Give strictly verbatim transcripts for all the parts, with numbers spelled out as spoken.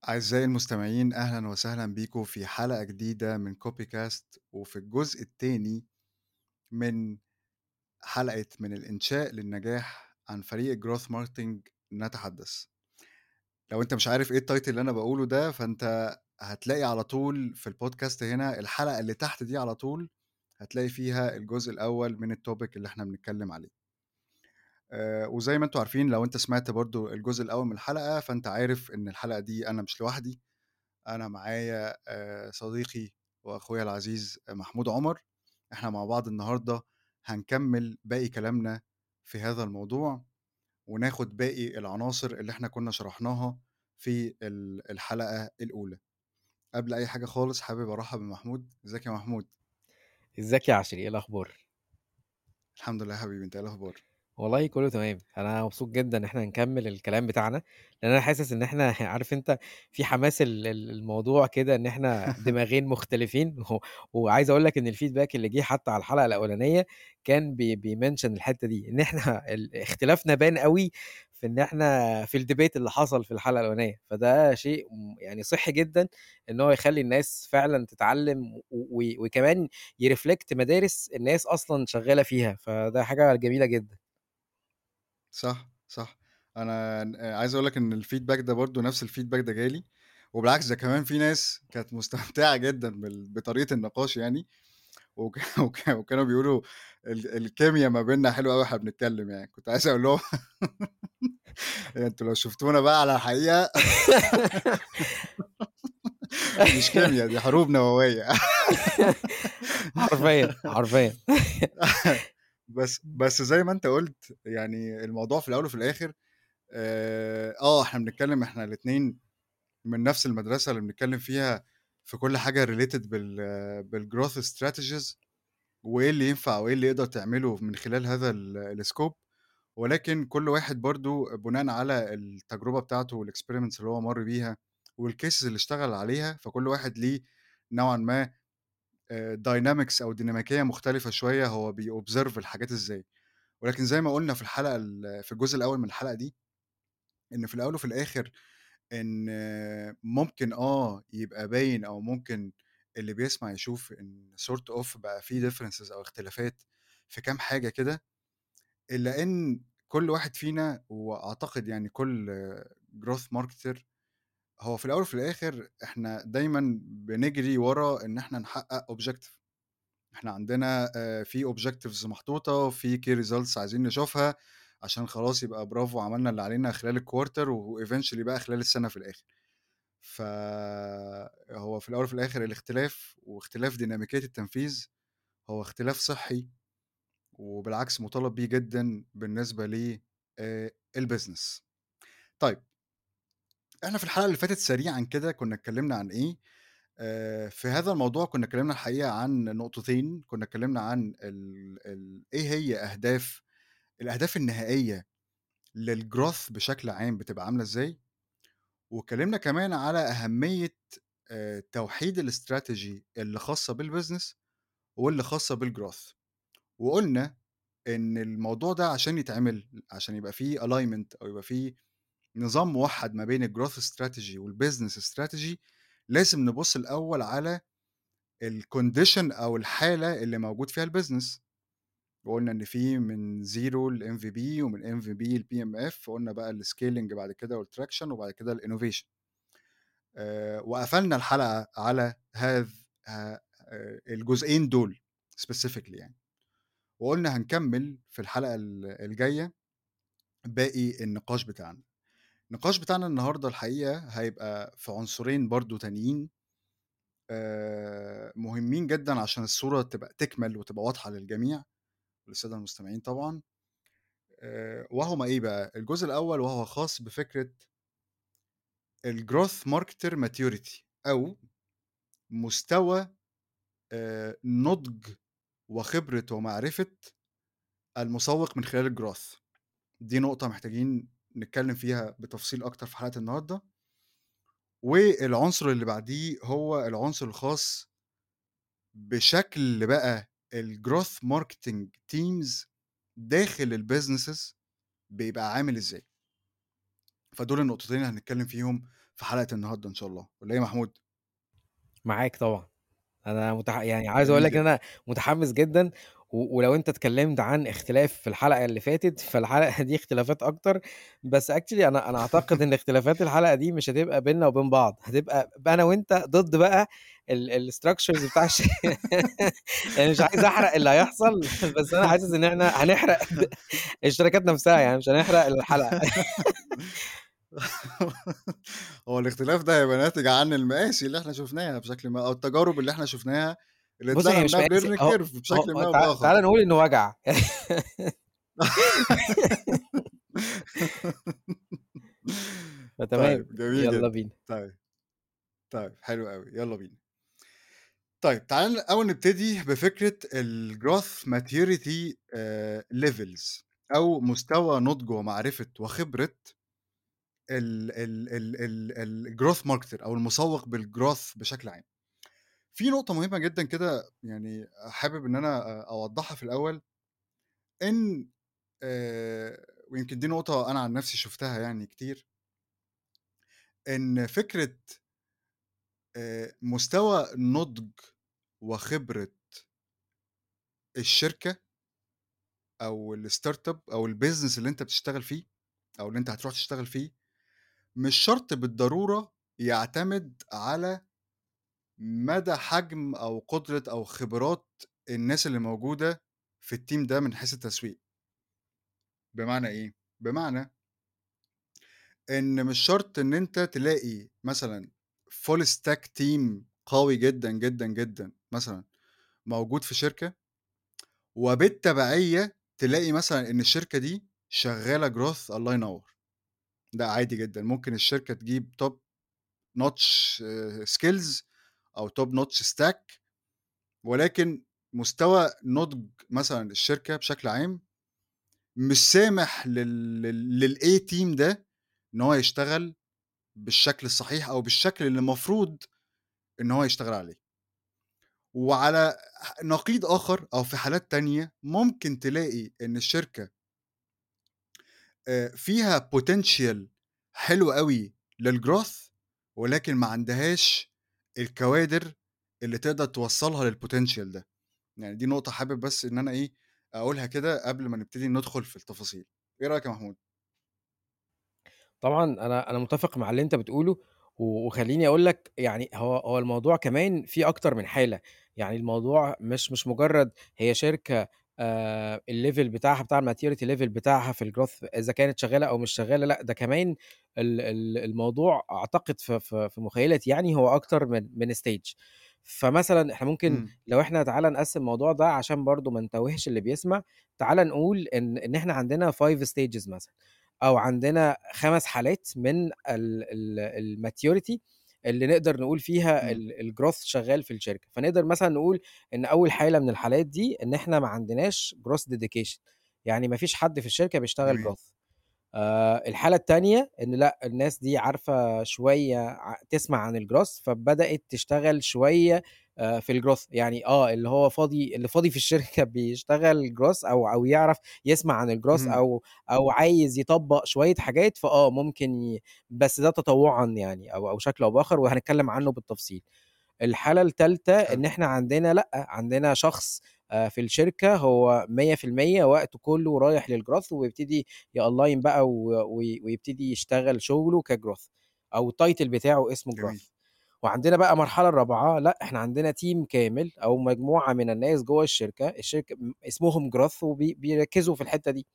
أعزائي المستمعين، أهلًا وسهلًا بيكم في حلقة جديدة من كوبي كاست، وفي الجزء التاني من حلقة من الإنشاء للنجاح عن فريق الgrowth marketing نتحدث. لو أنت مش عارف إيه الtitle اللي أنا باقوله ده، فأنت هتلاقي على طول في الpodcast هنا الحلقة اللي تحت دي على طول هتلاقي فيها الجزء الأول من الtopic اللي إحنا بنتكلم عليه. آآ، وزي ما أنتم عارفين لو أنت سمعت برضه الجزء الأول من الحلقة، فأنت عارف إن الحلقة دي أنا مش لوحدي. أنا معايا آآ صديقي وأخويا العزيز محمود عمر. إحنا مع بعض النهارده هنكمّل باقي كلامنا في هذا الموضوع، وناخد باقي العناصر اللي إحنا كنا شرحناها في ال الحلقة الأولى. قبل أي حاجة خالص حابب أرحّب بمحمود. إزيك يا محمود؟ ازيك يا عشري، ايه الاخبار؟ الحمد لله يا حبيبي، أنت إيه الأخبار؟ والله كله تمام. انا مبسوط جدا ان احنا نكمل الكلام بتاعنا، لان انا حاسس ان احنا عارف انت في حماس ال- ال- الموضوع كده، ان احنا دماغين مختلفين و- وعايز اقول لك ان الفيدباك اللي جه حتى على الحلقه الاولانيه كان بي بيمنشن الحته دي، ان احنا ال- اختلافنا بان قوي في ان احنا في الديبيت اللي حصل في الحلقه الاولانيه. فده شيء م- يعني صحي جدا ان هو يخلي الناس فعلا تتعلم و- و- وكمان يرفلكت مدارس الناس اصلا شغاله فيها، فده حاجه جميله جدا. صح، صح. أنا ن عايز أقول لك إن الfeedback ده برضه نفس الfeedback ده جالي، وبالعكس ده كمان في ناس كانت مستمتعة جدًا بال بطريقة النقاش يعني. وك وك وكانوا بيقولوا ال الكيميا ما بيننا حلوة أوي وإحنا بنتكلم يعني. كنت عايز أقول لهم أنتم لو شفتونا بقى على الحقيقة مش كيميا، دي حروب نووية. حرفيًا، حرفيًا. بس بس زي ما أنت قُلت، يعني الموضوع في الأول وفي الآخر آآ، آه إحنا بنتكلم إحنا الاتنين من نفس المدرسة اللي بنتكلم فيها في كل حاجة related بال بالgrowth strategies، وإيه اللي ينفع وإيه اللي يقدر تعمله من خلال هذا ال الscope. ولكن كل واحد برضه بناءً على التجربة بتاعته والexperiments اللي هو مَر بيها والcases اللي اشتغل عليها، فكل واحد ليه نوعًا ما آآ dynamics أو ديناميكية مختلفة شوية، هو بيobserve الحاجات إزاي. ولكن زي ما قُلنا في الحلقة ال في الجزء الأول من الحلقة دي، إن في الأول وفي الآخر إن آه، ممكن آه يبقى باين أو ممكن اللي بيسمع يشوف إن sort of بقى في differences أو اختلافات في كام حاجة كده، إلا إن كل واحد فينا وأعتقد يعني كل growth marketer هو في الأول وفي الآخر إحنا دايمًا بنجري ورا إن إحنا نحقق objective. إحنا عندنا آآ في objectives محطوطة، في key results عايزين نشوفها عشان خلاص يبقى برافو عملنا اللي علينا خلال الquarter وeventually بقى خلال السنة في الآخر. فهو في الأول وفي الآخر الاختلاف واختلاف ديناميكية التنفيذ هو اختلاف صحّي، وبالعكس مُطالب بيه جدًا بالنسبة ل آآ الbusiness. طيب، إحنا في الحلقة اللي فاتت سريعًا كده كُنّا اتكلّمنا عن إيه. آآ في هذا الموضوع كُنّا اتكلّمنا الحقيقة عن نقطتين. كُنّا اتكلّمنا عن ال ال إيه هي أهداف الأهداف النهائية للgrowth بشكل عام بتبقى عاملة إزاي، واتكلّمنا كمان على أهمية آآ توحيد الاستراتيجي اللي خاصة بالbusiness واللي خاصة بالgrowth. وقُلنا إن الموضوع ده عشان يتعمل، عشان يبقى في alignment أو يبقى في نظام موحّد ما بين الgrowth strategy والbusiness strategy، لازم نبُص الأول على الcondition أو الحالة اللي موجود فيها الbusiness. وقُلنا إن في من زيرو لMVP ومن إم في بي لPMF، وقُلنا بقى الscaling بعد كده والtraction وبعد كده الinnovation. آآ وقفلنا الحلقة على هذ ه آآ الجزئين دول specifically يعني. وقُلنا هنكمّل في الحلقة ال الجاية باقي النقاش بتاعنا. النقاش بتاعنا النهارده الحقيقة هيبقى في عنصرين برضه تانيين آآ مهمين جدًا عشان الصورة تبقى تكمل وتبقى واضحة للجميع وللسادة المستمعين طبعًا. آآ وهُم إيه بقى؟ الجزء الأول وهو خاص بفكرة الgrowth marketer maturity أو مستوى آآ نضج وخبرة ومعرفة المسوّق من خلال الgrowth. دي نقطة محتاجين نتكلّم فيها بتفصيل أكتر في حلقة النهارده. والعنصر اللي بعديه هو العنصر الخاص بشكل بقى الgrowth marketing teams داخل الbusinesses بيبقى عامل إزاي. فدول النقطتين اللي هنتكلّم فيهم في حلقة النهارده إن شاء الله، والّا إيه يا محمود؟ معاك طبعًا. أنا متح يعني عايز أقول جميل لك إن جدًا. أنا متحمّس جدًا، و ولو أنت اتكلّمت عن اختلاف في الحلقة اللي فاتت، فالحلقة دي اختلافات أكتر، بس actually أنا أنا أعتقد إن اختلافات الحلقة دي مش هتبقى بيننا وبين بعض، هتبقى ب أنا وأنت ضد بقى ال الstructures بتاع الش يعني مش عايز أحرق اللي هيحصل، بس أنا حاسس إن إحنا هنحرق د الشركات نفسها، يعني مش هنحرق الحلقة. هو الاختلاف ده هيبقى ناتج عن المقاسي اللي إحنا شُفناها بشكل ما، أو التجارب اللي إحنا شُفناها اللي بُص طلعنا هي مش منها مقاسي بlearning أهو curve بشكل أهو ما أو تع بآخر. تعالَ نقول إنه وجع. فتمام، طيب جميل يالّا جدًا. بينا. طيب، طيب حلو أوي، يالّا بينا. طيب تعالَ الأول نبتدي بفكرة الgrowth maturity آآ levels، أو مستوى نضج ومعرفة وخبرة ال ال ال ال الgrowth marketer أو المسوّق بالgrowth بشكل عام. في نقطة مهمة جدًا كده يعني حابب إن أنا أ أوضّحها في الأول، إن آآ ويمكن دي نقطة أنا عن نفسي شُفتها يعني كتير، إن فكرة آآ مستوى نضج وخبرة الشركة أو الstartup أو الbusiness اللي أنت بتشتغل فيه، أو اللي أنت هتروح تشتغل فيه، مش شرط بالضرورة يعتمد على مدى حجم أو قدرة أو خبرات الناس اللي موجودة في الteam ده من حيث التسويق. بمعنى إيه؟ بمعنى إن مش شرط إن أنت تلاقي مثلًا full stack team قوي جدًا، جدًا، جدًا مثلًا موجود في شركة، وبالتبعية تلاقي مثلًا إن الشركة دي شغّالة growth الله ينوّر. لأ عادي جدًا، ممكن الشركة تجيب top notch آآ skills أو top notch stack، ولكن مستوى نضج مثلًا الشركة بشكل عام مش سامح لل لل للA team ده إن هو يشتغل بالشكل الصحيح أو بالشكل اللي المفروض إن هو يشتغل عليه. وعلى ح نقيض آخر أو في حالات تانية ممكن تلاقي إن الشركة آآ فيها potential حلو أوي للgrowth، ولكن ما عندهاش الكوادر اللي تقدر توصّلها للpotential ده. يعني دي نقطة حابب بس إن أنا إيه، أقولها كده قبل ما نبتدي ندخل في التفاصيل. إيه رأيك يا محمود؟ طبعًا أنا أنا متّفق مع اللي أنت بتقوله، و وخلّيني أقول لك يعني هو هو الموضوع كمان فيه أكتر من حالة، يعني الموضوع مش مش مجرّد هي شركة آآ الlevel بتاعها بتاع الmaturity level بتاعها في الgrowth إذا كانت شغّالة أو مش شغّالة، لأ ده كمان ال ال الموضوع أعتقد في في في مخيلتي يعني هو أكتر من من stage. فمثلًا إحنا ممكن إمم، لو إحنا تعالَ نقسّم الموضوع ده عشان برضه ما نتوّهش اللي بيسمع، تعالَ نقول إن إن إحنا عندنا five stages مثلًا. أو عندنا خمس حالات من ال ال الmaturity اللي نقدر نقول فيها إمم، ال الgrowth شغال في الشركة، فنقدر مثلًا نقول إن أول حالة من الحالات دي إن إحنا ما عندناش growth dedication، يعني ما فيش حد في الشركة بيشتغل جميل، growth. آآ الحالة التانية إن لأ، الناس دي عارفة شوية ع تسمع عن الgrowth فبدأت تشتغل شوية آآ في الgrowth، يعني آه، اللي هو فاضي اللي فاضي في الشركة بيشتغل growth أو أو يعرف يسمع عن الgrowth اهم، أو أو عايز يطبّق شوية حاجات، فآه ممكن ي بس ده تطوعًا يعني أو أو شكل أو بآخر وهنتكلم عنه بالتفصيل. الحالة التالتة حلو، إن إحنا عندنا لأ، عندنا شخص آآ في الشركة هو مية في المية وقته كلّه رايح للgrowth ويبتدي يalign بقى و وي ويبتدي يشتغل شغله كgrowth أو الtitle بتاعه اسمه جميل، growth. وعندنا بقى المرحلة الرابعة لأ، إحنا عندنا team كامل أو مجموعة من الناس جوّه الشركة، الشركة م اسمهم growth وبي بيركّزوا في الحتّة دي.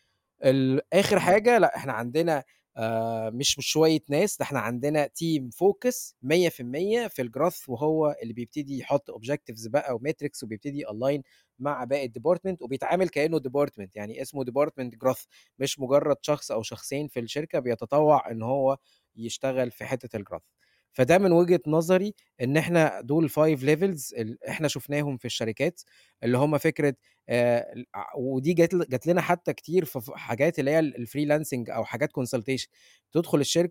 ال آخر إمم، حاجة لأ، إحنا عندنا آآ مش مش شوية ناس، ده إحنا عندنا team focus مية في المية في الgrowth وهو اللي بيبتدي يحط objectives بقى وmetrics وبيبتدي يalign مع باقي الdepartment وبيتعامل كإنه department، يعني اسمه department growth مش مجرد شخص أو شخصين في الشركة بيتطوع إن هو يشتغل في حتة الgrowth. فده من وجهة نظري إن إحنا دول five levels ال إحنا شُفناهم في الشركات، اللي هم فكرة آآ ال ع ودي جات ل جات لنا حتى كتير في ف حاجات اللي هي ال الfreelancing أو حاجات consultation، تدخل الشركة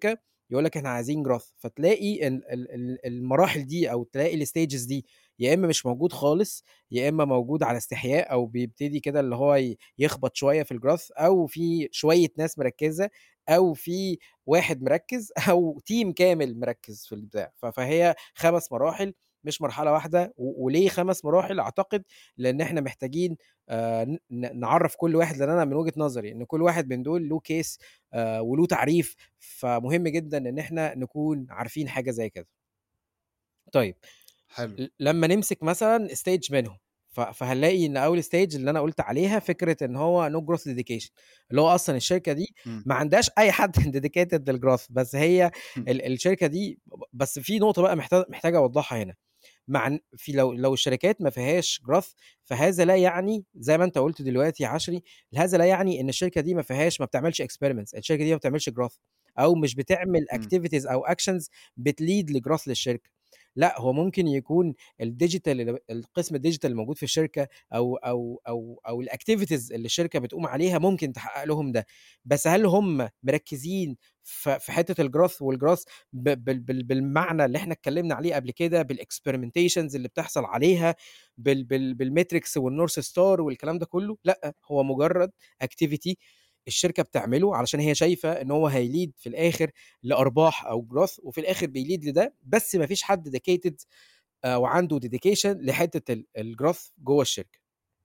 يقول لك إحنا عايزين growth، فتلاقي ال ال ال المراحل دي أو تلاقي الstages دي يا إما مش موجود خالص، يا إما موجود على استحياء أو بيبتدي كده اللي هو ي يخبط شوية في الgrowth، أو في شوية ناس مركّزة، أو في واحد مركّز أو team كامل مركّز في البتاع. ف فهي خمس مراحل مش مرحلة واحدة. و وليه خمس مراحل؟ أعتقد لإن إحنا محتاجين آآ ن ن نعرّف كل واحد، لإن أنا من وجهة نظري إن كل واحد من دول له case آآ وله تعريف، فمهم جدًا إن إحنا نكون عارفين حاجة زي كده. طيب، حلو. ل لمّا نمسك مثلًا stage منهم، ف فهنلاقي إن أول stage اللي أنا قُلت عليها فكرة إن هو no growth dedication، اللي هو أصلًا الشركة دي إمم. ما عندهاش أي حد dedicated للgrowth، بس هي ال الشركة دي ب بس في نقطة بقى محتا محتاج أوضّحها هنا. مع إن في لو لو الشركات ما فيهاش growth، فهذا لا يعني زي ما أنت قُلت دلوقتي يا عشري، هذا لا يعني إن الشركة دي ما فيهاش ما بتعملش experiments، الشركة دي ما بتعملش growth أو مش بتعمل إمم. activities أو actions بتlead لgrowth للشركة. لأ، هو ممكن يكون الdigital اللي القسم الdigital الموجود في الشركة أو أو أو أو الactivities اللي الشركة بتقوم عليها ممكن تحقق لهم ده، بس هل هم مركّزين ف في حتّة الgrowth والgrowth ب بال بال بالمعنى اللي إحنا اتكلّمنا عليه قبل كده، بالexperimentations اللي بتحصل عليها، بال بال بالmetrics والnorth star والكلام ده كلّه؟ لأ، هو مجرّد activity الشركة بتعمله علشان هي شايفة إن هو هيlead في الآخر لأرباح أو growth، وفي الآخر بيlead لده، بس ما فيش حد dedicated آآ وعنده dedication لحتّة ال الgrowth جوّه الشركة.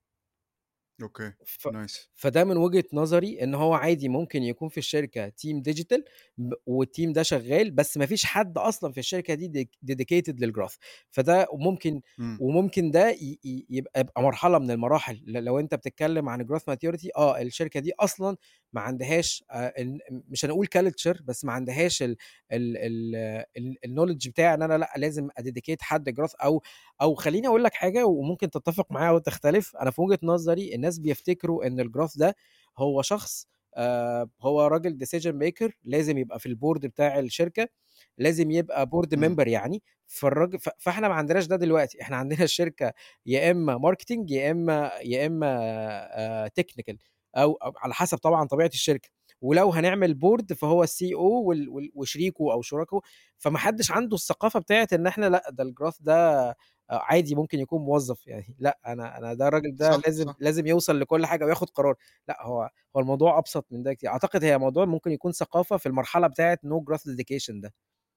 أوكي. ف nice. فده من وجهة نظري إن هو عادي ممكن يكون في الشركة team digital ب والteam ده شغال، بس ما فيش حد أصلًا في الشركة دي ديك dedicated للgrowth. فده ممكن إمم. وممكن ده ي ي يبقى يبقى مرحلة من المراحل. ل لو أنت بتتكلم عن growth maturity، آه، الشركة دي أصلًا ما عندهاش آآ ال مش هنقول culture، بس ما عندهاش ال ال ال ال الknowledge بتاع إن أنا لأ، لازم أdedicate حد growth. أو أو خلّيني أقول لك حاجة وممكن تتّفق معايا أو تختلف. أنا في وجهة نظري الناس بيفتكروا إن الgrowth ده هو شخص آآ هو راجل decision maker لازم يبقى في الboard بتاع الشركة، لازم يبقى board إمم. member يعني. فالراج ف فإحنا ما عندناش ده دلوقتي، إحنا عندنا الشركة يا إمّا marketing يا إمّا يا إمّا آآ technical، أو أو على حسب طبعًا طبيعة الشركة. ولو هنعمل board فهو الCEO وال وال وشريكه أو شركائه. فما حدش عنده الثقافة بتاعة إن إحنا لأ، ده الgrowth ده آه، عادي ممكن يكون موظف يعني. لأ، أنا أنا ده الراجل ده صح. لازم صح. لازم يوصل لكل حاجة وياخد قرار. لأ، هو هو الموضوع أبسط من ده كتير. أعتقد هي موضوع ممكن يكون ثقافة في المرحلة بتاعة no growth dedication ده.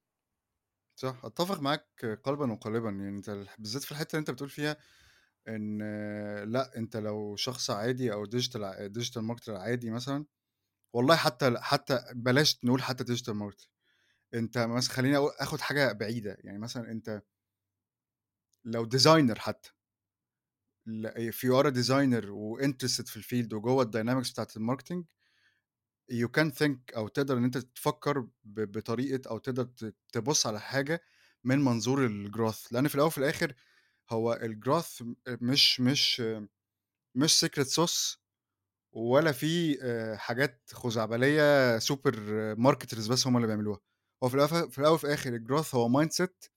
صح، أتّفق معاك قلبًا وقالبًا. يعني أنت الح بالذات في الحتّة اللي أنت بتقول فيها إن آه، لأ، أنت لو شخص عادي أو digital ع digital marketer عادي مثلًا، والله حتّى ل حتّى بلاش نقول حتّى digital marketer، أنت مثلًا خلّيني أقو آخُد حاجة بعيدة. يعني مثلًا أنت لو designer حتّى، ل if you are a designer وinterested في الfield وجوّه الdynamics بتاعة الmarketing، you can think أو تقدر إن أنت تفكّر ب بطريقة أو تقدر ت تبُص على حاجة من منظور الgrowth، لإن في الأول وفي الآخر هو الgrowth م مش مش مش secret sauce ولا في آآ حاجات خزعبلية super marketers بس هم اللي بيعملوها. هو في الأف في الأول وفي الآخر الgrowth هو mindset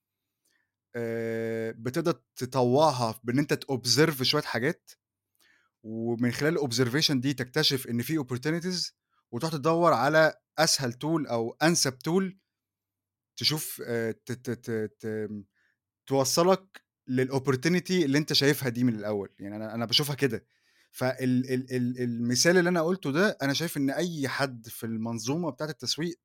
آآ بتقدر تطوّعها بإن أنت تobserve شوية حاجات، ومن خلال الobservation دي تكتشف إن في opportunities وتروح تدوّر على أسهل tool أو أنسب tool تشوف آآ ت ت ت ت توصّلك للopportunity اللي أنت شايفها دي من الأول. يعني أنا أنا باشوفها كده. فال ال ال المثال اللي أنا قُلته ده، أنا شايف إن أي حد في المنظومة بتاعة التسويق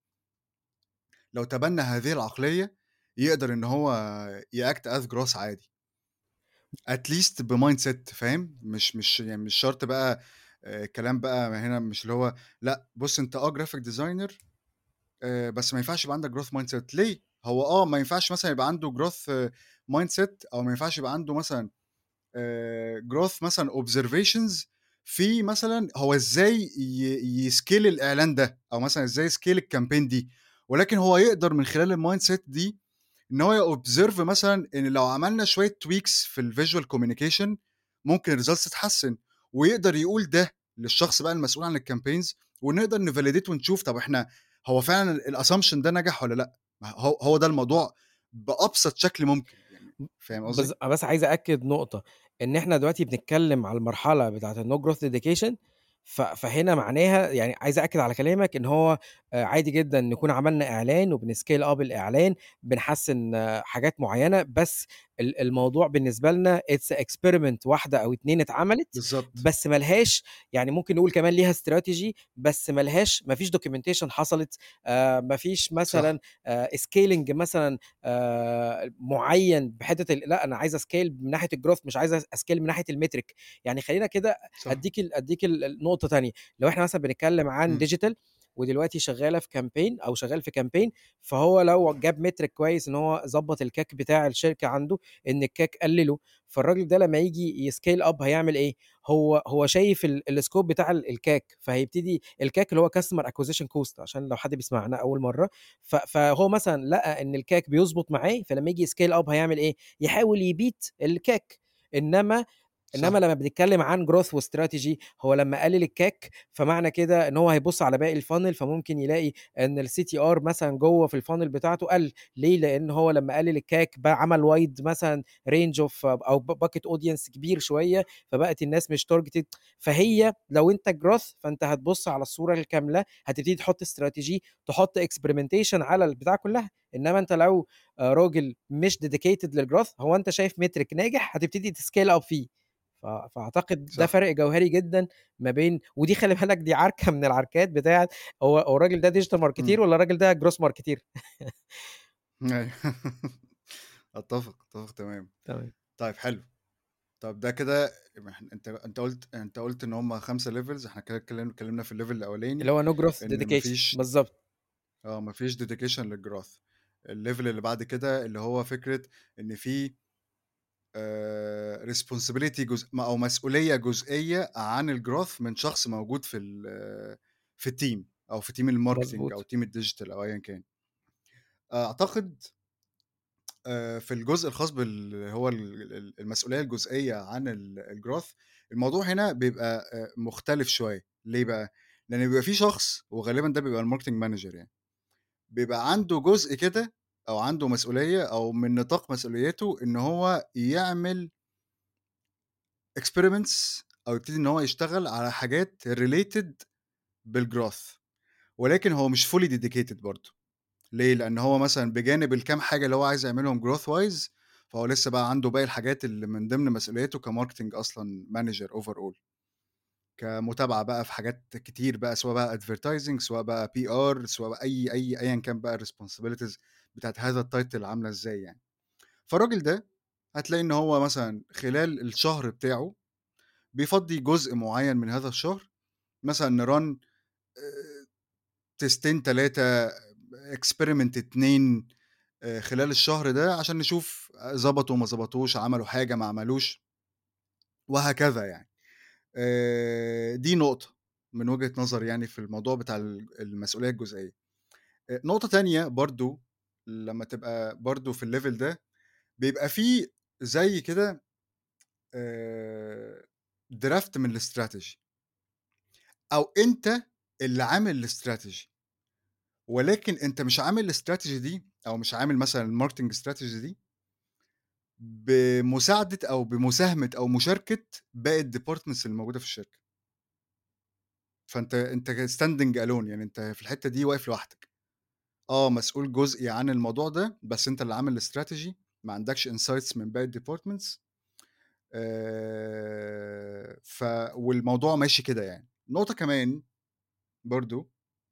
لو تبنى هذه العقلية، يقدر إن هو يact as grass عادي. at least بmindset فاهم؟ مش مش يعني مش شرط بقى آآ كلام بقى هنا مش اللي هو لأ، بُص أنت آه graphic designer آآ بس ما ينفعش يبقى عندك growth mindset ليه؟ هو آه ما ينفعش مثلًا يبقى عنده growth mindset أو ما ينفعش يبقى عنده مثلًا آآ growth مثلًا observations في مثلًا هو إزاي ي يscale الإعلان ده، أو مثلًا إزاي يscale الcampaign دي، ولكن هو يقدر من خلال الmindset دي إن هو يobserve مثلًا إن لو عملنا شوية tweaks في الvisual communication ممكن الresults تتحسن، ويقدر يقول ده للشخص بقى المسؤول عن الcampaigns ونقدر نvalidate ونشوف طب إحنا هو فعلًا الassumption ده نجح والّا لأ. ما هو هو ده الموضوع بأبسط شكل ممكن يعني. فاهم بس قصدي؟ بس عايز أأكد نقطة، إن إحنا دلوقتي بنتكلم على المرحلة بتاعة الno growth dedication، ف فهنا معناها يعني عايز أأكد على كلامك إن هو آآ عادي جدًا نكون عملنا إعلان وبنscale up الإعلان، بنحسّن آه، حاجات معيّنة، بس ال الموضوع بالنسبة لنا it's experiment واحدة أو اتنين اتعملت، بالضبط، بس ما لهاش يعني ممكن نقول كمان ليها strategy بس ما لهاش ما فيش documentation حصلت، آآ ما فيش مثلًا صح، آآ scaling مثلًا آآ معيّن بحتّة ال لأ أنا عايز أscale من ناحية الgrowth مش عايز أس أscale من ناحية الmetric. يعني خلّينا كده صح، أدّيك ال أدّيك ال النقطة تانية، لو إحنا مثلًا بنتكلّم عن إمم، digital ودلوقتي شغّالة في campaign أو شغّال في campaign، فهو لو جاب metric كويس إن هو ضبّط الCAC بتاع الشركة عنده، إن الCAC قلّله، فالراجل ده لمّا ييجي يscale up هيعمل إيه؟ هو هو شايف ال الscope بتاع ال الCAC، فهيبتدي الCAC اللي هو customer acquisition cost عشان لو حد بيسمعنا أول مرّة، ف فهو مثلًا لقى إن الCAC بيضبط معاه، فلمّا ييجي يscale up هيعمل إيه؟ يحاول يbeat الCAC. إنّما إنما صح، لمّا بنتكلّم عن growth وstrategy هو لمّا قلل الكاك، فمعنى كده إن هو هيبُص على باقي الfunnel فممكن يلاقي إن الCTR مثلًا جوّه في الfunnel بتاعته قَل، ليه؟ لإن هو لمّا قلل الكاك بقى عمل wide مثلًا range of أو ب bucket audience كبير شوية، فبقت الناس مش targeted. فهي لو أنت growth فأنت هتبُص على الصورة الكاملة، هتبتدي تحُط strategy، تحُط experimentation على البتاع كلّها. إنما أنت لو آآ راجل مش dedicated للgrowth هو أنت شايف metric ناجح هتبتدي تscale up فيه. ف فأعتقد ده صح، فرق جوهري جدًا ما بين ودي خلّي بالك دي عركة من العركات بتاعة هو هو الراجل ده digital marketer إمم، والّا الراجل ده gross marketer. أيوه أتّفق، أتّفق تمام. تمام. طيب حلو، طب ده كده يبقى إحنا أنت أنت قُلت أنت قُلت إن هم خمسة levels، إحنا كده اتكلم اتكلمنا في الlevel الأولاني اللي هو no growth إن ما dedication فيش بالضبط. آه، ما فيش dedication للgrowth. الlevel اللي بعد كده اللي هو فكرة إن في آآ responsibility جزء م أو مسؤولية جزئية عن الgrowth من شخص موجود في ال في الteam أو في team الmarketing أو مضبوط. team الdigital أو أيًا كان. أعتقد آآ في الجزء الخاص بال هو ال ال المسؤولية الجزئية عن ال الgrowth، الموضوع هنا بيبقى آآ مختلف شوية، ليه بقى؟ لإن بيبقى في شخص وغالبًا ده بيبقى الmarketing manager يعني، بيبقى عنده جزء كده أو عنده مسؤولية أو من نطاق مسؤوليته إن هو يعمل experiments أو يبتدي إن هو يشتغل على حاجات related بالgrowth، ولكن هو مش fully dedicated برضه. ليه؟ لأن هو مثلًا بجانب الكام حاجة اللي هو عايز يعملهم growth wise، فهو لسه بقى عنده باقي الحاجات اللي من ضمن مسؤوليته كmarketing أصلًا manager overall، كمتابعة بقى في حاجات كتير بقى سواء بقى advertising سواء بقى بي آر سواء بقى أي أي أيًا كان بقى الresponsibilities بتاعة هذا الtitle عاملة إزاي يعني. فالراجل ده هتلاقي إن هو مثلًا خلال الشهر بتاعه بيفضّي جزء معيّن من هذا الشهر مثلًا نrun آآ تيستين تلاتة experiment اتنين آآ خلال الشهر ده عشان نشوف ضبطوا ما ضبطوش، عملوا حاجة ما عملوش، وهكذا يعني. آآ دي نقطة من وجهة نظري يعني في الموضوع بتاع ال المسؤولية الجزئية. آآ نقطة تانية برضه لمّا تبقى برضه في الlevel ده، بيبقى في زي كده آآ draft من الstrategy أو أنت اللي عامل الstrategy. ولكن أنت مش عامل الstrategy دي أو مش عامل مثلًا الmarketing strategy دي بمساعدة أو بمساهمة أو مشاركة باقي الdepartments اللي موجودة في الشركة، فأنت أنت standing alone يعني أنت في الحتّة دي واقف لوحدك، آه مسؤول جزئي عن الموضوع ده، بس أنت اللي عامل الstrategy ما عندكش insights من باقي الdepartments آآ، ف والموضوع ماشي كده يعني. نقطة كمان برضه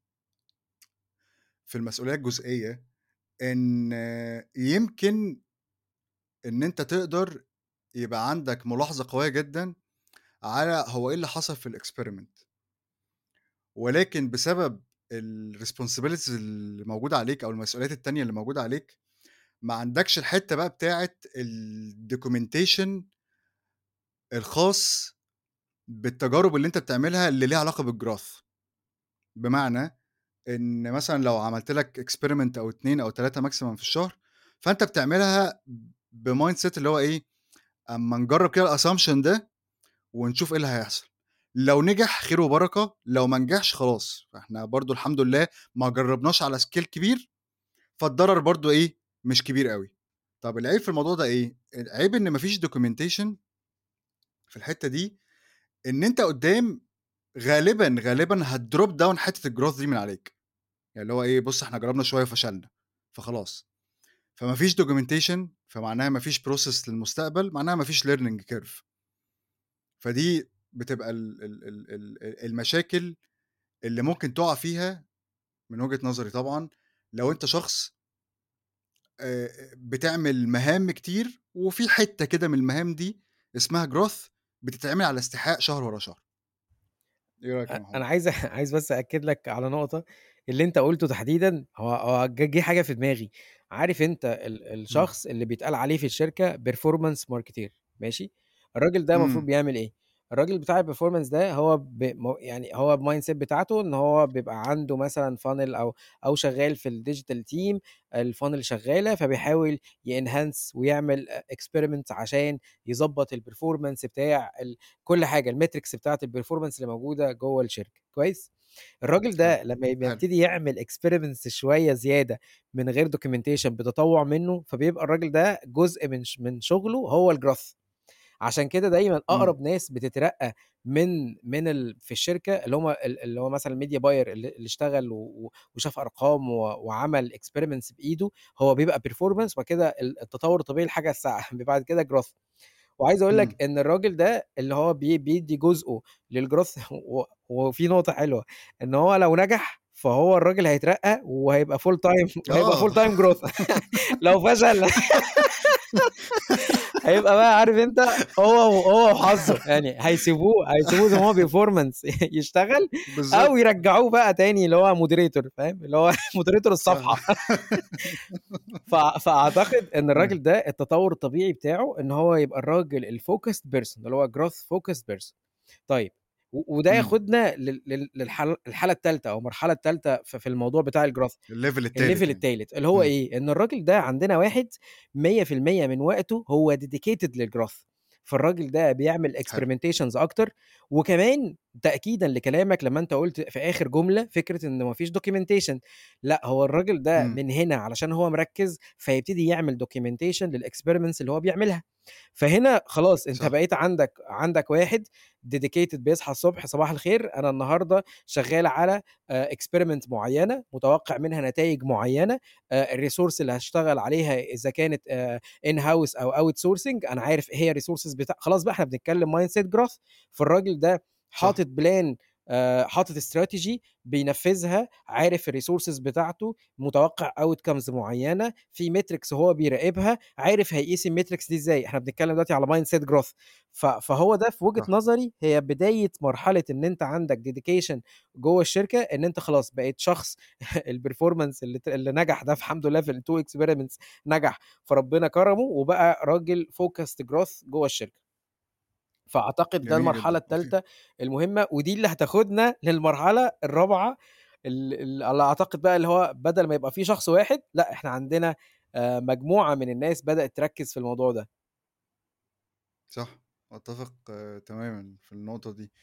في المسؤولية الجزئية، إن يمكن إن أنت تقدر يبقى عندك ملاحظة قوية جدًا على هو إيه اللي حصل في الexperiment، ولكن بسبب الresponsibilities اللي موجودة عليك أو المسؤوليات التانية اللي موجودة عليك، ما عندكش الحتّة بقى بتاعة الdocumentation الخاص بالتجارب اللي أنت بتعملها اللي ليها علاقة بالgrowth. بمعنى إن مثلًا لو عملت لك experiment أو اتنين أو تلاتة maximum في الشهر، فأنت بتعملها بmindset اللي هو إيه، أمّا نجرّب كده الassumption ده ونشوف إيه اللي هيحصل، لو نجح خير وبركة، لو ما نجحش خلاص، فإحنا برضه الحمد لله ما جرّبناش على scale كبير، فالضرر برضه إيه، مش كبير أوي. طَب العيب في الموضوع ده إيه، العيب إن ما فيش documentation في الحتّة دي، إن أنت قدّام غالبًا، غالبًا هتdrop down حتّة الgrowth دي من عليك، يعني اللي هو إيه، بُص إحنا جرّبنا شوية وفشلنا، فخلاص. فما فيش documentation فمعناها ما فيش process للمستقبل، معناها ما فيش learning curve. فدي بتبقى ال ال ال ال المشاكل اللي ممكن تُقع فيها من وجهة نظري طبعًا، لو أنت شخص آآ بتعمل مهام كتير، وفي حتّة كده من المهام دي اسمها growth بتتعمل على استحقاق شهر ورا شهر. إيه رأيك أ يا أنا محمد؟ عايز عايز بس أأكد لك على نقطة، اللي أنت قُلته تحديدًا هو هو ج جه حاجة في دماغي، عارف أنت ال إمم، الشخص اللي بيتقال عليه في الشركة performance marketeer ماشي؟ الراجل ده المفروض إمم، بيعمل إيه؟ الراجل بتاع الperformance ده هو ب م يعني هو الmindset بتاعته إن هو بيبقى عنده مثلًا funnel أو أو شغال في الdigital team الfunnel شغالة، فبيحاول يenhance ويعمل أ experiment عشان يضبّط الperformance بتاع ال كل حاجة الmetrics بتاعة الperformance اللي موجودة جوّه الشركة، كويس؟ الراجل حلو، ده لمّا يبقى حلو، يبتدي يعمل experiments شوية زيادة من غير documentation بتطوّع منّه، فبيبقى الراجل ده جزء من ش من شغله هو الgrowth. عشان كده دايمًا إمم، أقرب ناس بتترقّى من من ال في الشركة اللي هم ال اللي هو مثلًا الmedia buyer اللي اللي اشتغل و و وشاف أرقام و وعمل experiments بإيده، هو بيبقى performance وبعد كده ال التطوّر الطبيعي لحاجة الساعة بعد كده growth. وعايز أقول لك إمم. إن الراجل ده اللي هو بي بيدّي جزءه للgrowth و وفي نقطة حلوة، إن هو لو نجح فهو الراجل هيترقّى وهيبقى full time وهيبقى آه. full time growth لو فشل هيبقى بقى عارف أنت هو و هو وحظه، يعني هيسيبوه هيسيبوه زي ما هو performance يشتغل أو بالضبط، يرجّعوه بقى تاني اللي هو moderator فاهم، اللي هو moderator صح. الصفحة. ف فأعتقد إن أيوه، الراجل ده التطوّر الطبيعي بتاعه إن هو يبقى الراجل الfocused person اللي هو growth focused person. طيب و وده إمم، ياخدنا لل لل للحل الحالة التالتة أو المرحلة التالتة ف في الموضوع بتاع الgrowth الlevel الlevel التالت يعني. التالت، اللي هو إمم، إيه، إن الراجل ده عندنا واحد مية في المية من وقته هو dedicated للgrowth، فالراجل ده بيعمل حلو، experimentations أكتر، وكمان تأكيدًا لكلامك لمّا أنت قُلت في آخر جملة فكرة إن ما فيش documentation لأ، هو الراجل ده إمم، من هنا علشان هو مركّز، فيبتدي يعمل documentation للexperiments اللي هو بيعملها. فهنا خلاص أنت صح، بقيت عندك عندك واحد dedicated بيصحى الصبح صباح الخير أنا النهارده شغال على آآ experiment معيّنة، متوقع منها نتايج معيّنة، آآ الresource اللي هاشتغل عليها إذا كانت آآ in house أو outsourcing أنا عارف إيه هي الresources بتاع خلاص بقى إحنا بنتكلم mindset growth فالراجل ده صح، حاطط plan آآ حاطط strategy بينفذها، عارف الresources بتاعته، متوقع outcomes معيّنة، في metrics هو بيراقبها، عارف هيقيس الmetrics دي إزاي، إحنا بنتكلم دلوقتي على mindset growth ف فهو ده في وجهة صح، نظري هي بداية مرحلة إن أنت عندك dedication جوّه الشركة، إن أنت خلاص بقيت شخص الperformance اللي ت اللي نجح ده الحمد لله في الtwo experiments نجح، فربنا كرمه وبقى راجل focused growth جوّه الشركة. فأعتقد ده جميل المرحلة جدًا، وفي التالتة المهمة، ودي اللي هتاخدنا للمرحلة الرابعة ال ال اللي أعتقد بقى اللي هو بدل ما يبقى في شخص واحد، لأ إحنا عندنا آآ مجموعة من الناس بدأت تركّز في الموضوع ده. صح، أتّفق تمامًا في النقطة دي.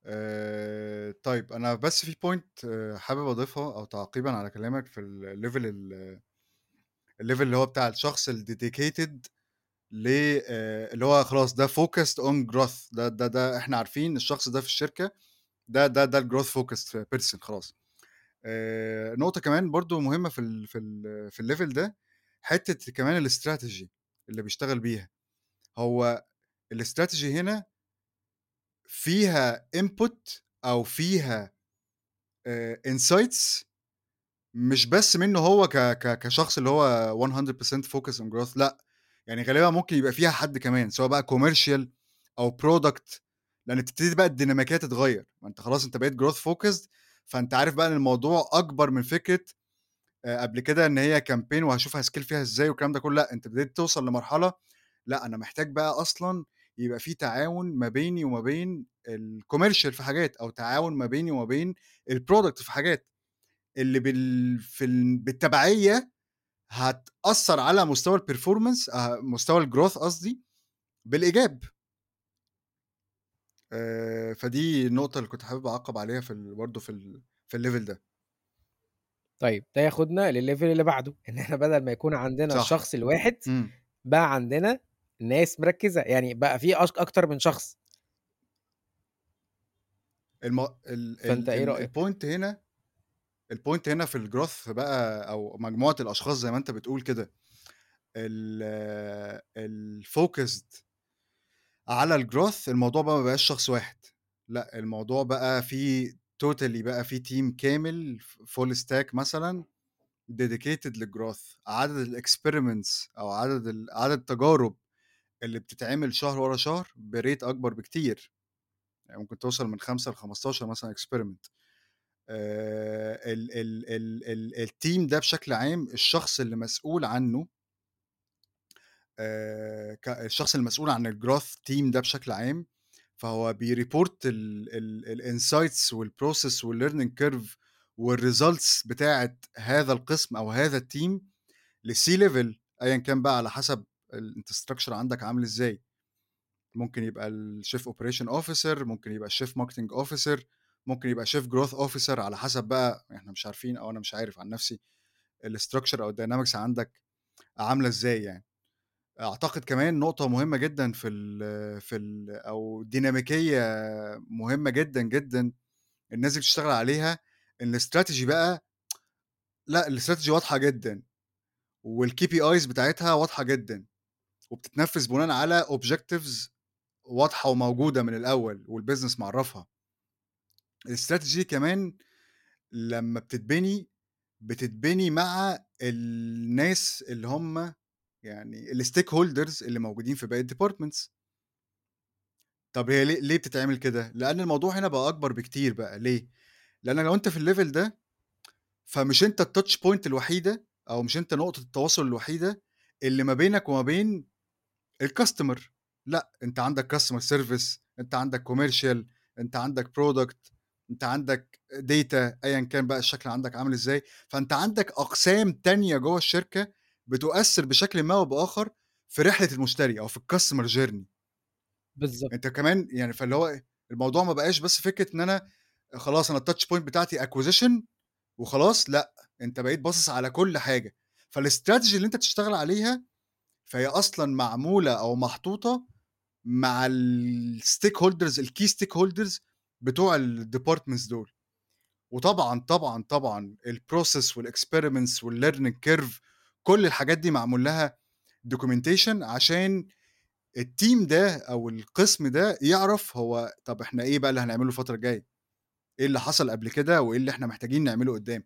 آآ طيب أنا بس في point حابب أضيفها أو تعقيبًا على كلامك في الlevel ال الlevel اللي هو بتاع الشخص الdedicated ل آآ اللي هو خلاص ده focused on growth ده ده ده إحنا عارفين الشخص ده في الشركة ده ده ده الgrowth focused person خلاص. آآ نقطة كمان برضه مهمة في ال في ال في الlevel ده، حتّة كمان الstrategy اللي بيشتغل بيها. هو الstrategy هنا فيها input أو فيها آآ insights مش بس منّه هو ك ك كشخص اللي هو one hundred percent focus on growth لأ، يعني غالبًا ممكن يبقى فيها حد كمان، سواء بقى commercial أو product لإن بتبتدي بقى الديناميكية تتغيّر، ما أنت خلاص أنت بقيت growth focused فأنت عارف بقى إن الموضوع أكبر من فكرة آآ قبل كده إن هي campaign وهاشوف هاسcale فيها إزاي والكلام ده كلّه، لأ، أنت ابتديت توصل لمرحلة لأ، أنا محتاج بقى أصلًا يبقى في تعاون ما بيني وما بين الcommercial في حاجات، أو تعاون ما بيني وما بين الproduct في حاجات، اللي بال في ال بالتبعية هتأثّر على مستوى الperformance آآ مستوى الgrowth قصدي بالإيجاب. آآ فدي النقطة اللي كنت حابب أعقّب عليها في ال برضه في ال في الlevel ده. طيب ده ياخدنا للlevel اللي بعده، إن إحنا بدل ما يكون عندنا صح. الشخص الواحد، إمم. بقى عندنا ناس مركّزة، يعني بقى في أش أكتر من شخص. الم ال فأنت ال إيه ال رأيك؟ الpoint هنا الpoint هنا في الgrowth بقى أو مجموعة الأشخاص زي ما أنت بتقول كده، ال الfocused على الgrowth الموضوع بقى ما بقاش شخص واحد، لأ الموضوع بقى فيه totally بقى فيه team كامل ف full stack مثلًا dedicated للgrowth. عدد الexperiments أو عدد ال عدد التجارب اللي بتتعمل شهر ورا شهر بريت أكبر بكتير، يعني ممكن توصل من خمسة لخمستاشر مثلًا experiment. آآ ال ال ال ال الteam ده بشكل عام الشخص اللي مسؤول عنه آآ ك الشخص المسؤول عن الgrowth team ده بشكل عام، فهو بيreport ال ال الinsights والprocess والlearning curve والresults بتاعة هذا القسم أو هذا الteam للC level أيًا كان بقى على حسب ال أنت الstructure عندك عامل إزاي. ممكن يبقى الchief operation officer، ممكن يبقى الchief marketing officer، ممكن يبقى chief growth officer على حسب بقى إحنا مش عارفين أو أنا مش عارف عن نفسي الstructure أو الdynamics عندك عاملة إزاي يعني. أعتقد كمان نقطة مهمة جدًا في ال في ال أو ديناميكية مهمة جدًا، جدًا الناس دي بتشتغل عليها، إن الstrategy بقى لأ الstrategy واضحة جدًا، والKPIs بتاعتها واضحة جدًا، وبتتنفذ بناءً على objectives واضحة وموجودة من الأول والbusiness معرّفها. الstrategy كمان لمّا بتتبني، بتتبني مع الناس اللي هم يعني الstakeholders اللي موجودين في باقي الdepartments. طب هي ليه ليه بتتعمل كده؟ لأن الموضوع هنا بقى أكبر بكتير بقى، ليه؟ لأن لو أنت في الlevel ده، فمش أنت الtouch point الوحيدة أو مش أنت نقطة التواصل الوحيدة اللي ما بينك وما بين الcustomer، لأ، أنت عندك customer service، أنت عندك commercial، أنت عندك product، أنت عندك data أيًا كان بقى الشكل عندك عامل إزاي، فأنت عندك أقسام تانية جوّه الشركة بتؤثّر بشكل ما أو بآخر في رحلة المشتري أو في الcustomer journey. بالضبط. أنت كمان يعني فاللي هو إيه، الموضوع ما بقاش بس فكرة إن أنا خلاص أنا الtouch point بتاعتي acquisition وخلاص، لأ، أنت بقيت باصص على كل حاجة، فالstrategy اللي أنت تشتغل عليها فهي أصلًا معمولة أو محطوطة مع الstakeholders الkey stakeholders بتوع الdepartments دول. وطبعًا، طبعًا، طبعًا الprocess والexperiments والlearning curve كل الحاجات دي معمول لها documentation عشان الteam ده أو القسم ده يعرف هو طب إحنا إيه بقى اللي هنعمله الفترة الجاية، إيه اللي حصل قبل كده وإيه اللي إحنا محتاجين نعمله قدّام.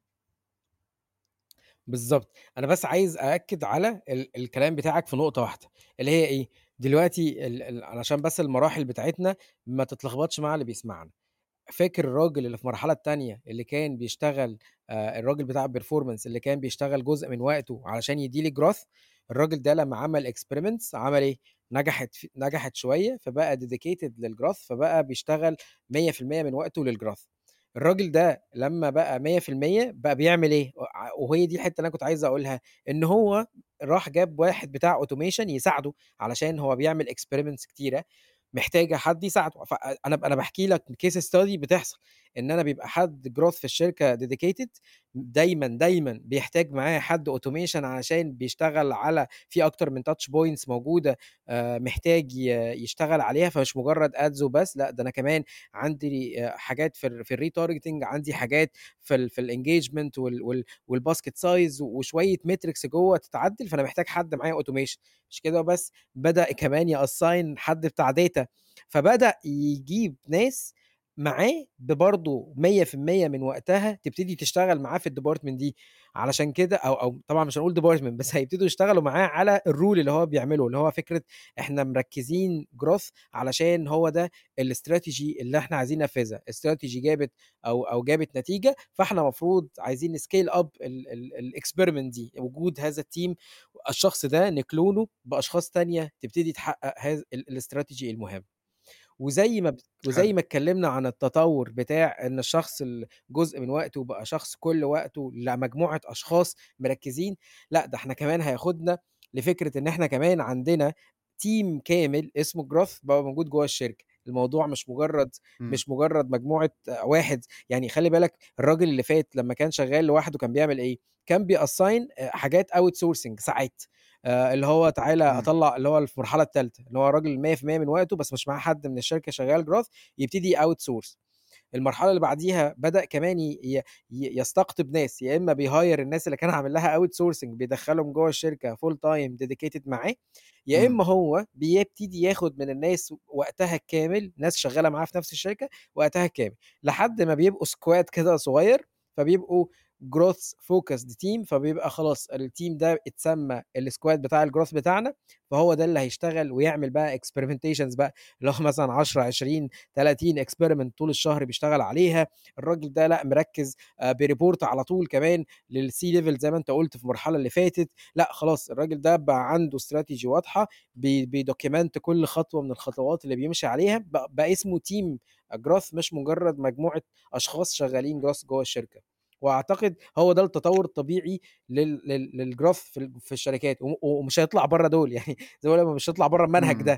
بالضبط. أنا بس عايز أأكد على ال الكلام بتاعك في نقطة واحدة، اللي هي إيه، دلوقتي ال ال علشان بس المراحل بتاعتنا ما تتلخبطش مع اللي بيسمعنا. فاكر الراجل اللي في المرحلة التانية اللي كان بيشتغل آآ الراجل بتاع الperformance اللي كان بيشتغل جزء من وقته علشان يدّي لي growth، الراجل ده لمّا عمل experiments عمل إيه، نجحت ف نجحت شوية فبقى dedicated للgrowth فبقى بيشتغل مية في المية من وقته للgrowth. الراجل ده لمّا بقى مية في المية بقى بيعمل إيه، وع وهي دي الحتّة اللي أنا كنت عايز أقولها، إن هو راح جاب واحد بتاع automation يساعده علشان هو بيعمل experiments كتيرة محتاجة حد يساعده، فأنا ب أنا باحكي لك case study بتحصل، إن أنا بيبقى حد growth في الشركة dedicated دايمًا، دايمًا بيحتاج معاه حد automation علشان بيشتغل على في أكتر من touch points موجودة آآ محتاج ي يشتغل عليها، فمش مجرد ads وبس، لأ ده أنا كمان عندي آآ حاجات في ال في الretargeting، عندي حاجات في ال في الengagement وال وال والbasket size وشوية metrics جوّه تتعدل، فأنا محتاج حد معاه automation. مش كده وبس، بدأ كمان يassign حد بتاع data، فبدأ يجيب ناس معاه ب برضه مية في المية من وقتها تبتدي تشتغل معاه في الdepartment دي، علشان كده أو أو طبعًا مش هنقول department بس هيبتدوا يشتغلوا معاه على الrule اللي هو بيعمله، اللي هو فكرة إحنا مركّزين growth علشان هو ده الstrategy اللي إحنا عايزين ننفذها، الstrategy جابت أو أو جابت نتيجة، فإحنا المفروض عايزين نscale up ال ال الexperiment دي، وجود هذا الteam الشخص ده نكلونه بأشخاص تانية تبتدي تحقق هذا ال الstrategy المهم. وزي ما ب حلو. وزي ما اتكلمنا عن التطور بتاع إن الشخص ال جزء من وقته بقى شخص كل وقته لمجموعة أشخاص مركّزين، لأ ده إحنا كمان هياخدنا لفكرة إن إحنا كمان عندنا team كامل اسمه growth بقى موجود جوّه الشركة، الموضوع مش مجرد إمم. مش مجرد مجموعة آه، واحد، يعني خلّي بالك الراجل اللي فات لمّا كان شغال لوحده كان بيعمل إيه، كان بيassign آآ حاجات outsourcing ساعات. آآ اللي هو تعالَ إمم. أطلّع اللي هو في المرحلة التالتة، اللي هو راجل مية في المية من وقته بس مش معاه حد من الشركة شغال growth يبتدي outsource. المرحلة اللي بعديها بدأ كمان ي ي ي يستقطب ناس، يا إما بيhire الناس اللي كان عامل لها outsourcing بيدخّلهم جوّه الشركة full time dedicated معاه، يا إمم، إما هو بيبتدي ياخد من الناس وقتها الكامل، ناس شغّالة معاه في نفس الشركة وقتها الكامل، لحد ما بيبقوا squad كده صغير، فبيبقوا growth focused team، فبيبقى خلاص الteam ده اتسمى الsquad بتاع الgrowth بتاعنا، فهو ده اللي هيشتغل ويعمل بقى experimentations بقى، اللي هو مثلًا عشرة، عشرين، تلاتين experiment طول الشهر بيشتغل عليها. الراجل ده لأ مركّز آآ بيريبورت على طول كمان للC level زي ما أنت قُلت في المرحلة اللي فاتت. لأ خلاص الراجل ده بقى عنده strategy واضحة، بي بيdocument كل خطوة من الخطوات اللي بيمشي عليها، بق بقى اسمه team growth مش مجرد مجموعة أشخاص شغالين growth جوّه الشركة. وأعتقد هو ده التطور الطبيعي لل لل للgrowth في ال في الشركات، وم ومش هيطلع برّه دول، يعني زي ما باقول لك مش هيطلع برّه المنهج إمم. ده.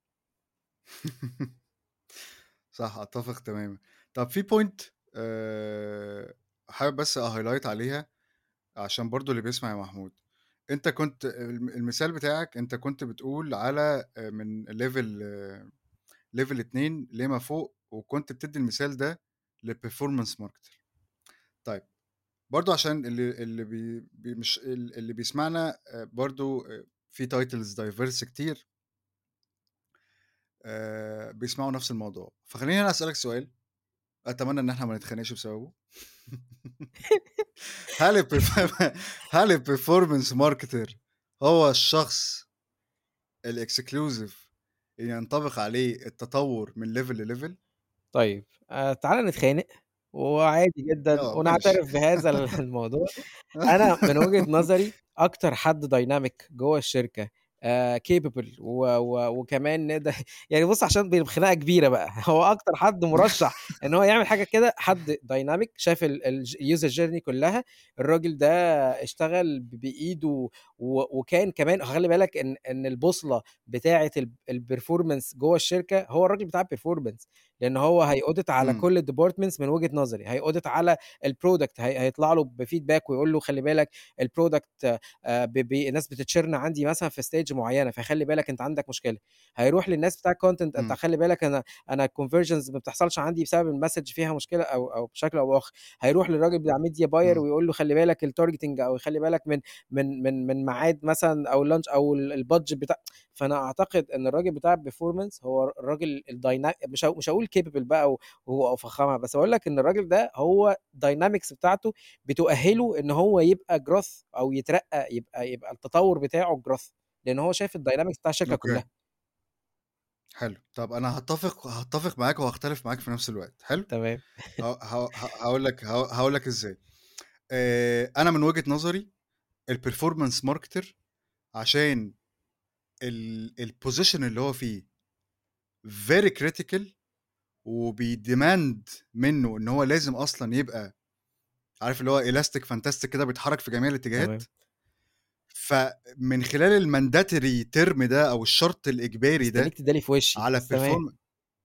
صح، أتّفق تمامًا. طب في point آآ حابب بس أhighlight عليها عشان برضه اللي بيسمع يا محمود. أنت كنت الم المثال بتاعك أنت كنت بتقول على آآ من level level اتنين لما فوق، وكنت بتدّي المثال ده لperformance marketer. طيب برضه عشان اللي اللي بي بي مش ال اللي بيسمعنا آآ برضه آآ في titles diverse كتير آآ بيسمعوا نفس الموضوع، فخلّيني أنا أسألك سؤال أتمنى إن إحنا ما نتخانقش بسببه. هل الperf هل الperformance marketer هو الشخص الexclusive اللي ينطبق عليه التطور من level لlevel؟ طيب آآ تعالَ نتخانق، وعادي جدًا آه ماشي. ونعترف بهذا ال الموضوع. أنا من وجهة نظري أكتر حد dynamic جوّه الشركة آآ capable و و وكمان نقدر يعني بُص عشان ب خناقة كبيرة بقى، هو أكتر حد مُرشّح إن هو يعمل حاجة كده، حد dynamic شاف ال الج الuser journey كلّها. الراجل ده اشتغل ب بإيده و وكان كمان خلّي بالك إن إن البوصلة بتاعة ال الperformance جوّه الشركة هو الراجل بتاع الperformance، لإن هو هيaudit على إمم، كل الdepartments من وجهة نظري، هيaudit على الproduct هي هيطلع له بfeedback ويقول له خلّي بالك الproduct آآ ب ب الناس بتchurn عندي مثلًا في stage معيّنة، فخلّي بالك أنت عندك مشكلة. هيروح للناس بتاع الcontent أنت إمم، خلّي بالك أنا أنا الconversions ما بتحصلش عندي بسبب الmessage فيها مشكلة أو أو بشكل أو بآخر. هيروح للراجل بتاع media buyer إمم، ويقول له خلّي بالك الtargeting أو خلّي بالك من من من من ميعاد مثلًا أو الlunch أو ال الbudget بتاع. فأنا أعتقد إن الراجل بتاع الperformance هو الراجل الdyna مش ه مش هاقول capable بقى و و وفخامة، بس باقول لك إن الراجل ده هو الdynamics بتاعته بتؤهّله إن هو يبقى growth أو يترقّى يبقى يبقى التطوّر بتاعه growth، لإن هو شايف الdynamics بتاع الشركة أوكي، كلّها. حلو. طب أنا هاتفق هاتفق معاك وهاختلف معاك في نفس الوقت، حلو؟ تمام. ه ه ه هاقول لك ه هاقول لك إزاي. آآ أنا من وجهة نظري الperformance marketer عشان ال الposition اللي هو فيه very critical وبيdemand منّه إن هو لازم أصلًا يبقى عارف اللي هو elastic fantastic كده بيتحرك في جميع الاتجاهات، تمام. فمن خلال الmandatory term ده أو الشرط الإجباري مستنّيك ده تدّيها لي في وشّي، على بس تمام. perform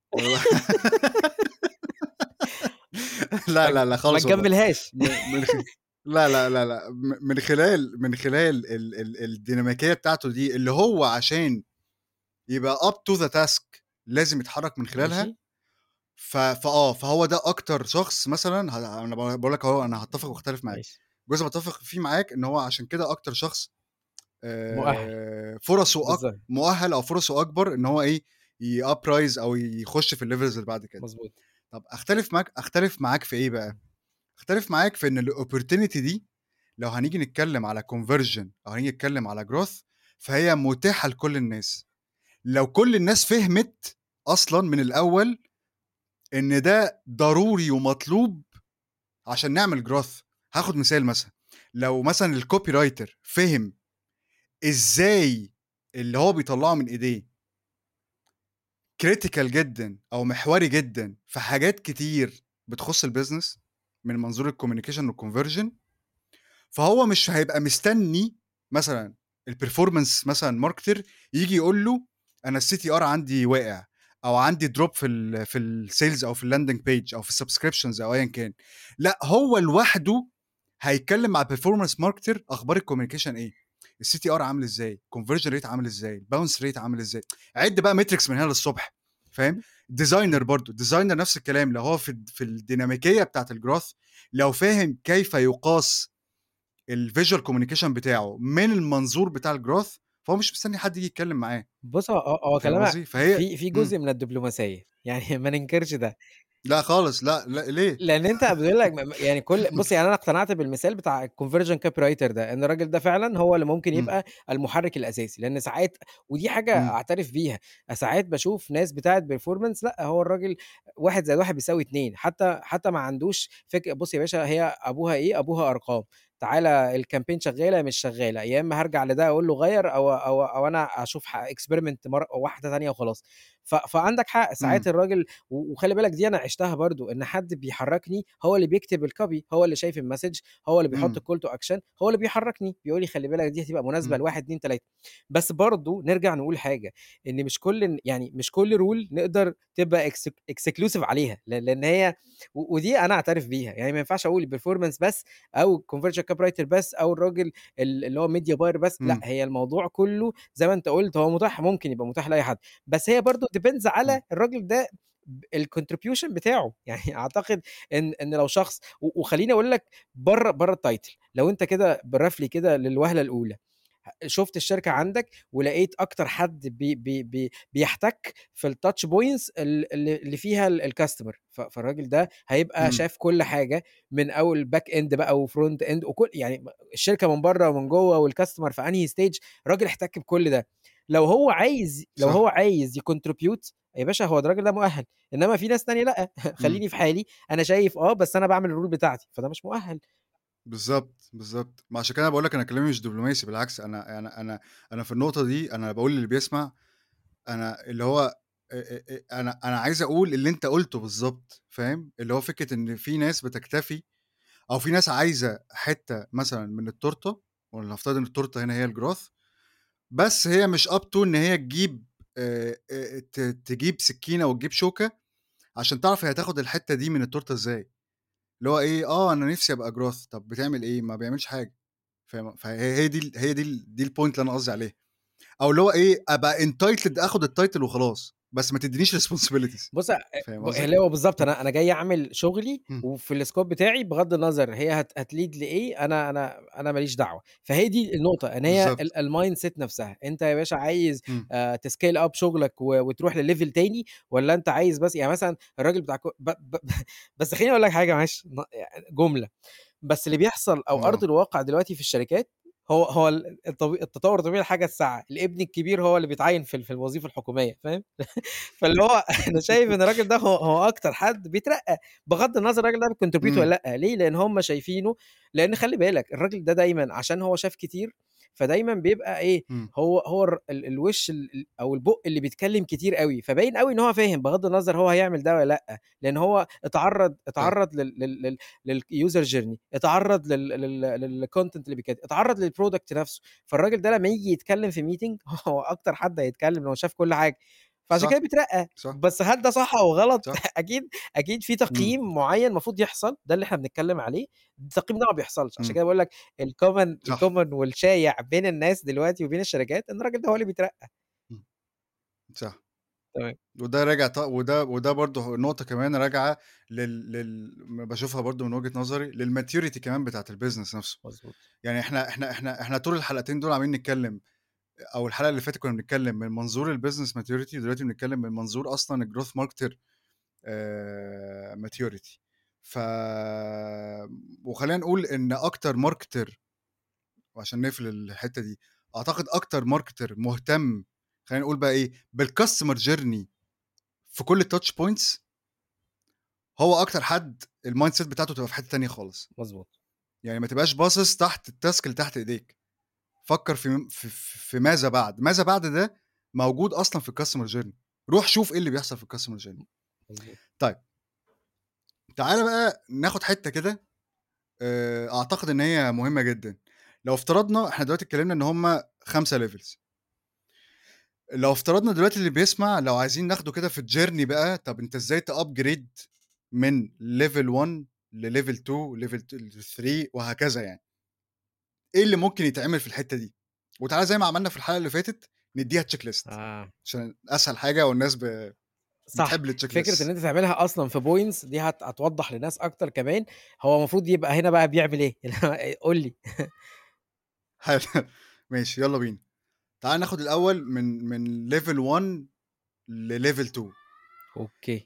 ما لا، تج لا، لا ما خالص والله. تجمّلهاش. م من خ لا، لا، لا، لأ، م من خلال من خلال ال ال الديناميكية بتاعته دي اللي هو عشان يبقى up to the task لازم يتحرك من خلالها. ماشي. ف فآه، فهو ده أكتر شخص مثلًا ه أنا ب باقول لك أهو أنا هاتفق واختلف معاك. ماشي. الجزء باتفق فيه معاك إن هو عشان كده أكتر شخص مؤهَّل. آآ فرصه أك بالضبط. مؤهَّل أو فرصه أكبر إن هو إيه، يuprise أو يخش في الlevels اللي بعد كده. مضبوط. طب أختلف معاك أختلف معاك في إيه بقى؟ أختلف معاك في إن الopportunity دي لو هنيجي نتكلم على conversion أو هنيجي نتكلم على growth فهي متاحة لكل الناس. لو كل الناس فهمت أصلًا من الأول إن ده ضروري ومطلوب عشان نعمل growth. هاخد مثال مثلًا، لو مثلًا الcopywriter فِهِم إزاي اللي هو بيطلّعه من إيديه critical جدًا أو محوري جدًا في حاجات كتير بتخُص الbusiness من منظور الcommunication والconversion، فهو مش هيبقى مستني مثلًا الperformance مثلًا marketer ييجي يقول له أنا الCTR عندي واقع أو عندي drop في ال في الsales أو في الlanding page أو في الsubscriptions أو أيًا كان. لأ، هو لوحده هيتكلم مع performance marketer أخبار الcommunication إيه، الCTR عامل إزاي، conversion rate عامل إزاي، الbounce rate عامل إزاي، عِد بقى metrics من هنا للصبح. فاهم؟ designer برضه، designer نفس الكلام، لو هو في الد في الديناميكية بتاعة الgrowth، لو فاهم كيف يُقاس الvisual communication بتاعه من المنظور بتاع الgrowth، فهو مش مستني حد ييجي يتكلم معاه، بُص هو هو هو فاهم كلامك قصدي؟ فهي في في إمم. جزء من الدبلوماسية، يعني ما ننكرش ده. لأ خالص، لأ، لأ، ليه؟ لأن أنت بيقول لك م م يعني كل بُص يعني أنا اقتنعت بالمثال بتاع الconversion copywriter ده، إن الراجل ده فعلًا هو اللي ممكن إمم، يبقى المحرك الأساسي، لأن ساعات ودي حاجة إمم، أعترف بيها، ساعات باشوف ناس بتاعة performance لأ، هو الراجل واحد زائد واحد بيساوي اتنين حتى حتى ما عندوش فك بُص يا باشا هي أبوها إيه، أبوها أرقام، تعالَ الcampaign شغالة مش شغالة، يا إما هارجع لده أقول له غيّر أو أو أو أنا أشوف ح experiment مر واحدة تانية وخلاص. ف فعندك حق، ساعات إمم، الراجل و وخلّي بالك دي أنا عِشتها برضه، إن حد بيحرّكني هو اللي بيكتب الcopy، هو اللي شايف الmessage، هو اللي بيحُط إمم، الcall to action، هو اللي بيحرّكني، بيقول لي خلّي بالك دي هتبقى مناسبة إمم، ل1، اتنين، تلاتة. بس برضه نرجع نقول حاجة، إن مش كل ن يعني مش كل rule نقدر تبقى exclu exclusive عليها، ل لإن هي و ودي أنا أعترف بيها، يعني ما ينفعش أقول الperformance بس أو الconversion copywriter بس أو الراجل ال اللي هو media buyer بس، لأ، إمم، هي الموضوع كُلّه زي ما أنت قُلت هو متاح ممكن يبقى متاح لأي حد. بس هي برضه depends إمم، على الراجل ده ب الcontribution بتاعه، يعني أعتقد إن إن لو شخص و وخلّيني أقول لك برّه برّه الtitle لو أنت كده برافلي كده للوهلة الأولى، ه شُفت الشركة عندك ولقيت أكتر حد بي بي بي بيحتك في الtouch points ال اللي اللي فيها ال الcustomer ف فالراجل ده هيبقى إمم، شاف كل حاجة من أول back end بقى وfront end وكل يعني م الشركة من برّه ومن جوّه والcustomer في أنهي stage، راجل احتك بكل ده. لو هو عايز لو هو صح، عايز يcontribute يا باشا هو الراجل ده مؤهل، إنما في ناس تانية لأ، إمم، خلّيني في حالي، أنا شايف آه، بس أنا باعمل الrule بتاعتي، فده مش مؤهل. بالضبط، بالضبط. ما عشان كده باقول لك أنا كلامي مش دبلوماسي، بالعكس أنا أنا أنا أنا في النقطة دي أنا باقول للي بيسمع، أنا اللي هو آآ آآ آآ أنا أنا عايز أقول اللي أنت قُلته بالضبط، فاهم؟ اللي هو فكرة إن في ناس بتكتفي، أو في ناس عايزة حتّة مثلًا من التورتة، ولنفترض إن التورتة هنا هي الgrowth، بس هي مش up to إن هي تجيب آآ آآ ت تجيب سكينة وتجيب شوكة عشان تعرف هي هتاخد الحتّة دي من التورتة إزاي، اللي هو إيه، آه أنا نِفْسي أبقى growth، طَب بتعمل إيه؟ ما بيعملش حاجة، فاهم؟ فهي هي دي ال هي دي ال دي الpoint اللي أنا قصدي عليها، أو اللي هو إيه، أبقى entitled آخُد الtitle وخلاص، بس ما تدّينيش responsibilities، بُص أ فاهم ب قصدي؟ اللي هو بالضبط إمم، أنا أنا جاي أعمل شغلي إمم، وفي الscope بتاعي بغض النظر هي هت هتlead لإيه، أنا أنا أنا ما ليش دعوة. فهي دي النقطة، إن هي ال بالضبط، الmindset نفسها، أنت يا باشا عايز إمم، آآ تscale up شغلك و وتروح لlevel تاني والّا أنت عايز بس يعني مثلًا الراجل بتاع ك ب ب بس خلّيني أقول لك حاجة معلش ن جملة بس اللي بيحصل أو أرض آه، الواقع دلوقتي في الشركات هو هو ال الطبي التطور الطبيعي لحاجة الساعة، الابن الكبير هو اللي بيتعيّن في ال في الوظيفة الحكومية فاهم؟ فاللي هو أنا شايف إن الراجل ده هو هو أكتر حد بيترقّى، بغض النظر الراجل ده بيcontribute إمم، والّا لأ، ليه؟ لإن هم شايفينه لإن خلّي بالك الراجل ده دايمًا عشان هو شاف كتير، فدايمًا بيبقى إيه، إمم، هو هو الر ال الوِش ال ال أو البُق اللي بيتكلّم كتير أوي، فباين أوي إن هو فاهم بغض النظر هو هيعمل ده والّا لأ، لإن هو اتعرّض صح، اتعرّض لل لل لل للuser journey، اتعرّض لل لل للcontent اللي بيتكتب، اتعرّض للproduct نفسه، فالراجل ده لمّا ييجي يتكلّم في meeting هو أكتر حد هيتكلّم لو شاف كل حاجة. فعشان كده صح، بيترقّى، صح، بس هل ده صح أو غلط؟ صح، أكيد أكيد في إمم، تقييم معيّن المفروض يحصل، ده اللي إحنا بنتكلّم عليه، التقييم ده ما بيحصلش، عشان إمم، كده باقول لك الcommon صح، الcommon والشايع بين الناس دلوقتي وبين الشركات إن الراجل ده هو اللي بيترقّى. إمم، صح. تمام، وده راجع ط وده وده برضه نقطة كمان راجعة لل لل م باشوفها برضه من وجهة نظري للmaturity كمان بتاعة الbusiness نفسه. مضبوط، يعني إحنا إحنا إحنا إحنا طول الحلقتين دول عمالين نتكلم، أو الحلقة اللي فاتت كنا بنتكلم من منظور الbusiness maturity، ودلوقتي بنتكلم من منظور أصلًا الgrowth marketer آآ maturity. ف وخلّينا نقول إن أكتر marketer، وعشان نقفل الحتّة دي، أعتقد أكتر marketer مهتم، خلّينا نقول بقى إيه، بالcustomer journey في كل الtouch points، هو أكتر حد الmindset بتاعته تبقى في حتّة تانية خالص. مضبوط، يعني ما تبقاش باصص تحت الtask اللي تحت إيديك، فكّر في م في في في ماذا بعد، ماذا بعد ده موجود أصلًا في الcustomer journey، روح شوف إيه اللي بيحصل في الcustomer journey. مضبوط، طيب، تعالَ بقى ناخد حتّة كده آآ أعتقد إن هي مهمة جدًا. لو افترضنا إحنا دلوقتي اتكلّمنا إن هم خمسة levels، لو افترضنا دلوقتي اللي بيسمع لو عايزين ناخده كده في الjourney بقى، طَب أنت إزاي تupgrade من level one لlevel two level ت ل3 وهكذا يعني. إيه اللي ممكن يتعمل في الحتّة دي؟ وتعالَ زي ما عملنا في الحلقة اللي فاتت ندّيها check list آه، عشان أسهل حاجة والناس ب صح، بتحب الcheck فكرة إن lists. أنت تعملها أصلًا في points دي هت هتوضّح لناس أكتر كمان هو المفروض يبقى هنا بقى بيعمل إيه، اللي هو قُل لي. حلو. ماشي يالّا بينا. تعالَ ناخد الأول من من level one لlevel two. أوكي.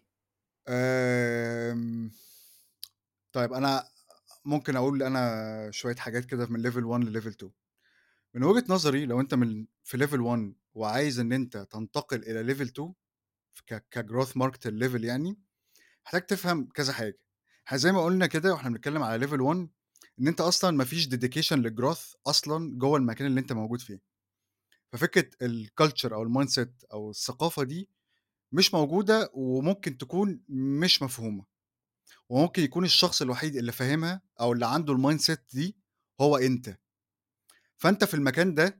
آمم، طيب أنا ممكن أقول أنا شوية حاجات كده من level one لlevel two. من وجهة نظري لو أنت من في level one وعايز إن أنت تنتقل إلى level two ف ك كgrowth marketer level يعني، محتاج تفهم كذا حاجة. إحنا زي ما قُلنا كده وإحنا بنتكلم على level one إن أنت أصلًا ما فيش dedication للgrowth أصلًا جوّه المكان اللي أنت موجود فيه. ففكرة الculture أو الmindset أو الثقافة دي مش موجودة وممكن تكون مش مفهومة، وممكن يكون الشخص الوحيد اللي فاهمها أو اللي عنده الmindset دي هو أنت. فأنت في المكان ده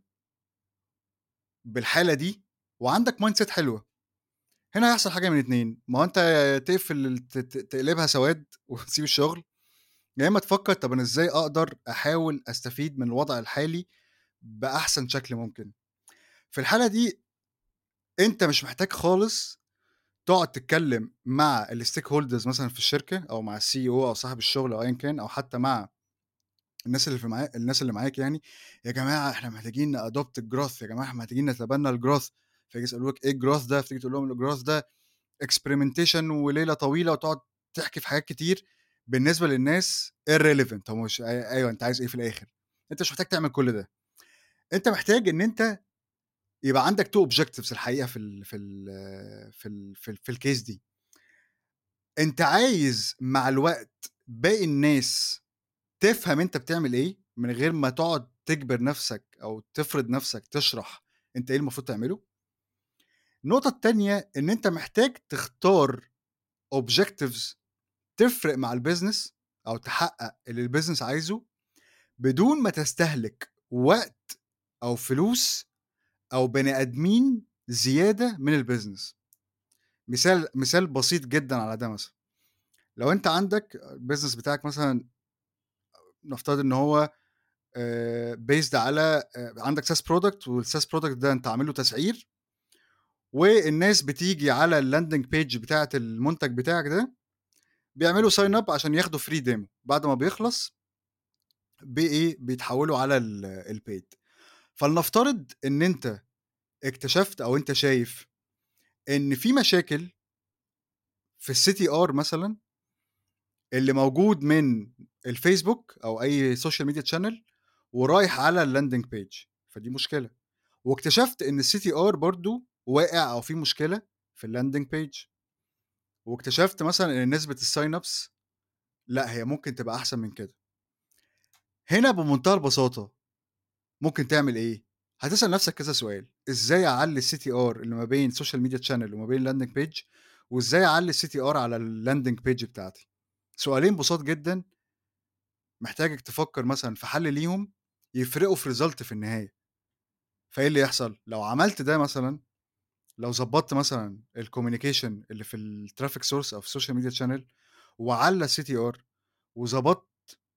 بالحالة دي وعندك mindset حلوة، هنا هيحصل حاجة من اتنين، ما هو أنت يا تقفل ال ت ت تقلبها سواد وتسيب الشغل، يا إما تفكّر طَب أنا إزاي أقدر أحاول أستفيد من الوضع الحالي بأحسن شكل ممكن. في الحالة دي أنت مش محتاج خالص تقعد تتكلم مع الstakeholders مثلًا في الشركة أو مع الCEO أو صاحب الشغل أو أيًا كان أو حتى مع الناس اللي في معا الناس اللي معاك يعني، يا جماعة إحنا محتاجين نadopt الgrowth، يا جماعة إحنا محتاجين نتبنى الgrowth، فييجي يسألوك إيه الgrowth ده؟ فتيجي تقول لهم الgrowth ده experimentation وليلة طويلة وتقعد تحكي في حاجات كتير بالنسبة للناس irrelevant. هو مش أي أيوه أنت عايز إيه في الآخر؟ أنت مش محتاج تعمل كل ده، أنت محتاج إن أنت يبقى عندك two objectives الحقيقة في ال في ال في ال في ال في الcase دي. أنت عايز مع الوقت باقي الناس تفهم أنت بتعمل إيه، من غير ما تقعد تجبر نفسك أو تفرض نفسك تشرح أنت إيه المفروض تعمله. النقطة التانية إن أنت محتاج تختار objectives تفرق مع الbusiness أو تحقق اللي الbusiness عايزه، بدون ما تستهلك وقت أو فلوس أو بني آدمين زيادة من الbusiness. مثال مثال بسيط جدًا على ده مثلًا، لو أنت عندك الbusiness بتاعك مثلًا نفترض إن هو آآ based على آآ عندك SaaS product والSaaS product ده أنت عامل له تسعير، والناس بتيجي على الlanding page بتاعة المنتج بتاعك ده، بيعملوا sign up عشان ياخدوا free demo، بعد ما بيخلص بإيه، بيتحولوا على ال الpaid. فلنفترض إن أنت اكتشفت أو أنت شايف إن في مشاكل في الCTR مثلًا اللي موجود من الفيسبوك أو أي social media channel ورايح على الlanding page، فدي مشكلة. واكتشفت إن الCTR برضه واقع أو في مشكلة في الlanding page، واكتشفت مثلًا إن نسبة الsign ups لأ، هي ممكن تبقى أحسن من كده. هنا بمنتهى البساطة ممكن تعمل إيه؟ هتسأل نفسك كذا سؤال، إزاي أعلّي الCTR اللي ما بين social media channel وما بين الlanding page، وإزاي أعلّي الCTR على الlanding page بتاعتي؟ سؤالين بساط جدًا محتاجك تفكّر مثلًا في حل ليهم يفرقوا في result في النهاية. فإيه اللي يحصل؟ لو عملت ده مثلًا، لو ضبّطت مثلًا الcommunication اللي في الtraffic source أو في الsocial media channel وعلّى الCTR وضبطت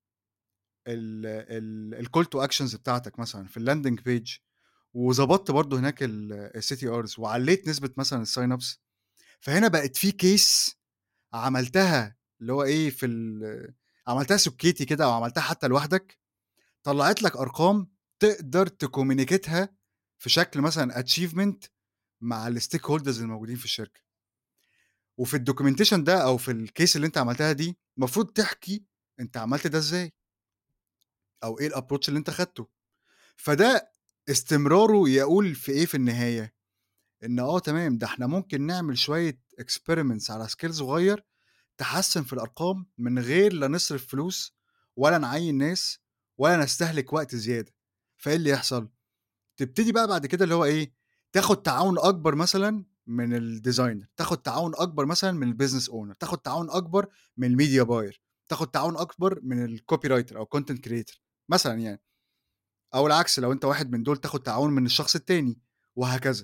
ال ال الcall to actions بتاعتك مثلًا في الlanding page وضبطت برضه هناك ال الCTRs وعلّيت نسبة مثلًا الsign ups، فهنا بقت في case عملتها اللي هو إيه، في ال عملتها سُكّيتي كده أو عملتها حتى لوحدك، طلّعت لك أرقام تقدر تcommunicateها في شكل مثلًا achievement مع الstakeholders الموجودين في الشركة. وفي الdocumentation ده أو في الcase اللي أنت عملتها دي، المفروض تحكي أنت عملت ده إزاي، أو إيه الapproach اللي أنت خدته. فده استمراره يقول في إيه في النهاية، إن آه تمام، ده إحنا ممكن نعمل شوية experiments على scale صغير تحسّن في الأرقام من غير لا نصرف فلوس ولا نعيّن ناس ولا نستهلك وقت زيادة. فإيه اللي يحصل؟ تبتدي بقى بعد كده اللي هو إيه، تاخد تعاون أكبر مثلًا من الdesigner، تاخد تعاون أكبر مثلًا من الbusiness owner، تاخد تعاون أكبر من الmedia buyer، تاخد تعاون أكبر من الcopywriter أو content creator مثلًا يعني، أو العكس لو أنت واحد من دول تاخد تعاون من الشخص التاني وهكذا.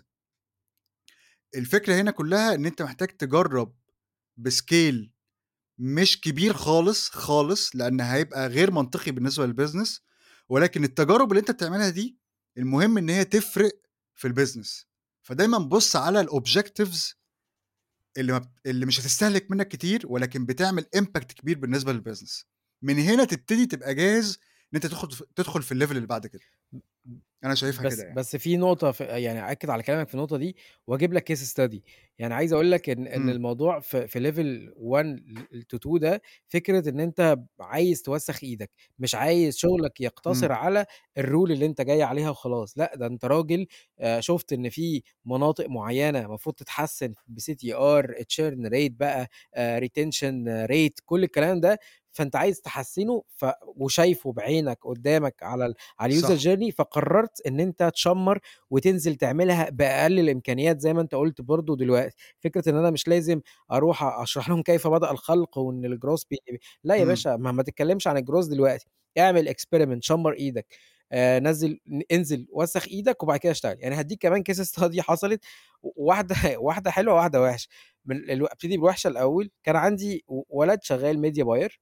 الفكرة هنا كلّها إن أنت محتاج تجرّب بscale مش كبير خالص، خالص، لإن هيبقى غير منطقي بالنسبة للbusiness، ولكن التجارب اللي أنت بتعملها دي المهم إن هي تفرق في الbusiness. فدايمًا بُص على الobjectives اللي ما بت اللي مش هتستهلك منّك كتير، ولكن بتعمل impact كبير بالنسبة للbusiness. من هنا تبتدي تبقى جاهز إن أنت تاخد ف تدخل في الlevel اللي بعد كده. ب ب أنا شايفها كده بس يعني. بس في نقطة ف يعني أأكد على كلامك في النقطة دي وأجيب لك case study. يعني عايز أقول لك إن إن إمم، الموضوع في في level one ل to two ده فكرة إن أنت عايز توسّخ إيدك، مش عايز شغلك إمم، يقتصر على الrule اللي أنت جاي عليها وخلاص، لأ ده أنت راجل آآ شُفت إن في مناطق معيّنة المفروض تتحسّن بCTR churn rate بقى آآ retention rate كل الكلام ده، فأنت عايز تحسّنه ف وشايفه بعينك قدّامك على ال على الuser صح، journey فقررت إن أنت تشمّر وتنزل تعملها بأقل الإمكانيات زي ما أنت قُلت برضه دلوقتي، فكرة إن أنا مش لازم أروح أشرح لهم كيف بدأ الخلق وإن الgrowth بي لا يا إمم، باشا ما ما تتكلمش عن الgrowth دلوقتي، اعمل experiment شمّر إيدك، آآ نزّل ن انزل وسّخ إيدك وبعد كده اشتغل، يعني هادّيك كمان case study حصلت و واحدة واحدة حلوة وواحدة وِحشة، من الو أبتدي بالوحشة الأول، كان عندي و ولد شغال media buyer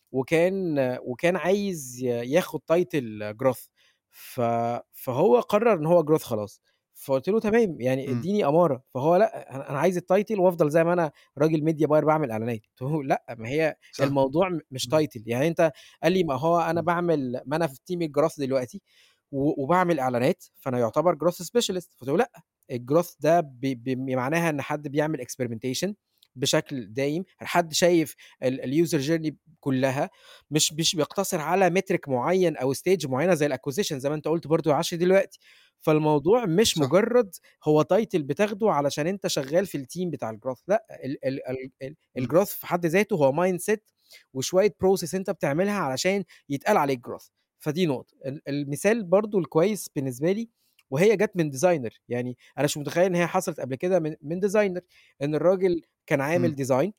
وكان وكان عايز ي ياخد title growth ف فهو قرر إن هو growth خلاص، فقُلت له: "تمام، يعني إمم، ادّيني أمارة." فهو لأ، أنا أنا عايز الtitle وأفضل زي ما أنا راجل media buyer باعمل إعلانات، قُلت له: "لأ، ما هي صح، الموضوع م مش إمم، title." يعني أنت قال لي: "ما هو أنا إمم، باعمل ما أنا في team الgrowth دلوقتي و وباعمل إعلانات، فأنا يُعتبر growth specialist." قُلت له: "لأ، الgrowth ده ب ب معناها إن حد بيعمل experimentation بشكل دايم، حد شايف ال الuser journey كلّها مش مش بيقتصر على metric معيّن أو stage معيّنة زي الacquisition زي ما أنت قُلت برضه يا عشري دلوقتي، فالموضوع مش صح، مجرّد هو title بتاخده علشان أنت شغّال في الteam بتاع الgrowth لأ، ال ال ال ال إمم، الgrowth في حد ذاته هو mindset وشوية process أنت بتعملها علشان يتقال عليك growth، فدي نقطة. ال المثال برضه الكويس بالنسبة لي وهي جات من designer يعني أنا مش متخيّل إن هي حصلت قبل كده من من designer إن الراجل كان عامل إمم، design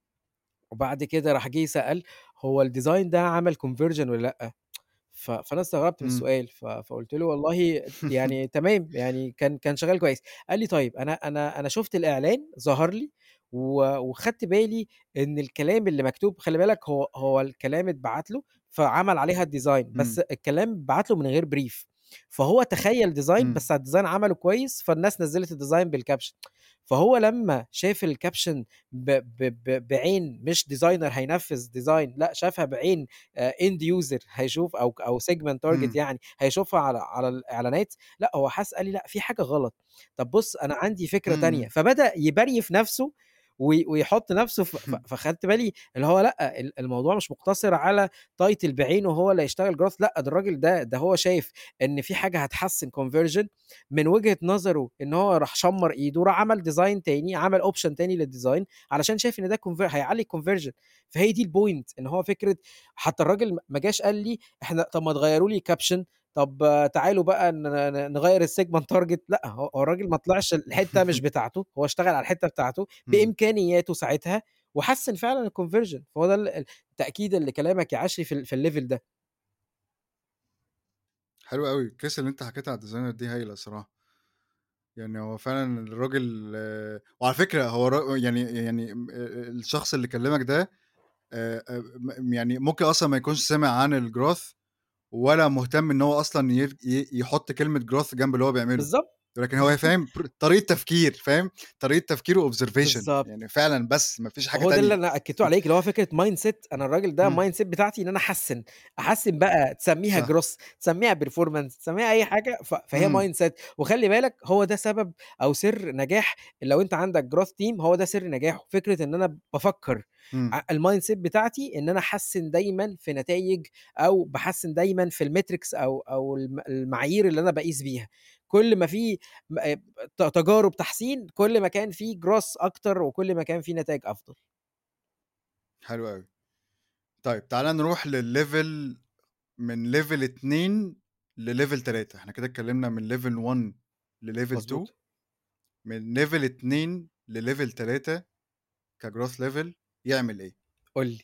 وبعد كده راح جه سأل هو الdesign ده عمل conversion والّا لأ؟ ف فأنا استغربت من إمم، السؤال، ف فقُلت له: "والله يعني تمام، يعني كان كان شغال كويس." قال لي: "طيب أنا أنا أنا شُفت الإعلان ظهر لي و وخدت بالي إن الكلام اللي مكتوب" خلّي بالك هو هو الكلام اتبعت له، فعمل عليها الdesign بس إمم، الكلام اتبعت له من غير brief فهو تخيّل design إمم، بس الdesign عمله كويس، فالناس نزّلت الdesign بالكابشن، فهو لمّا شاف الكابشن ب ب ب بعين مش designer هينفّذ design لأ، شافها بعين آآ end user هيشوف أو ك أو segment target إمم، يعني هيشوفها على على الإعلانات، لأ هو حَس قال لي: "لأ في حاجة غلط، طب بُص أنا عندي فكرة تانية." إمم، فبدأ يبريف نَفْسه وي ويحُط نَفْسه ف ف فخدت بالي اللي هو لأ ال الموضوع مش مقتصر على title بعينه هو اللي هيشتغل growth لأ ده الراجل ده ده هو شايف إن في حاجة هتحسّن conversion من وجهة نظره إن هو راح شمّر إيده، راح عمل design تاني، عمل option تاني للdesign علشان شايف إن ده conver هيعلّي الconversion فهي دي الpoint إن هو فكرة حتى الراجل م ما جاش قال لي إحنا طب ما تغيّروا لي caption طب تعالوا بقى ن ن نغيّر الsegment target لأ، هو هو الراجل ما طلعش الحتّة مش بتاعته، هو اشتغل على الحتّة بتاعته إمم، بإمكانياته ساعتها وحسّن فعلًا الconversion فهو ده ال ال تأكيدًا لكلامك يا عشري في ال في الlevel ده. حلو أوي، الcase اللي أنت حكيتها على الdesigner دي هايلة الصراحة. يعني هو فعلًا الراجل آه، وعلى فكرة هو را يعني يعني م آآ الشخص اللي كلّمك ده آآ آآ م يعني ممكن أصلًا ما يكونش سامع عن الgrowth ولا مهتم إن هو أصلًا ير ي يحُط كلمة growth جنب اللي هو بيعمله، بالضبط، ولكن هو فاهم بر طريقة تفكير، فاهم، طريقة تفكير وobservation بالضبط. يعني فعلًا بس ما فيش حاجة هو ده اللي تانية. أنا أكدته عليك، اللي هو فكرة mindset أنا الراجل ده إمم، mindset بتاعتي إن أنا أحسّن، أحسّن بقى تسميها صح، growth تسميها performance تسميها أي حاجة ف فهي إمم، mindset وخلّي بالك هو ده سبب أو سر نجاح لو أنت عندك growth team هو ده سر نجاحه، فكرة إن أنا بافكّر إمم، ع الmindset بتاعتي إن أنا أحسّن دايمًا في نتايج أو باحسّن دايمًا في الmetrics أو أو الم المعايير اللي أنا باقيس بيها، كل ما في م آآ ت تجارب تحسين كل ما كان في growth أكتر وكل ما كان في نتايج أفضل. حلو أوي. طيب تعالَ نروح للlevel من level اتنين لlevel تلاتة إحنا كده اتكلّمنا من level one لlevel two مضبوط. من level اتنين لlevel تلاتة كgrowth level يعمل إيه؟ قُل لي.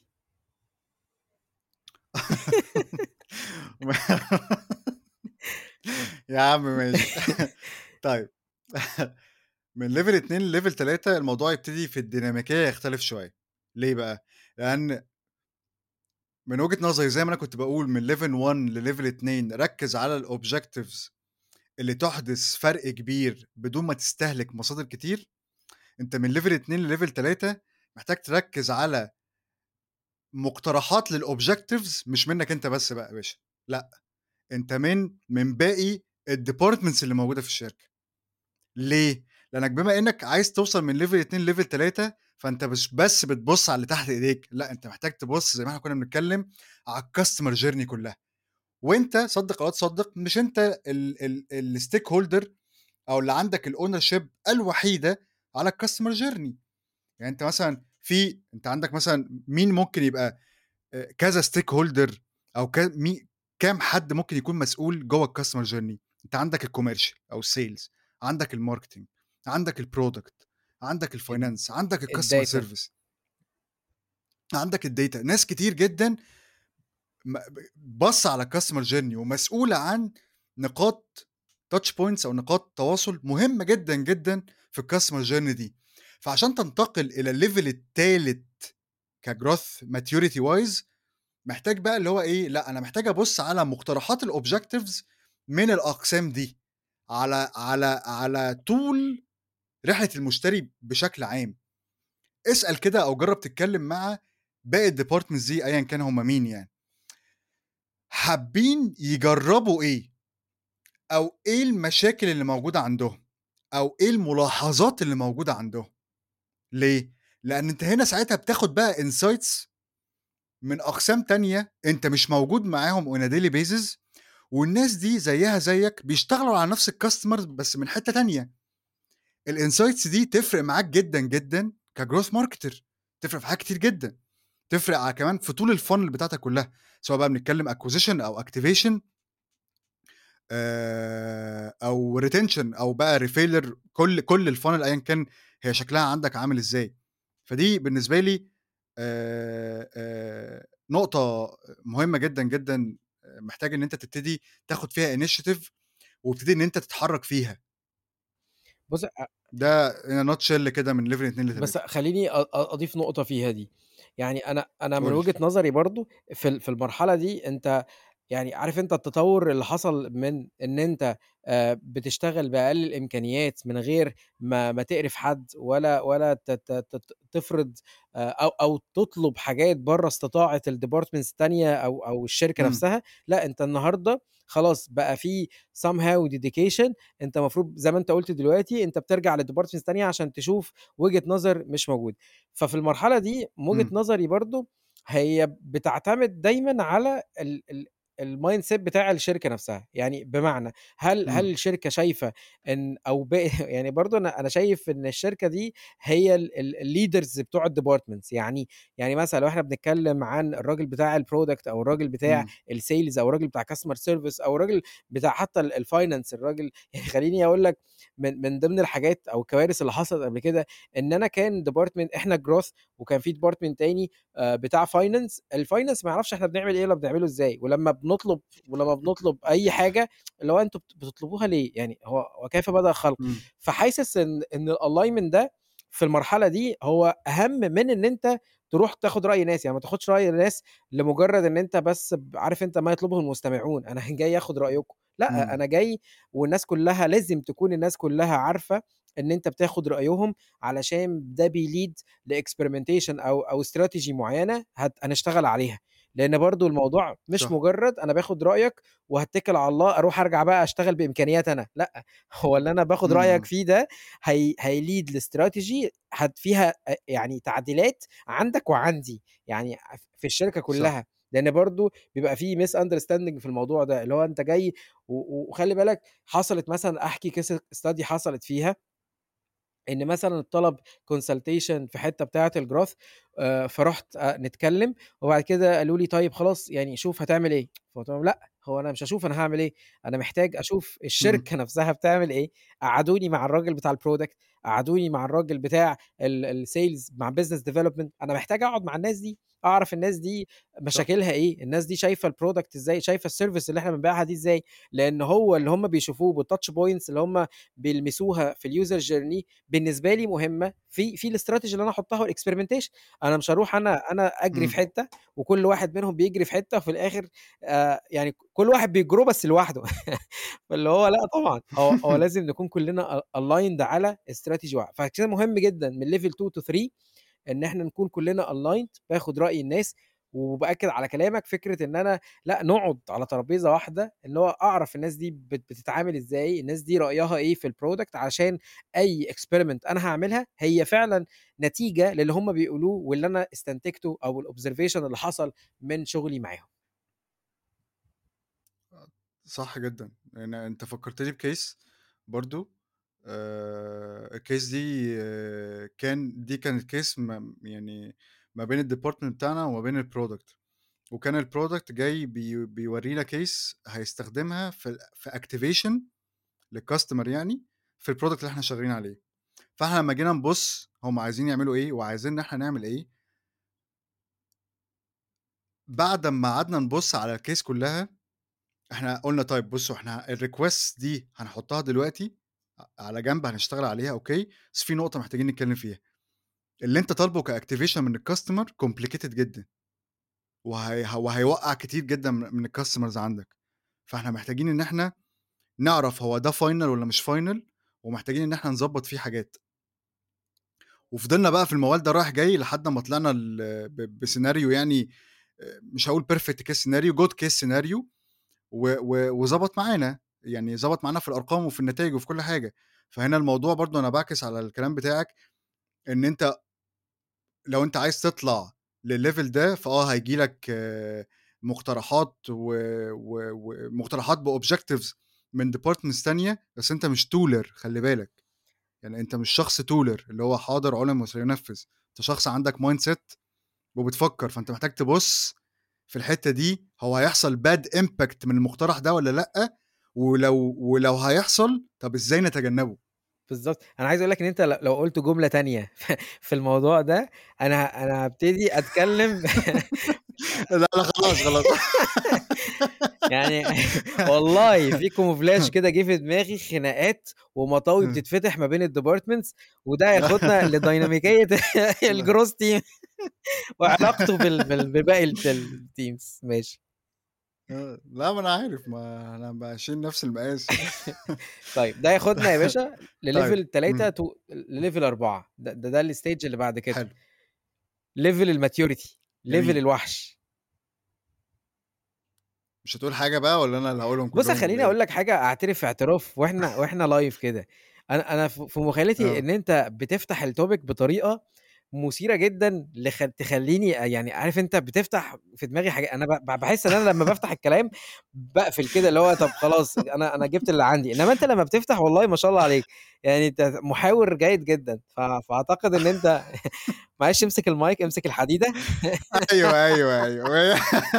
يا عم ماشي. طيب من level اتنين لlevel تلاتة الموضوع يبتدي في الديناميكية يختلف شوية، ليه بقى؟ لأن من وجهة نظري زي ما أنا كنت باقول من level one لlevel اتنين ركّز على الobjectives اللي تحدث فرق كبير بدون ما تستهلك مصادر كتير، أنت من level اتنين لlevel تلاتة محتاج تركّز على مقترحات للobjectives مش منّك أنت بس بقى يا باشا، لأ، أنت من من باقي الdepartments اللي موجودة في الشركة. ليه؟ لأنك بما إنّك عايز توصل من level اتنين لlevel تلاتة فأنت مش بس بتبُص على اللي تحت إيديك، لأ، أنت محتاج تبُص زي ما إحنا كُنّا بنتكلّم على الcustomer journey كلّها، وأنت صدّق أو لا تصدّق مش أنت ال ال الstakeholder أو اللي عندك الownership الوحيدة على الcustomer journey. يعني أنت مثلًا في أنت عندك مثلًا مين ممكن يبقى آآ كذا stakeholder أو ك مي كام حد ممكن يكون مسؤول جوّه الcustomer journey؟ أنت عندك الcommercial أو الsales، عندك الmarketing، عندك الproduct، عندك ال الfinance، عندك الcustomer الdata. service، عندك الdata، ناس كتير جدًا م ب باصّة على الcustomer journey ومسؤولة عن نقاط touch points أو نقاط تواصل مهمة جدًا، جدًا في الcustomer journey دي. فعشان تنتقل إلى الlevel التالت كgrowth maturity wise محتاج بقى اللي هو إيه، لأ أنا محتاج أبُص على مقترحات الobjectives من الأقسام دي، على على على طول رحلة المشتري بشكل عام. اسأل كده أو جرّب تتكلم مع باقي الdepartments دي أيًا كان هم مين يعني، حابين يجرّبوا إيه، أو إيه المشاكل اللي موجودة عندهم، أو إيه الملاحظات اللي موجودة عندهم. ليه؟ لأن أنت هنا ساعتها بتاخد بقى insights من أقسام تانية أنت مش موجود معاهم on a daily basis والناس دي زيّها زيّك بيشتغلوا على نفس الcustomer بس من حتّة تانية. الinsights دي تفرق معاك جدًا، جدًا كgrowth marketer، تفرق في حاجات كتير جدًا، تفرق ع كمان في طول الfunnel بتاعتك كلّها، سواء بقى بنتكلم acquisition أو activation آآ أو retention أو بقى refailure كل كل الfunnel أيًا كان هي شكلها عندك عامل إزاي. فدي بالنسبة لي آآ آآ نقطة مهمة جدًا، جدًا محتاج إن أنت تبتدي تاخد فيها initiative وتبتدي إن أنت تتحرّك فيها. بُص أ ده in a nutshell كده من level اتنين بس لتلاتة. خلّيني أ أ أضيف نقطة فيها دي. يعني أنا أنا من قُل لي. وجهة نظري برضه في ال في المرحلة دي أنت يعني عارف أنت التطوّر اللي حصل من إن أنت آآ بتشتغل بأقل الإمكانيات من غير ما ما تقرف حد ولا ولا ت ت ت تفرض آآ أو أو تطلب حاجات برّه استطاعة الdepartments التانية أو أو الشركة إمم، نفسها. لأ، أنت النهارده خلاص بقى في somehow dedication. أنت المفروض زي ما أنت قُلت دلوقتي أنت بترجع لdepartments تانية عشان تشوف وجهة نظر مش موجودة. ففي المرحلة دي من وجهة إمم، نظري برضه هي بتعتمد دايمًا على ال ال الmindset بتاع الشركة نفسها. يعني بمعنى هل هل إمم، الشركة شايفة إن أو ب يعني برضه أنا أنا شايف إن الشركة دي هي ال ال الleaders بتوع الdepartments. يعني يعني مثلًا لو إحنا بنتكلم عن الراجل بتاع الproduct أو الراجل بتاع إمم، الsales أو الراجل بتاع customer service أو الراجل بتاع حتى ال الfinance الراجل يعني خلّيني أقول لك من من ضمن الحاجات أو الكوارث اللي حصلت قبل كده إن أنا كان department إحنا growth وكان في department تاني آآ بتاع finance. الfinance ما يعرفش إحنا بنعمل إيه والّا بنعمله إزاي، ولمّا بنطلب ولمّا بنطلب أي حاجة اللي هو أنتم بت بتطلبوها ليه؟ يعني هو وكيف بدأ الخلق؟ إمم، فحاسس إن إن الalignment ده في المرحلة دي هو أهم من إن أنت تروح تاخد رأي ناس. يعني ما تاخدش رأي ناس لمجرد إن أنت بس ب عارف أنت ما يطلبه المستمعون. أنا جاي آخد رأيكم، لأ، إمم، أنا جاي والناس كلّها لازم تكون الناس كلّها عارفة إن أنت بتاخد رأيهم علشان ده بيlead لexperimentation أو أو strategy معيّنة هت هنشتغل عليها. لإن برضه الموضوع مش صح، مجرّد أنا باخد رأيك وهاتّكل على الله أروح أرجع بقى أشتغل بإمكانياتي أنا، لأ، هو اللي أنا باخد إمم، رأيك إمم، فيه ده هي هيlead لstrategy هت فيها أ يعني تعديلات عندك وعندي، يعني ف في الشركة صح، كلّها. لإن برضه بيبقى في misunderstanding في الموضوع ده، اللي هو أنت جاي و و وخلّي بالك حصلت مثلًا أحكي case study حصلت فيها إن مثلًا اتطلب consultation في حتّة بتاعة الgrowth. آآ، فرُحت أ نتكلّم وبعد كده قالوا لي: "طيب خلاص يعني شوف هتعمل إيه." فقُلت لهم: "لأ، هو أنا مش هاشوف أنا هاعمل إيه، أنا محتاج أشوف إمم، الشركة نفْسها بتعمل إيه." قعّدوني مع الراجل بتاع الproduct، قعّدوني مع الراجل بتاع ال الsales مع business development. أنا محتاج أقعد مع الناس دي أعرف الناس دي صح. مشاكلها إيه، الناس دي شايفة الproduct إزاي، شايفة الservice اللي إحنا بنبيعها دي إزاي، لإن هو اللي هم بيشوفوه بالtouch points اللي هم بيلمسوها في الuser journey بالنسبة لي مهمة في في الstrategy اللي أنا أحطها والexperimentation. أنا مش هاروح أنا أنا أجري في إمم. حتة وكل واحد منهم بيجري في حتة وفي الآخر آآ يعني كل واحد بيجرو بس لوحده. فاللي هو لأ طبعًا، هو هو لازم نكون كلنا أ aligned على strategy واحد، فعشان كده مهم جدًا من level two to three إن إحنا نكون كلنا aligned، باخد رأي الناس، وبأكد على كلامك فكرة إن أنا لأ نقعد على ترابيزة واحدة، اللي هو أعرف الناس دي بت بتتعامل إزاي، الناس دي رأيها إيه في الproduct عشان أي experiment أنا هاعملها هي فعلًا نتيجة للي هم بيقولوه واللي أنا استنتجته أو الobservation اللي حصل من شغلي معاهم. صح جدًا، لإن أنت فكّرتني بcase برضه. آآ الcase دي آه، كان دي كانت case م يعني ما بين الdepartment بتاعنا وما بين الproduct، وكان الproduct جاي بي بيورّينا case هيستخدمها في ال في activation للcustomer يعني في الproduct اللي إحنا شغالين عليه. فإحنا لمّا جينا نبُص هُم عايزين يعملوا إيه وعايزيننا إحنا نعمل إيه، بعد أمّا قعدنا نبُص على الcase كلّها إحنا قُلنا طيب بُصّوا إحنا الrequest دي هنحطها دلوقتي ع على جنب هنشتغل عليها أوكي، بس في نقطة محتاجين نتكلم فيها، اللي أنت طالبه كactivation من الcustomer complicated جدًا، وهي وهيوقّع كتير جدًا من من الcustomers عندك، فإحنا محتاجين إن إحنا نعرف هو ده final والّا مش final، ومحتاجين إن إحنا نضبّط فيه حاجات. وفضلنا بقى في الموال ده رايح جاي لحد أمّا طلعنا ل ب بسيناريو يعني آآ مش هاقول perfect case scenario good case scenario و و وضبط معانا، يعني ضبط معانا في الأرقام وفي النتايج وفي كل حاجة. فهنا الموضوع برضه أنا باعكس على الكلام بتاعك، إن أنت لو أنت عايز تطلع للlevel ده فآه هييجي لك مقترحات و و ومقترحات بobjectives من departments تانية، بس أنت مش tooler خلّي بالك، يعني أنت مش شخص tooler اللي هو حاضر علم وسينفذ، أنت شخص عندك mindset وبتفكّر، فأنت محتاج تبُص في الحتّة دي هو هيحصل bad impact من المقترح ده والّا لأ، ولو ولو هيحصل طَب إزاي نتجنّبه؟ بالضبط، أنا عايز أقول لك إن أنت ل لو قُلت جملة تانية في الموضوع ده، أنا ه أنا هابتدي أتكلم. لا، لا خلاص، خلاص. يعني والله في camouflage كده جه في دماغي خناقات ومطاوي بتتفتح ما بين الdepartments، وده هياخدنا لديناميكية لأ، الgrowth team وعلاقته بال بال بباقي الت الteams ماشي. آه، لأ ما أنا عارف، ما أنا باشيل نفس المقاس يعني. طيب ده ياخدنا يا باشا طيب، لlevel تلاتة إمم، to لlevel أربعة ده ده ده الstage اللي بعد كده، حلو، level الmaturity، level جميل. الوحش. مش هتقول حاجة بقى والّا أنا اللي هاقولهم بُص كلّهم والّا خلّيني أقول إيه؟ لك حاجة أعترف اعتراف وإحنا وإحنا live كده، أنا أنا ف في مخيلتي آه. إن أنت بتفتح الtopic بطريقة مثيرة جدًا لخ تخلّيني يعني عارف أنت بتفتح في دماغي حاجا أنا ب باحس إن أنا لمّا بافتح الكلام باقفل كده اللي هو طب خلاص أنا أنا جِبت اللي عندي، إنما أنت لمّا بتفتح والله ما شاء الله عليك، يعني أنت محاور جيد جدًا، ف فأعتقد إن أنت معلش امسك المايك، امسك الحديدة. أيوه، أيوه، أيوه.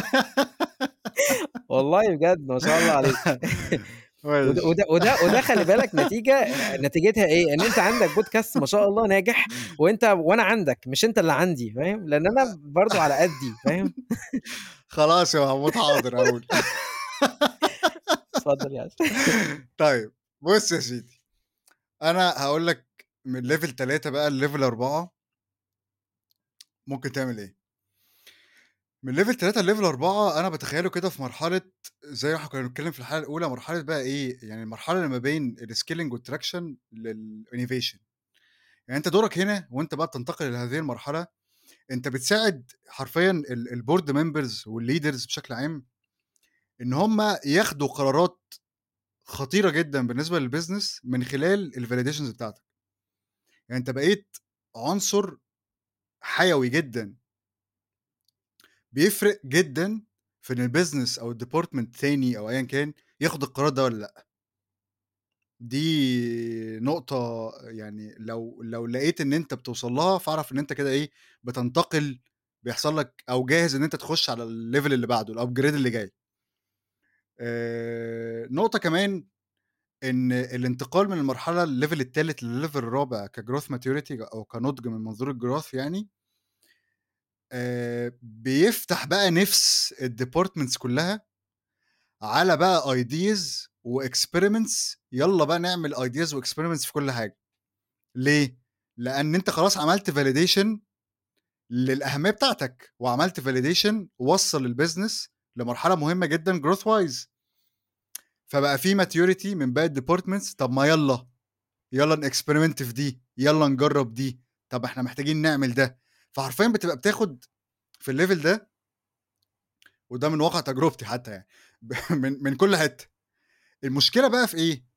والله بجد ما شاء الله عليك. وده ماشي. وده وده وده خلّي بالك نتيجة نتيجتها إيه، إن أنت عندك podcast ما شاء الله ناجح، وأنت وأنا عندك مش أنت اللي عندي فاهم، لإن أنا برضه على قدّي فاهم. خلاص يا محمود حاضر هاقول. اتفضل يا باشا. طيب بُص يا سيدي، أنا هاقول لك من level تلاتة بقى لlevel أربعة ممكن تعمل إيه. من level تلاتة لlevel أربعة أنا باتخيّله كده في مرحلة زي ما إحنا كنا بنتكلّم في الحلقة الأولى، مرحلة بقى إيه، يعني المرحلة اللي ما بين الscaling والtraction للinnovation. يعني أنت دورك هنا وأنت بقى بتنتقل لهذه المرحلة، أنت بتساعد حرفيًا ال الboard members والleaders بشكل عام إن هم ياخدوا قرارات خطيرة جدًا بالنسبة للbusiness من خلال الvalidations بتاعتك. يعني أنت بقيت عنصر حيوي جدًا، بيفرق جدًا في إن الbusiness أو الdepartment تاني أو أيًا كان ياخد القرار ده والّا لأ. دي نقطة يعني لو لو لقيت إن أنت بتوصل لها، فاعرف إن أنت كده إيه، بتنتقل بيحصل لك أو جاهز إن أنت تخش على الlevel اللي بعده الupgrade اللي جاي. آآ، نقطة كمان إن الانتقال من المرحلة الlevel التالت للlevel الرابع كgrowth maturity أو كنضج من منظور الgrowth يعني، آآ بيفتح بقى نِفس الdepartments كلّها على بقى ideas وexperiments، يالّا بقى نعمل ideas وexperiments في كل حاجة. ليه؟ لأن أنت خلاص عملت validation للأهمية بتاعتك، وعملت validation وصّل الbusiness لمرحلة مهمة جدًا growth wise. فبقى في maturity من باقي الdepartments، طب ما يالّا، يالّا نexperiment في دي، يالّا نجرّب دي، طب إحنا محتاجين نعمل ده. فحرفيًا بتبقى بتاخد في الlevel ده، وده من واقع تجربتي حتى يعني ب من من كل حتّة. المشكلة بقى في إيه؟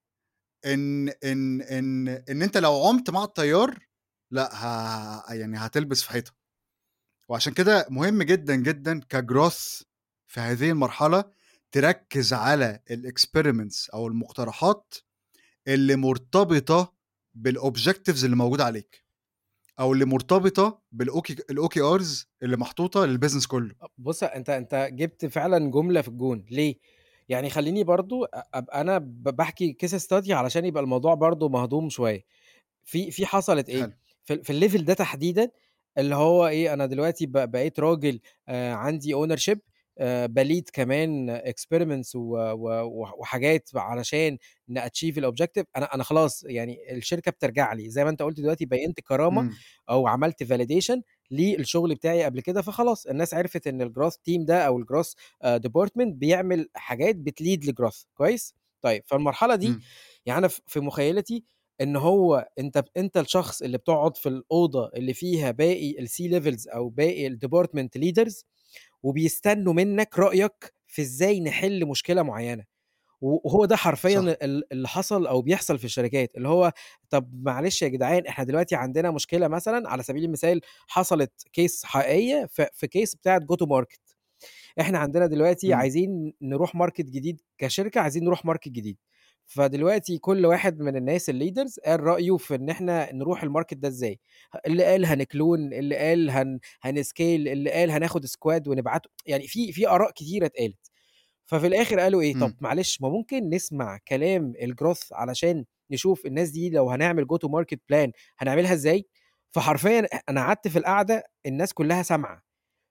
إن إن إن إن أنت لو عُمت مع التيار، لأ ه يعني هتلبس في حيطة. وعشان كده مهم جدًا، جدًا كgrowth في هذه المرحلة تركّز على الexperiments أو المقترحات اللي مرتبطة بالobjectives اللي موجودة عليك، أو اللي مرتبطة بالOK الOKRs اللي محطوطة للbusiness كلّه. أ بُص، أنت أنت جِبت فعلًا جملة في الجون، ليه؟ يعني خلّيني برضه أ أبقى أنا ب باحكي case study علشان يبقى الموضوع برضه مهضوم شوية. في في حصلت إيه، حلو. في ال في الlevel ده تحديدًا، اللي هو إيه، أنا دلوقتي ب بقيت راجل آآ عندي ownership، آآ باlead كمان experiments و و وح وحاجات علشان نachieve الobjective. أنا أنا خلاص يعني الشركة بترجع لي، زي ما أنت قُلت دلوقتي بيّنت كرامة إمم. أو عملت validation للشغل بتاعي قبل كده، فخلاص الناس عرفت إن الgrowth team ده أو الgrowth آآ department بيعمل حاجات بتlead لgrowth كويس؟ طيب فالمرحلة دي إمم. يعني أنا ف في مخيلتي إن هو أنت ب أنت الشخص اللي بتقعد في الأوضة اللي فيها باقي الC levels أو باقي الdepartment leaders، وبيستنوا منّك رأيك في إزاي نحل مشكلة معيّنة. و وهو ده حرفيًا صح. ال اللي حصل أو بيحصل في الشركات، اللي هو طب معلش يا جدعان إحنا دلوقتي عندنا مشكلة مثلًا على سبيل المثال حصلت case حقيقية ف في case بتاعة go to market. إحنا عندنا دلوقتي إمم. عايزين نروح market جديد كشركة، عايزين نروح market جديد. فدلوقتي كل واحد من الناس الleaders قال رأيه في إن إحنا نروح الmarket ده إزاي. اللي قال هنكلون، اللي قال هن هنscale، اللي قال هناخد squad ونبعته، يعني في في آراء كتيرة اتقالت. ففي الآخر قالوا إيه، طب إمم. معلش ما ممكن نسمع كلام الgrowth علشان نشوف الناس دي لو هنعمل go to market plan هنعملها إزاي. فحرفيًا أ أنا قعدت في القعدة الناس كلها سامعة.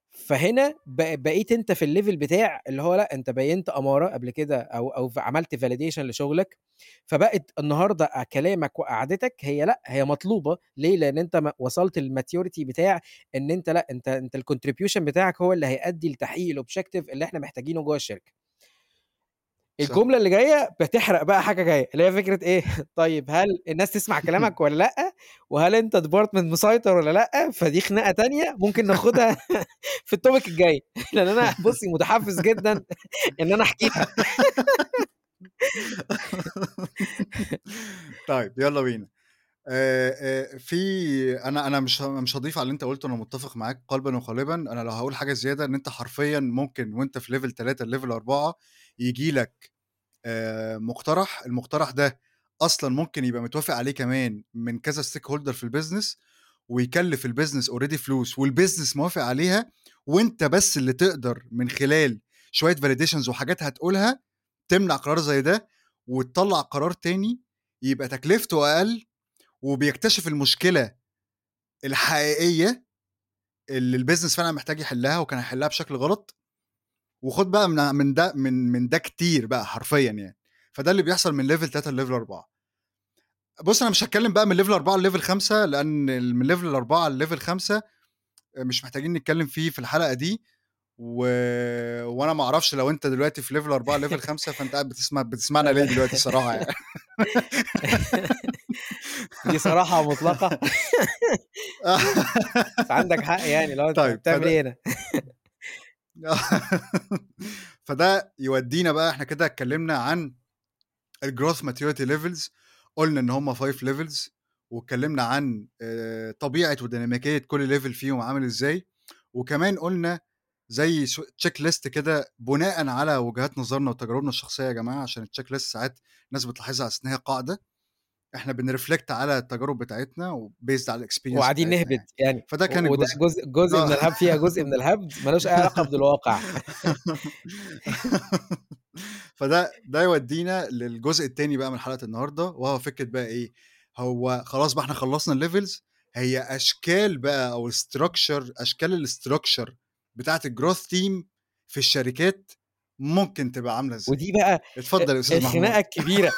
فهنا ب بقيت أنت في الlevel بتاع اللي هو لأ، أنت بيّنت أمارة قبل كده أو أو ف عملت validation لشغلك. فبقت النهارده أ كلامك وقعدتك هي لأ، هي مطلوبة. ليه؟ لإن أنت م وصلت للmaturity بتاع إن أنت لأ، أنت أنت الcontribution بتاعك هو اللي هيأدي لتحقيق الobjective اللي إحنا محتاجينه جوّه الشركة. صح. الجملة اللي جاية بتحرق بقى حاجة جاية، اللي هي فكرة إيه، طيب هل الناس تسمع كلامك والّا لأ، وهل أنت department مسيطر والّا لأ، فدي خناقة تانية ممكن ناخدها في الtopic الجاي، لإن أنا بُصّي متحفّز جدًا إن أنا أحكيها. طيب يالّا بينا. آآ آآ في أنا أنا مش ه مش هاضيف على اللي أنت قُلته، أنا متّفق معاك قلبًا وقالبًا. أنا لو هاقول حاجة زيادة، إن أنت حرفيًا ممكن وأنت في level تلاتة لlevel أربعة ييجي لك آآ مقترح، المقترح ده أصلًا ممكن يبقى متوافق عليه كمان من كذا stakeholder في الbusiness، ويكلّف الbusiness already فلوس والbusiness موافق عليها، وأنت بس اللي تقدر من خلال شوية validations وحاجات هتقولها تمنع قرار زي ده، وتطلّع قرار تاني يبقى تكلفته أقل، وبيكتشف المشكلة الحقيقية اللي الbusiness فعلًا محتاج يحلّها وكان هيحلّها بشكل غلط. وخُد بقى من من ده من من ده كتير بقى حرفيًا يعني. فده اللي بيحصل من level تلاتة لlevel أربعة. بُص، أنا مش هاتكلّم بقى من level أربعة لlevel خمسة، لأن ال من level أربعة لlevel خمسة مش محتاجين نتكلّم فيه في الحلقة دي. و وأنا ما أعرفش لو أنت دلوقتي في level أربعة level خمسة فأنت قاعد بتسمع بتسمعنا ليه دلوقتي الصراحة يعني. دي صراحة مطلقة. عندك حق يعني، اللي هو أنت طيب بتعمل فده إيه هنا؟ فده يودينا بقى، إحنا كده اتكلّمنا عن الgrowth maturity levels. قُلنا إن هم five levels، واتكلّمنا عن آآ طبيعة وديناميكية كل level فيهم عامل إزاي، وكمان قُلنا زي ش check list كده بناءً على وجهات نظرنا وتجاربنا الشخصية يا جماعة، عشان الcheck list ساعات الناس بتلاحظها على أساس إن هي قاعدة. إحنا بنreflect على التجارب بتاعتنا وbased على الexperience وقاعدين بتاعتنا نهبد يعني. يعني، فده كان و وده الجزء جزء جزء من آه. الهب فيها جزء من الهبد ما لوش أي علاقة بالواقع. فده ده يودينا للجزء التاني بقى من حلقة النهارده، وهو فكرة بقى إيه، هو خلاص بقى إحنا خلّصنا الlevels، هي أشكال بقى أو structure أشكال الstructure بتاعة الgrowth team في الشركات ممكن تبقى عاملة إزاي؟ ودي بقى أ اتفضل يا أستاذ الخناقة محمود. الكبيرة.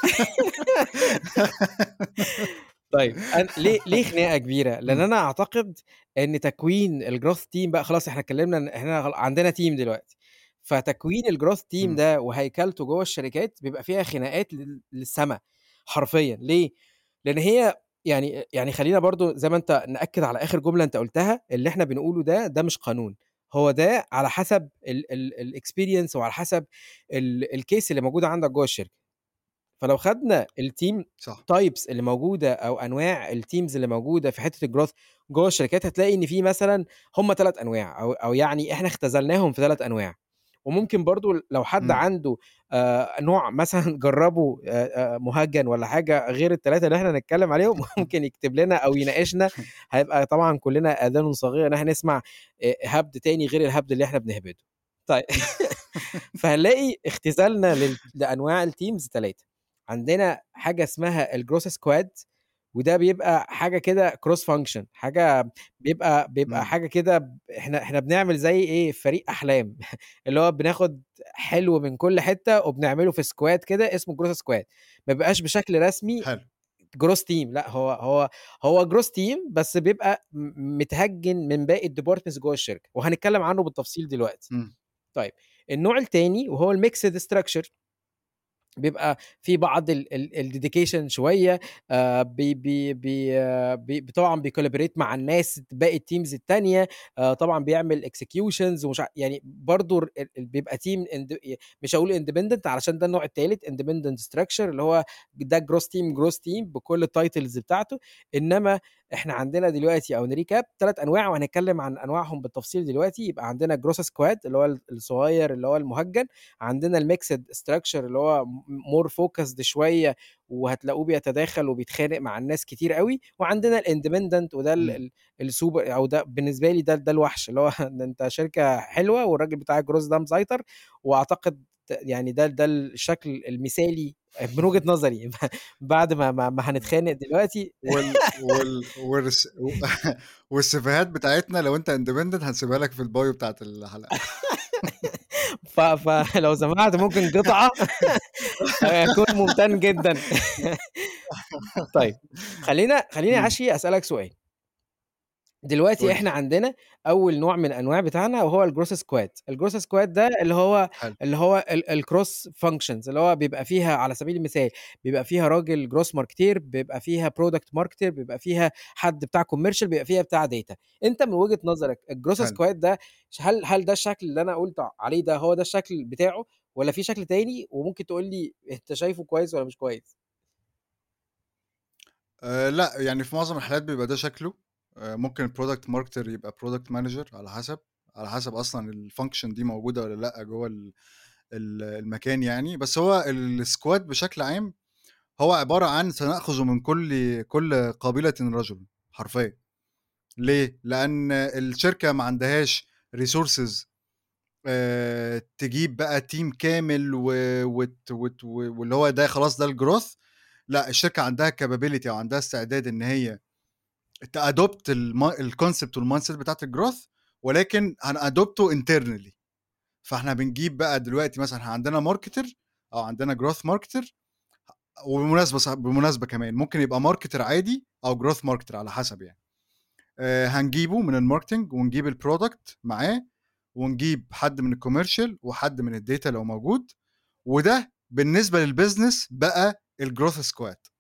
طيب أن ليه ليه خناقة كبيرة؟ لأن إمم، أنا أعتقد إن تكوين الgrowth team بقى خلاص إحنا اتكلمنا إن إحنا غل عندنا team دلوقتي، فتكوين الgrowth team إمم، ده وهيكلته جوّه الشركات بيبقى فيها خناقات لل للسما حرفيًا، ليه؟ لأن هي يعني يعني خلّينا برضه زي ما أنت نأكد على آخر جملة أنت قُلتها، اللي إحنا بنقوله ده، ده مش قانون، هو ده على حسب ال ال الexperience وعلى حسب ال الcase اللي موجودة عندك جوّه الشركة. فلو خدنا الteam صح، types اللي موجودة أو أنواع الteams اللي موجودة في حتّة الgrowth جوّه الشركات، هتلاقي إن في مثلًا هم ثلاث أنواع أو أو يعني إحنا اختزلناهم في ثلاث أنواع، وممكن برضه لو حد إمم. عنده آآ نوع مثلًا جرّبه آآ آآ مُهجَّن والّا حاجة غير الثلاثة اللي إحنا هنتكلّم عليهم، ممكن يكتب لنا أو يناقشنا، هيبقى طبعًا كُلّنا آذان صاغية إن إحنا نسمع آآ هبد تاني غير الهبد اللي إحنا بنهبده. طيب فهنلاقي اختزالنا لل لأنواع الteams ثلاثة، عندنا حاجة اسمها الgrowth squad وده بيبقى حاجة كده cross function حاجة بيبقى بيبقى إمم، حاجة كده ب إحنا إحنا بنعمل زي إيه، فريق أحلام اللي هو بناخد حلو من كل حتة وبنعمله في squad كده اسمه growth squad ما بيبقاش بشكل رسمي حلو، growth team لأ، هو هو هو growth team بس بيبقى م متهجِّن من باقي الdepartments جوّه الشركة، وهنتكلم عنه بالتفصيل دلوقتي. إمم، طيب النوع التاني وهو الmixed structure بيبقى في بعض ال ال الdedication شوية آآ بي بي بي آه، بي طبعًا بيcollaborate مع الناس باقي الteams التانية آآ طبعًا بيعمل executions ومش ع يعني برضه ال ال بيبقى team ind ي مش هاقول independent علشان ده النوع التالت independent structure اللي هو ده growth team growth team بكل الtitles بتاعته، إنما إحنا عندنا دلوقتي أو نrecap ثلاث أنواع وهنتكلم عن أنواعهم بالتفصيل دلوقتي، يبقى عندنا growth squad اللي هو ال الصغير اللي هو المُهجَّن، عندنا الmixed structure اللي هو م more focused شوية وهتلاقوه بيتداخل وبيتخانق مع الناس كتير أوي، وعندنا الindependent وده ال إمم. ال السوبر أو ده بالنسبة لي ده ده الوحش، اللي هو ده أنت شركة حلوة والراجل بتاع الجروز ده مسيطر، وأعتقد ت يعني ده ده الشكل المثالي من وجهة نظري بعد ما ما ما هنتخانق دلوقتي. وال وال والرس و والسيفيهات بتاعتنا لو أنت independent هنسيبها لك في الbio بتاعة الحلقة. ف فلو سمحت ممكن قطعة هاكون ممتن جدًا. طيب خلّينا خلّيني يا إمم، عشري أسألك سؤال. دلوقتي قُل لي. إحنا عندنا أول نوع من الأنواع بتاعنا وهو الgrowth squad الgrowth squad ده اللي هو حلو، اللي هو ال الcross functions اللي هو بيبقى فيها على سبيل المثال بيبقى فيها راجل growth marketeer بيبقى فيها product marketer بيبقى فيها حد بتاع commercial بيبقى فيها بتاع data أنت من وجهة نظرك الgrowth حلو. squad ده ش هل هل ده الشكل اللي أنا قُلت عليه ده هو ده الشكل بتاعه والّا في شكل تاني وممكن تقول لي أنت شايفه كويس والّا مش كويس؟ آآ لأ، يعني في معظم الحالات بيبقى ده شكله، آآ ممكن الproduct marketer يبقى product manager على حسب، على حسب أصلًا الfunction دي موجودة والّا لأ جوّه ال ال المكان يعني، بس هو الsquad بشكل عام هو عبارة عن سنأخذ من كل كل قبيلة رجل حرفيًا. ليه؟ لأن الشركة ما عندهاش resources آآ تجيب بقى team كامل و وت وت واللي هو ده خلاص ده الgrowth لأ، الشركة عندها capability أو عندها استعداد إن هي تadopt الم الconcept والmindset بتاعة الgrowth ولكن هنadopt internally. فإحنا بنجيب بقى دلوقتي مثلًا إحنا عندنا marketer أو عندنا growth marketer وبالمناسبة صح بالمناسبة كمان ممكن يبقى marketer عادي أو growth marketer على حسب يعني. آآ هنجيبه من الmarketing ونجيب الproduct معاه، ونجيب حد من الcommercial وحد من الdata لو موجود، وده بالنسبة للbusiness بقى الgrowth squad.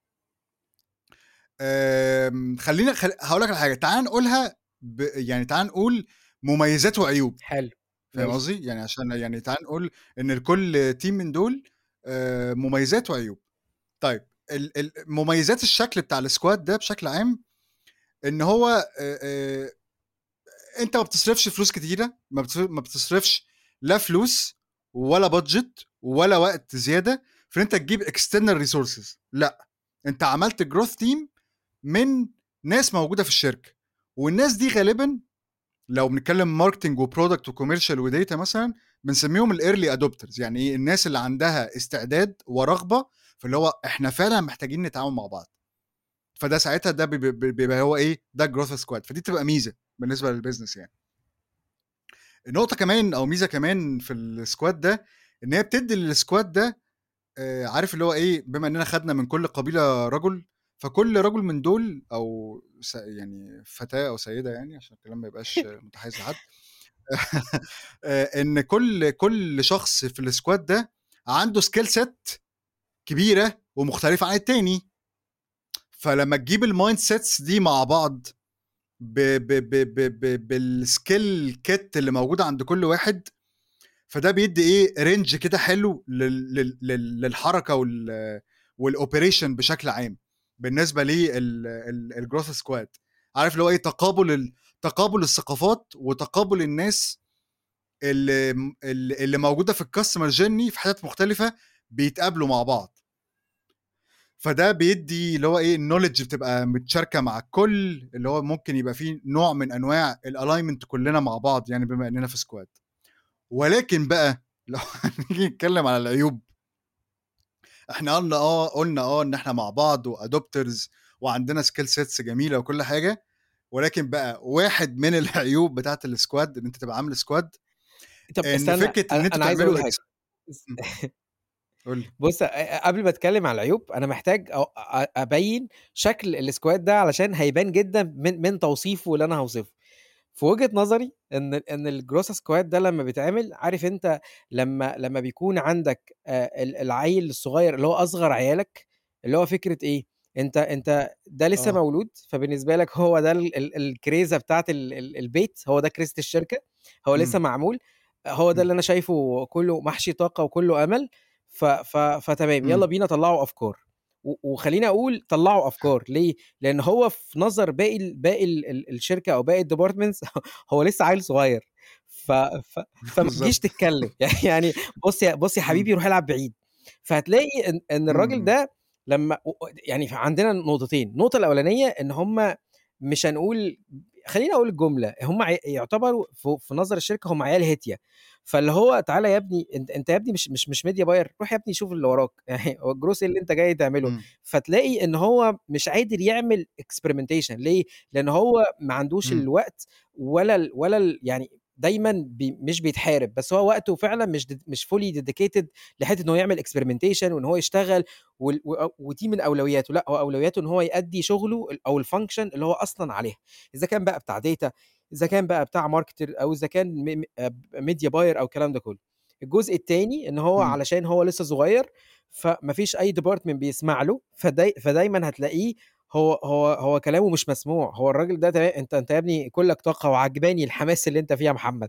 آمم خلّينا خل هاقول لك على حاجة، تعالَ نقولها ب يعني تعالَ نقول مميزات وعيوب، حلو، فاهم ماشي، قصدي؟ يعني عشان يعني تعالَ نقول إن لكل team من دول آآ مميزات وعيوب. طيب ال ال مميزات الشكل بتاع الsquad ده بشكل عام، إن هو آآ آآ أنت ما بتصرفش فلوس كتيرة، ما بتص ما بتصرفش لا فلوس ولا budget ولا وقت زيادة في إن أنت تجيب external resources لأ، أنت عملت growth team من ناس موجودة في الشركة، والناس دي غالبًا لو بنتكلم marketing وproduct وcommercial وdata مثلًا، بنسميهم الearly adopters يعني إيه، الناس اللي عندها استعداد ورغبة في اللي هو إحنا فعلًا محتاجين نتعاون مع بعض. فده ساعتها ده بيب بيب بيبقى هو إيه، ده الgrowth squad، فدي بتبقى ميزة بالنسبة للbusiness يعني. النقطة كمان أو ميزة كمان في الsquad ده، إن هي بتدّي للsquad ده آآ عارف اللي هو إيه، بما إننا خدنا من كل قبيلة رجل، فكل رجل من دول أو س يعني فتاة أو سيدة يعني عشان الكلام ما يبقاش متحيز لحد. آآ إن كل كل شخص في الsquad ده عنده skill set كبيرة ومختلفة عن التاني. فلمّا تجيب الmindsets دي مع بعض ب ب ب ب ب بالskill kit اللي موجودة عند كل واحد، فده بيدّي إيه، range كده حلو لل لل لل للحركة وال والoperation بشكل عام، بالنسبة لل ال الgrowth squad. عارف اللي هو إيه، تقابل ال تقابل الثقافات وتقابل الناس اللي م ال اللي موجودة في الcustomer journey في حتت مختلفة بيتقابلوا مع بعض. فده بيدّي اللي هو إيه، الknowledge بتبقى متشاركة مع الكل، اللي هو ممكن يبقى في نوع من أنواع الalignment كلنا مع بعض يعني بما إننا في squad. ولكن بقى لو هنيجي نتكلم على العيوب، إحنا قلنا آه، قلنا آه إن إحنا مع بعض وadopters وعندنا skill sets جميلة وكل حاجة، ولكن بقى واحد من العيوب بتاعة الsquad إن أنت تبقى عامل squad، طب إن استنى، فكرة أنا إن أنتم أنا عايز أقول تعملوا حاجة. ex إمم، قُل لي. بُص، أ قبل ما أتكلم على العيوب، أنا محتاج أ أ أبيّن شكل السكواد ده علشان هيبان جدًا من من توصيفه اللي أنا هاوصفه. في وجهة نظري إن إن الgrowth squad ده لمّا بيتعمل، عارف أنت لمّا لمّا بيكون عندك آآ ال العيّل الصغير اللي هو أصغر عيالك، اللي هو فكرة إيه، أنت أنت ده لسه آه، مولود، فبالنسبة لك هو ده ال ال الكريزة بتاعة ال ال البيت، هو ده كريزة الشركة، هو لسه إمم، معمول، هو ده إمم، اللي أنا شايفه كُلّه محشي طاقة وكُلّه أمل. ف ف فتمام، يالّا إمم، بينا طلّعوا أفكار. و وخلّيني أقول طلّعوا أفكار، ليه؟ لإن هو في نظر باقي ال باقي ال ال الشركة أو باقي الdepartments هو لسه عيل صغير. ف ف فما تجيش بالضبط. تتكلم يعني بُص يا بُص يا إمم، حبيبي روح العب بعيد. فهتلاقي إن إن إمم، الراجل إمم، ده لمّا و يعني فعندنا نقطتين، النقطة الأولانية إن هم مش هنقول، خلّيني أقول الجملة، هم ع يعتبروا ف في نظر الشركة هم عيال هِتية. فاللي هو تعالَ يا ابني، أنت أنت يا ابني مش مش مش media buyer، روح يا ابني شوف اللي وراك يعني هو الجروس إيه اللي أنت جاي تعمله؟ إمم، فتلاقي إن هو مش قادر يعمل experimentation ليه؟ لإن هو ما عندوش إمم، الوقت ولا ال ولا ال يعني دايمًا بي مش بيتحارب، بس هو وقته فعلًا مش د مش fully dedicated لحتّة إن هو يعمل experimentation وإن هو يشتغل وال و ودي من أولوياته. لأ، هو أولوياته إن هو يأدّي شغله ال أو الfunction اللي هو أصلًا عليها، إذا كان بقى بتاع data، إذا كان بقى بتاع marketer، أو إذا كان م م آآ media buyer أو الكلام ده كلّه. الجزء التاني إن هو إمم، علشان هو لسه صغير، فما فيش أي department بيسمع له، فداي فدايمًا هتلاقيه هو هو هو كلامه مش مسموع. هو الراجل ده تما أنت أنت يا ابني كُلّك طاقة وعاجباني الحماس اللي أنت فيه يا محمد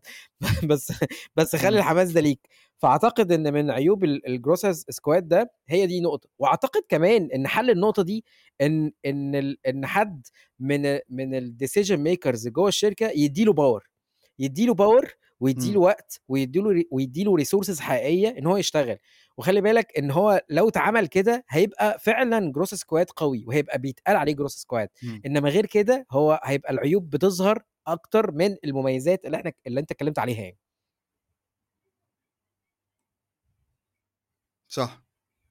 بس بس خلّي إمم، الحماس ده ليك. فأعتقد إن من عيوب ال الgrowth squad ده هي دي نقطة. وأعتقد كمان إن حل النقطة دي إن إن ال إن حد من من الdecision makers جوّه الشركة يدّي له power، يدّي له power ويدّي له إمم، وقت ويدّي له ر ويدّي له resources حقيقية إن هو يشتغل. وخلّي بالك إن هو لو اتعمل كده هيبقى فعلًا growth squad قوي، وهيبقى بيتقال عليه growth squad. إمم، إنما غير كده هو هيبقى العيوب بتظهر أكتر من المميزات اللي إحنا اللي أنت اتكلمت عليها يعني. صح.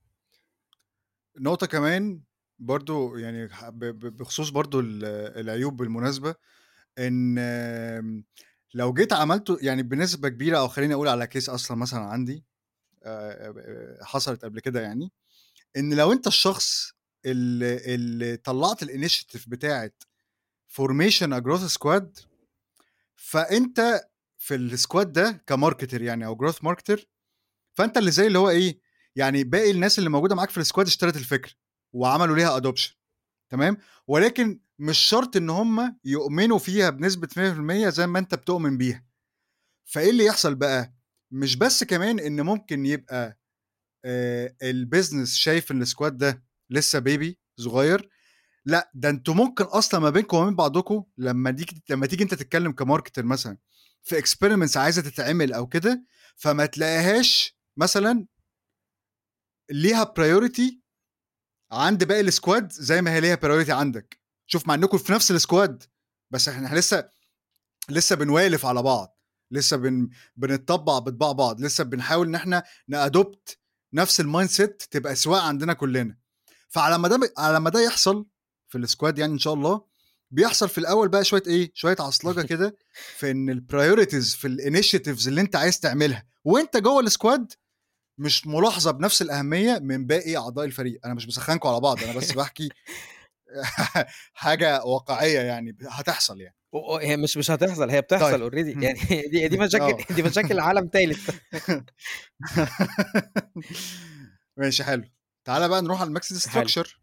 نقطة كمان برضه يعني ح ب ب بخصوص برضه ال العيوب بالمناسبة، إن آمم، لو جيت عملته يعني بنسبة كبيرة أو خلّيني أقول على case أصلًا مثلًا عندي آآ، ب حصلت قبل كده يعني، إن لو أنت الشخص ال اللي طلّعت الinitiative بتاعة formation a growth squad، فأنت في الsquad ده كmarketer يعني أو growth marketer، فأنت اللي زي اللي هو إيه، يعني باقي الناس اللي موجودة معاك في الsquad اشترت الفكرة وعملوا ليها adoption. تمام، ولكن مش شرط إن هُم يؤمنوا فيها بنسبة مية في المية زي ما أنت بتؤمن بيها. فإيه اللي يحصل بقى؟ مش بس كمان إن ممكن يبقى آآ الbusiness شايف إن الsquad ده لسه baby صغير، لأ ده أنتم ممكن أصلًا ما بينكم وما بين بعضكم لمّا تيجي لمّا تيجي أنت تتكلم كmarketer مثلًا في experiments عايزة تتعمل أو كده، فما تلاقيهاش مثلًا ليها priority عند باقي الsquad زي ما هي ليها priority عندك. شوف مع إنكم في نفس الsquad، بس إحنا لسه لسه بنوالف على بعض، لسه بن بنتطبّع بطباع بعض، لسه بنحاول إن إحنا نadopt نفس الmindset تبقى سواء عندنا كلّنا. فعلى ما ده ب على ما ده يحصل، في الsquad يعني إن شاء الله، بيحصل في الأول بقى شوية إيه، شوية عصلجة كده في إن الpriorities في الinitiatives اللي أنت عايز تعملها وأنت جوّه الsquad مش ملاحظة بنفس الأهمية من باقي أعضاء الفريق. أنا مش باسخّنكم على بعض، أنا بس باحكي حاجة واقعية يعني ب هتحصل يعني. و وهي مش مش هتحصل، هي طيب. بتحصل already إمم. يعني دي دي مشاكل آه. دي مشاكل عالم تالت. ماشي حلو. تعالَ بقى نروح على الmixed حلو. structure.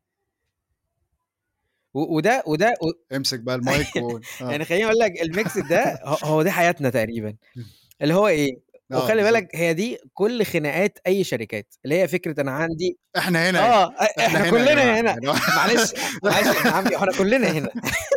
و وده وده و امسك بقى المايك وقُل. آه. يعني خلّيني أقول لك الmix ده ه هو دي حياتنا تقريبًا، اللي هو إيه، آه وخلّي بالضبط. بالك هي دي كل خناقات أي شركات، اللي هي فكرة أنا عندي إحنا هنا آه، يعني، أ إحنا إحنا هنا يا كلّنا جماعة، هنا، يعني هو معلش معلش يا ابن عمي، هو إحنا كلّنا هنا.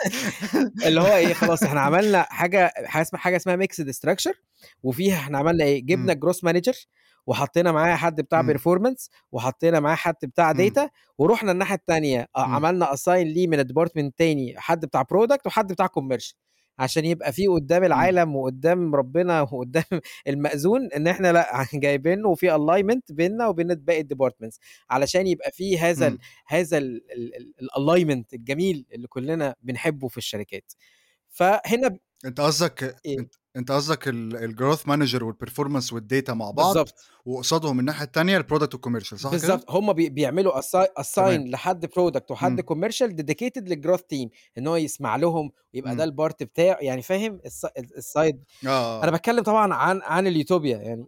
اللي هو إيه، خلاص إحنا عملنا حاجة حاجة اسمها حاجة اسمها mixed structure، وفيها إحنا عملنا إيه، جِبنا إمم. الgrowth manager وحطينا معاه حد بتاع إمم. performance وحطينا معاه حد بتاع إمم. data، ورُحنا الناحية التانية آه، إمم. عملنا assign ليه من الdepartment تاني حد بتاع product وحد بتاع commercial، عشان يبقى في قدّام إمم. العالم وقدّام ربنا وقدّام المأذون إن إحنا لأ، جايبين وفي alignment بيننا وبين باقي الdepartments، علشان يبقى في هذا ال إمم. هذا ال ال ال الalignment الجميل اللي كلّنا بنحبه في الشركات. فهنا ب أنت قصدك إيه، أنت أنت قصدك ال الgrowth manager والperformance والdata مع بعض، بالضبط. وقصادهم الناحية التانية الproduct والcommercial صح كده؟ بالضبط، هم بي بيعملوا assi تمام. assign لحد product وحد إمم. commercial dedicated للgrowth team، إن هو يسمع لهم ويبقى ده إمم. الpart بتاعه، يعني فاهم الس ال الside. آه، آه، أنا آه. باتكلم طبعًا عن عن اليوتوبيا يعني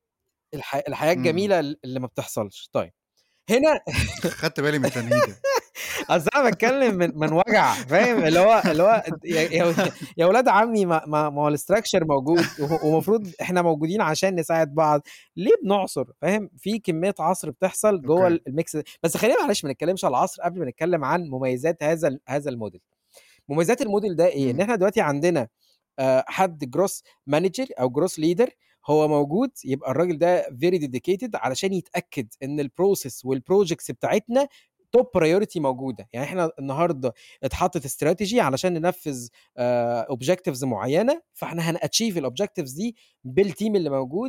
الح الحياة إمم. إمم. الجميلة ال اللي ما بتحصلش. طيب، هنا خدت بالي من التنهيدة. أصل أنا باتكلم من من وجع فاهم، اللي هو اللي هو أنت يا يا يا ولاد عمي ما ما ما هو الstructure موجود وه ومفروض إحنا موجودين عشان نساعد بعض، ليه بنعصر فاهم، في كمية عصر بتحصل جوّه أوكي. ال الmix. بس خلّينا معلش ما نتكلمش على العصر قبل ما نتكلم عن مميزات هذا ال هذا الmodel. مميزات الmodel ده إيه، إن إمم. إحنا دلوقتي عندنا آآ حد growth manager أو growth leader هو موجود، يبقى الراجل ده very dedicated علشان يتأكد إن الprocess والprojects بتاعتنا top priority موجودة، يعني إحنا النهارده اتحطت strategy علشان ننفذ آآ objectives معيّنة، فإحنا هنachieve الobjectives دي بالteam اللي موجود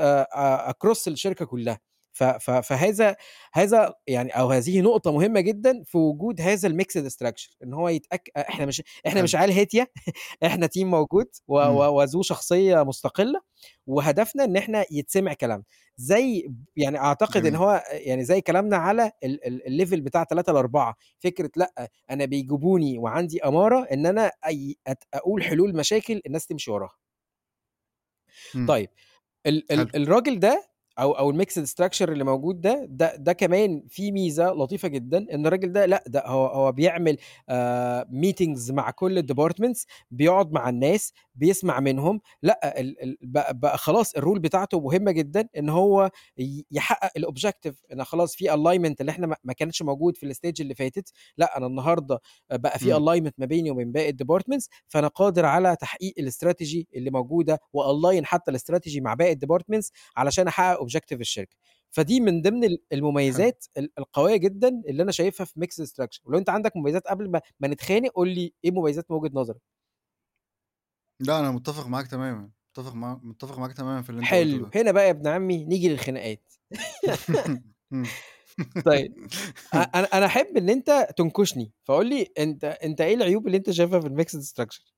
آآ across الشركة كلّها. ف ف فهذا هذا يعني أو هذه نقطة مهمة جدًا في وجود هذا الmixed structure، إن هو يتأك إحنا مش إحنا حلو. مش عيال هيتية. إحنا team موجود و إمم. و وذو شخصية مستقلة، وهدفنا إن إحنا يتسمع كلامنا، زي يعني أعتقد إن جميل. هو يعني زي كلامنا على ال ال الlevel بتاع تلاتة لأربعة، فكرة لأ، أنا بيجيبوني وعندي أمارة إن أنا أي أت أقول حلول مشاكل الناس تمشي وراها. إمم. طيب ال حلو. ال الراجل ده أو أو الmixed structure اللي موجود ده، ده ده كمان فيه ميزة لطيفة جدًا، إن الراجل ده لأ، ده هو هو بيعمل آآ meetings مع كل الdepartments، بيقعد مع الناس، بيسمع منهم، لأ ال ال بقى بقى خلاص الrole بتاعته مهمة جدًا، إن هو ي يحقق الobjective، إن خلاص في alignment اللي إحنا ما ما كانش موجود في الstage اللي فاتت، لأ أنا النهارده بقى في إمم. alignment ما بيني وبين باقي الdepartments، فأنا قادر على تحقيق الstrategy اللي موجودة وalign حتى الstrategy مع باقي الdepartments علشان أحقق objective الشركة. فدي من ضمن ال حلو. المميزات ال القوية جدًا اللي أنا شايفها في mixed structure، ولو أنت عندك مميزات قبل ما ما نتخانق قُل لي إيه مميزات من وجهة نظرك؟ لأ أنا متّفق معاك تمامًا، متّفق مع متّفق معاك تمامًا في اللي أنت قُلته حلو، ده. هنا بقى يا ابن عمي نيجي للخناقات. إمم. طيب أ أنا أنا أحب إن أنت تنكشني، فقُل لي أنت أنت إيه العيوب اللي أنت شايفها في الmixed structure؟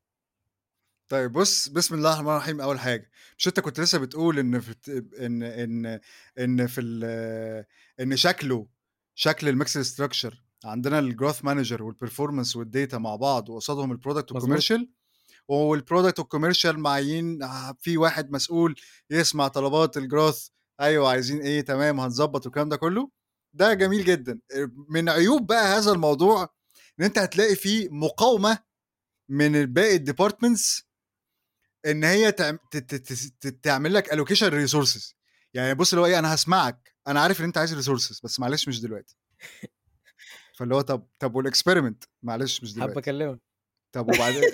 طيب بُص، بسم الله الرحمن الرحيم أول حاجة، مش أنت كنت لسه بتقول إن في الت إن إن إن في ال إن شكله شكل الmixed structure عندنا الgrowth manager والperformance والdata مع بعض وقصادهم الproduct مضبوط. والcommercial والproduct والcommercial معيين ه في واحد مسؤول يسمع طلبات الgrowth أيوه عايزين إيه، تمام هنضبّط والكلام ده كلّه، ده جميل جدًا. آآ من عيوب بقى هذا الموضوع إن أنت هتلاقي في مقاومة من باقي الdepartments إن هي تعم ت ت تس ت تعمل لك allocation resources يعني بُص اللي هو إيه، أنا هاسمعك، أنا عارف إن أنت عايز resources بس معلش مش دلوقتي. فاللي هو طب طب والexperiment معلش مش هابقى دلوقتي، أكلمك. طب وبعدين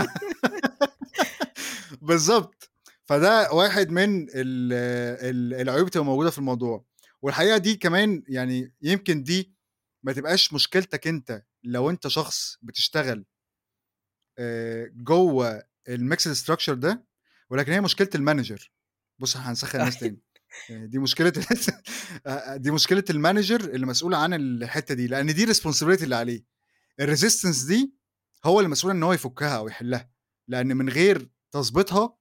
بالضبط. فده واحد من ال ال العيوب بتبقى موجودة في الموضوع، والحقيقة دي كمان يعني يمكن دي ما تبقاش مشكلتك أنت لو أنت شخص بتشتغل آآ جوّه الmixed structure ده، ولكن هي مشكلة الmanager. بُص إحنا هنسخّن الناس تاني، يعني دي مشكلة آآ دي مشكلة الmanager اللي مسؤول عن الحتّة دي، لإن دي الresponsibility اللي عليه، الresistance دي هو اللي مسؤول إن هو يفكها أو يحلها، لأن من غير تضبيطها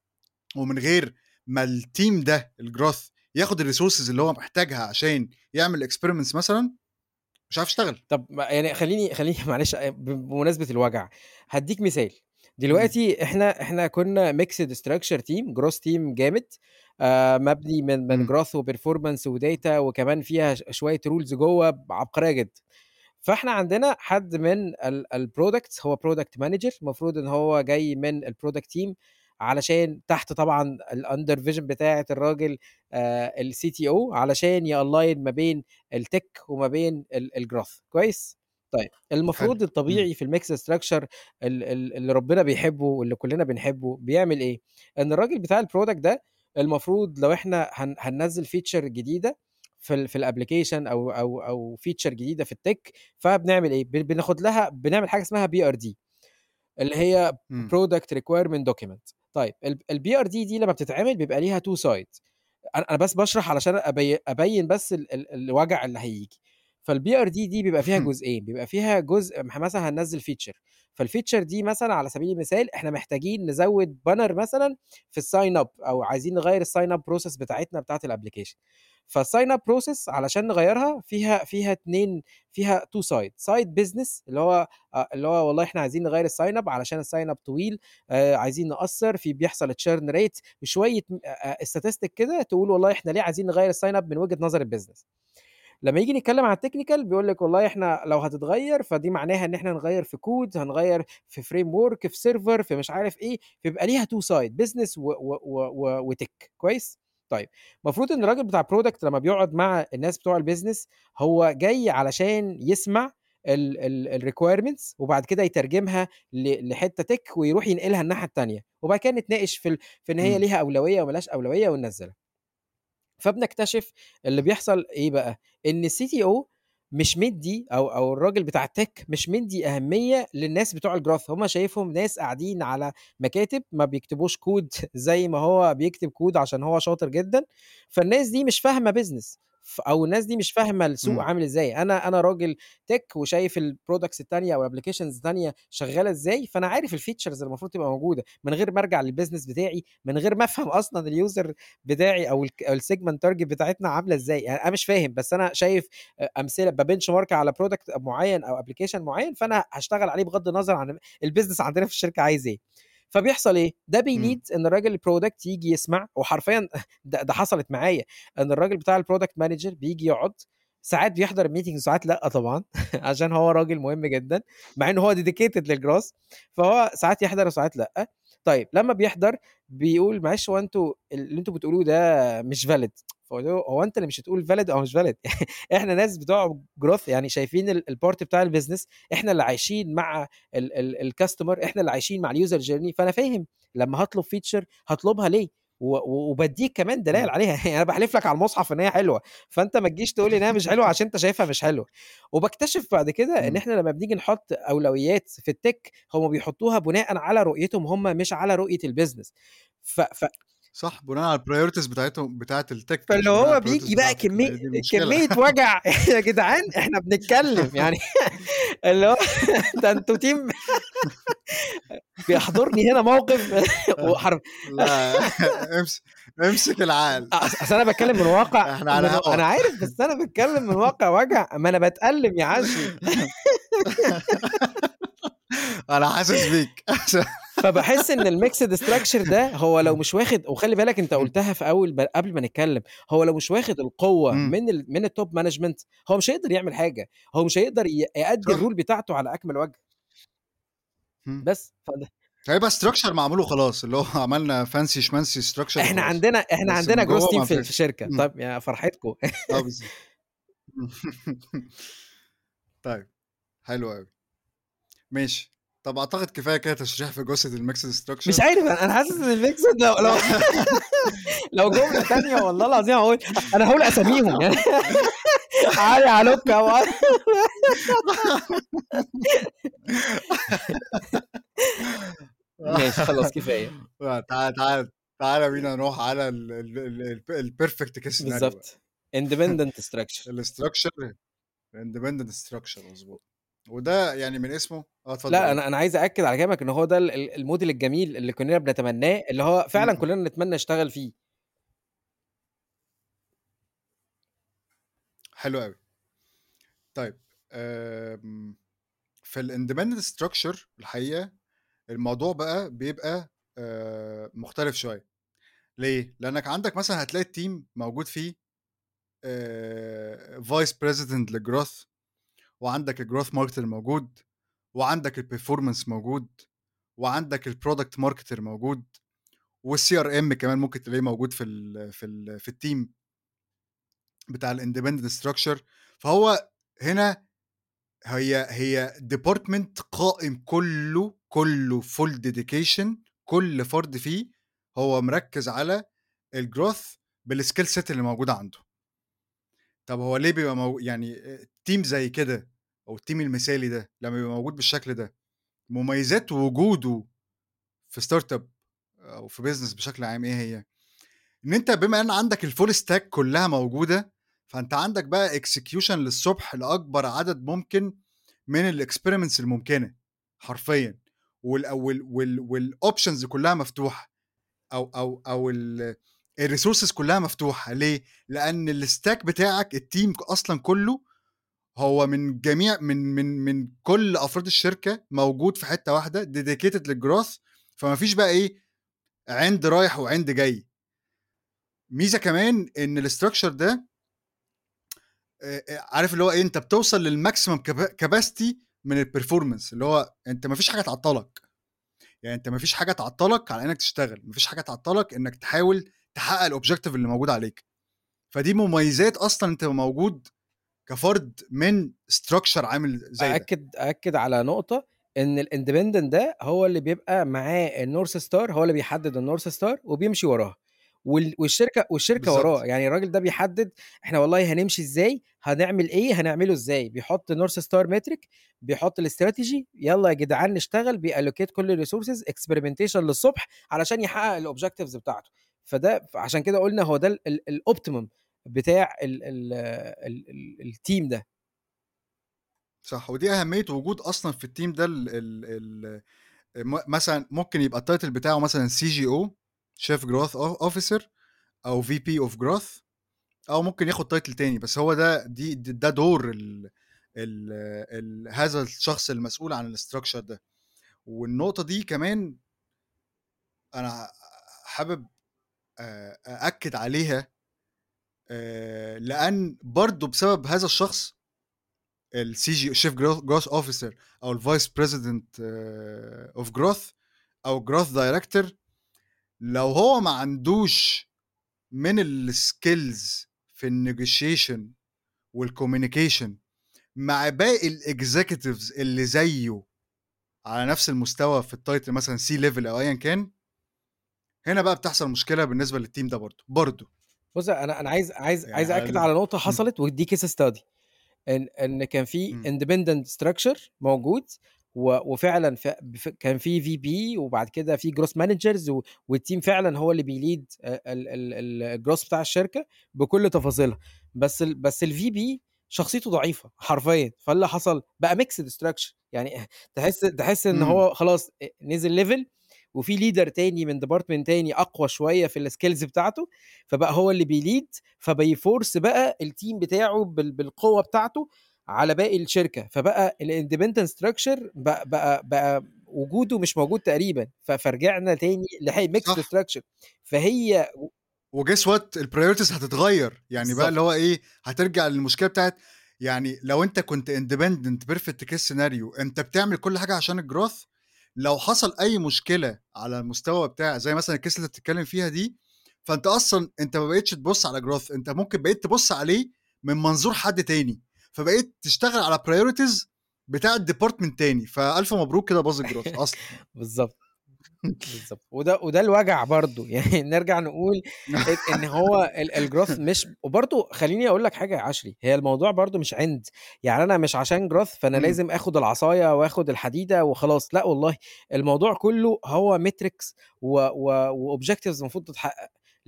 ومن غير ما الteam ده الgrowth ياخد الresources اللي هو محتاجها عشان يعمل experiments مثلًا، مش هيعرف يشتغل. طب ما يعني خلّيني خلّيني معلش أ ب بمناسبة الوجع، هادّيك مثال. إمم، دلوقتي إحنا إحنا كنا mixed structure team growth team جامد، آآ مبني من من إمم، growth وperformance وdata وكمان فيها ش شوية rules جوّه ب عبقرية جدًا. فإحنا عندنا حد من ال الproducts هو product manager المفروض إن هو جاي من الproduct team علشان تحت طبعًا الunder vision بتاعة الراجل آآ الCTO علشان يalign ما بين الtech وما بين ال الgrowth كويس؟ طيب حلو، المفروض إمم، الطبيعي في الmix structure ال ال اللي ربنا بيحبه واللي كلنا بنحبه بيعمل إيه؟ إن الراجل بتاع الproduct ده المفروض لو إحنا هن هننزّل feature جديدة في ال في الapplication أو أو أو feature جديدة في الtech فبنعمل إيه، ب بناخد لها بنعمل حاجة اسمها بي آر دي اللي هي إمم، product requirement document. طيب ال البي آر دي دي لمّا بتتعمل بيبقى ليها two sides. أنا أنا بس باشرح علشان أبي أبيّن بس ال ال الوجع اللي هييجي. فالبي آر دي دي بيبقى فيها جزئين، بيبقى فيها جزء م مثلًا هننزّل feature، فالfeature دي مثلًا على سبيل المثال إحنا محتاجين نزوّد banner مثلًا في الsign up أو عايزين نغيّر الsign up process بتاعتنا بتاعة الapplication. فالsign up process علشان نغيّرها فيها فيها اتنين فيها two side، side business اللي هو آه، اللي هو والله إحنا عايزين نغيّر الsign up علشان الsign up طويل، آآ عايزين نقصّر، في بيحصل churn rate وشوية م آآ statistic كده تقول والله إحنا ليه عايزين نغيّر الsign up من وجهة نظر الbusiness. لمّا ييجي نتكلّم عن الtechnical بيقول لِك والله إحنا لو هتتغيّر فدي معناها إن إحنا نغيّر في كود، هنغيّر في framework، في server، في مش عارف إيه، فيبقى ليها two side business و و و و وtech كويس؟ طيب المفروض إن الراجل بتاع product لمّا بيقعد مع الناس بتوع الbusiness هو جاي علشان يسمع ال ال الrequirements وبعد كده يترجمها ل لحتّة tech ويروح ينقلها الناحية التانية، وبعد كده نتناقش في ال في إن هي إمم، ليها أولوية وما لهاش أولوية وننزّلها. فبنكتشف اللي بيحصل إيه بقى، إن الCTO مش مدّي أو أو الراجل بتاع الtech مش مدّي أهمية للناس بتوع الgrowth، هم شايفهم ناس قاعدين على مكاتب ما بيكتبوش كود زي ما هو بيكتب كود عشان هو شاطر جدًا، فالناس دي مش فاهمة business ف أو الناس دي مش فاهمة السوق إمم، عامل إزاي. أنا أنا راجل tech وشايف الproducts التانية أو الapplications التانية شغالة إزاي، فأنا عارف الfeatures اللي المفروض تبقى موجودة من غير ما أرجع للbusiness بتاعي، من غير ما أفهم أصلًا الuser بتاعي أو الك أو الsegment target بتاعتنا عاملة إزاي، يعني أنا مش فاهم، بس أنا شايف أ أمثلة بbenchmark على product معيّن أو application معيّن، فأنا هاشتغل عليه بغض النظر عن الbusiness عندنا في الشركة عايز إيه. فبيحصل إيه، ده إمم، بيlead إن الراجل الproduct ييجي يسمع وحرفيًا ده ده حصلت معايا، إن الراجل بتاع الproduct manager بييجي يقعد، ساعات بيحضر الmeeting وساعات لأ طبعًا عشان هو راجل مهم جدًا، مع إن هو dedicated للgrowth، فهو ساعات يحضر وساعات لأ. طيب لمّا بيحضر بيقول معلش هو أنتم اللي أنتم بتقولوه ده مش valid. فقُلت له: "هو أنت اللي مش هتقول valid أو مش valid إحنا ناس بتوع growth يعني شايفين ال الpart بتاع الbusiness، إحنا اللي عايشين مع ال ال الcustomer، إحنا اللي عايشين مع الuser journey، فأنا فاهم لمّا هاطلب feature هاطلبها ليه، و و وبادّيك كمان دلائل إمم، عليها يعني أنا باحلف لك على المصحف إن هي حلوة، فأنت ما تجيش تقول لي إن هي مش حلوة عشان أنت شايفها مش حلوة." وباكتشف بعد كده إن إمم، إحنا لمّا بنيجي نحط أولويات في الtech هم بيحطوها بناءً على رؤيتهم هم مش على رؤية الbusiness. ف ف صح، بناءً على الpriorities بتاعتهم بتاعة الtech فاللي مش بناء على هو الpriorities بييجي بقى بتاعتك، ما كمية هي دي المشكلة. كمية وجع يا جدعان إحنا بنتكلم يعني اللي هو ده أنتم team بيحضرني هنا موقف وحر لأ امس امسك العقل. أص أصل أنا باتكلم من واقع إحنا على من و هوا. أنا عارف بس أنا باتكلم من واقع وجع، ما أنا باتألم يا عشري. أنا حاسس بيك. فباحس إن الmixed structure ده هو لو مش واخد وخلّي بالك أنت إمم، قُلتها في أول ب قبل ما نتكلم، هو لو مش واخد القوة إمم، من ال من الtop management هو مش هيقدر يعمل حاجة، هو مش هيقدر ي يأدّي صح، الrole بتاعته على أكمل وجه. إمم. بس فده هيبقى structure معمول وخلاص، اللي هو عملنا fancy schmancy structure إحنا وخلاص، عندنا إحنا بس عندنا من growth جوّه team ما في في فيش. الشركة، إمم، طيب يا فرحتكم. آه بالضبط. طيب، حلو أوي، ماشي. طَب أعتقد كفاية كده تشريح في جثة الmixed مش structure. عارف أنا أنا حاسس إن الmixed لو لو لو جملة تانية والله العظيم هاقول أنا هاقول أساميهم يعني علي علوكة و ماشي خلاص كفاية. لأ تعالَ تعالَ تعالَ بينا نروح على ال ال ال الp الperfect case scenario بقى. بالضبط. independent structure. الstructure الindependent structure مضبوط، وده يعني من اسمه آه، اتفضل لأ، قُل. أنا أنا عايز أأكد على كلامك إن هو ده ال ال الmodel الجميل اللي كلنا بنتمناه، اللي هو فعلًا إمم. كلنا نتمنى نشتغل فيه. حلو أوي. طيب آمم، في الindependent structure الحقيقة الموضوع بقى بيبقى آآ، مختلف شوية. ليه؟ لأنك عندك مثلًا هتلاقي الteam موجود فيه آآ vice president للgrowth وعندك الgrowth marketer موجود، وعندك الperformance موجود، وعندك الproduct marketer موجود، والCRM كمان ممكن تلاقيه موجود في ال في ال في الteam بتاع الindependent structure. فهو هنا هي هي department قائم كلّه، كلّه full dedication. كل فرد فيه هو مركّز على الgrowth بالskill set اللي موجودة عنده. طب هو ليه بيبقى مو يعني آآ team زي كده أو الteam المثالي ده لمّا بيبقى موجود بالشكل ده، مميزات وجوده في startup أو في business بشكل عام إيه هي؟ إن أنت بما إن عندك الfull stack كلّها موجودة، فأنت عندك بقى execution للصبح لأكبر عدد ممكن من الexperiments الممكنة حرفيًا، وال وال وال والoptions كلّها مفتوحة، أو أو أو ال الresources كلّها مفتوحة. ليه؟ لأن الstack بتاعك الteam أصلًا كلّه هو من جميع من من من كل أفراد الشركة موجود في حتّة واحدة dedicated للgrowth. فما فيش بقى إيه، عِند رايح وعِند جاي. ميزة كمان إن الstructure ده آآ آآ عارف اللي هو إيه، أنت بتوصل للmaximum capa capacity من الperformance، اللي هو أنت ما فيش حاجة تعطّلك. يعني أنت ما فيش حاجة تعطّلك على إنّك تشتغل، ما فيش حاجة تعطّلك إنّك تحاول تحقق الobjective اللي موجود عليك. فدي مميزات أصلًا أنت تبقى موجود كفرد من structure عامل زي ده. أأكد أأكد على نقطة، إن الindependent ده هو اللي بيبقى معاه الnorth star، هو اللي بيحدد الnorth star وبيمشي وراها، وال والشركة والشركة وراه. بالضبط. يعني الراجل ده بيحدد إحنا والله هنمشي إزاي، هنعمل إيه، هنعمله إزاي، بيحط north star metric، بيحط الstrategy، يالّا يا جدعان نشتغل، بيallocate كل الresources experimentation للصبح علشان يحقق الobjectives بتاعته. فده فعشان كده قُلنا هو ده ال ال الoptimum بتاع ال ال ال ال الteam ده. صح، ودي أهمية وجود أصلًا في الteam ده ال ال ال م مثلًا ممكن يبقى الtitle بتاعه مثلًا سي جي أو Chief Growth O Officer أو في بي of Growth، أو ممكن ياخد title تاني، بس هو ده دي د ده دور ال ال ال هذا الشخص المسؤول عن الstructure ده. والنقطة دي كمان أنا حابب آآ أأكد عليها، آآ لأن برضه بسبب هذا الشخص السي جي Chief Growth Growth Officer أو الVice President of Growth أو Growth Director، لو هو ما عندوش من الskills في الnegotiation والcommunication مع باقي الexecutives اللي زيه على نفس المستوى في الtitle مثلًا C level أو أيًا كان، هنا بقى بتحصل مشكلة بالنسبة للteam ده برضه، برضه. بُص، أنا أنا عايز عايز يعني عايز على أأكد ال على نقطة إمم، حصلت ودي case study. إن إن كان في إمم، independent structure موجود، و وفعلًا ف ف كان في في بي وبعد كده في growth managers، و والteam فعلًا هو اللي بيlead آآ ال ال ال الgrowth بتاع الشركة بكل تفاصيلها. بس ال بس الVP شخصيته ضعيفة حرفيًا، فإيه اللي حصل؟ بقى mixed structure. يعني تحس تحس إن إمم، هو خلاص أ نزل level، وفي leader تاني من department تاني أقوى شوية في الskills بتاعته، فبقى هو اللي بيlead، فبيforce بقى الteam بتاعه بال بالقوة بتاعته على باقي الشركة. فبقى الindependent structure بق بقى بقى وجوده مش موجود تقريبًا، ف فرجعنا تاني لح mixed صح. structure. فهي و وguess what الpriorities هتتغيّر. يعني بقى اللي بالضبط. هو إيه، هترجع للمشكلة بتاعة يعني لو أنت كنت independent perfect case scenario أنت بتعمل كل حاجة عشان الgrowth، لو حصل أي مشكلة على المستوى بتاع زي مثلًا الcase اللي أنت بتتكلم فيها دي، فأنت أصلًا أنت ما بقيتش تبُص على growth، أنت ممكن بقيت تبُص عليه من منظور حد تاني، فبقيت تشتغل على priorities بتاعة department تاني، فألف مبروك كده باظ الgrowth أصلًا يعني. بالضبط. بالضبط. وده وده الوجع برضه. يعني نرجع نقول إن إن هو ال الgrowth مش، وبرضه خلّيني أقول لك حاجة يا عشري، هي الموضوع برضه مش عِند. يعني أنا مش عشان growth فأنا إمم، لازم آخُد العصاية وآخُد الحديدة وخلاص، لأ والله. الموضوع كُلّه هو metrics و و وobjectives المفروض تتحقق.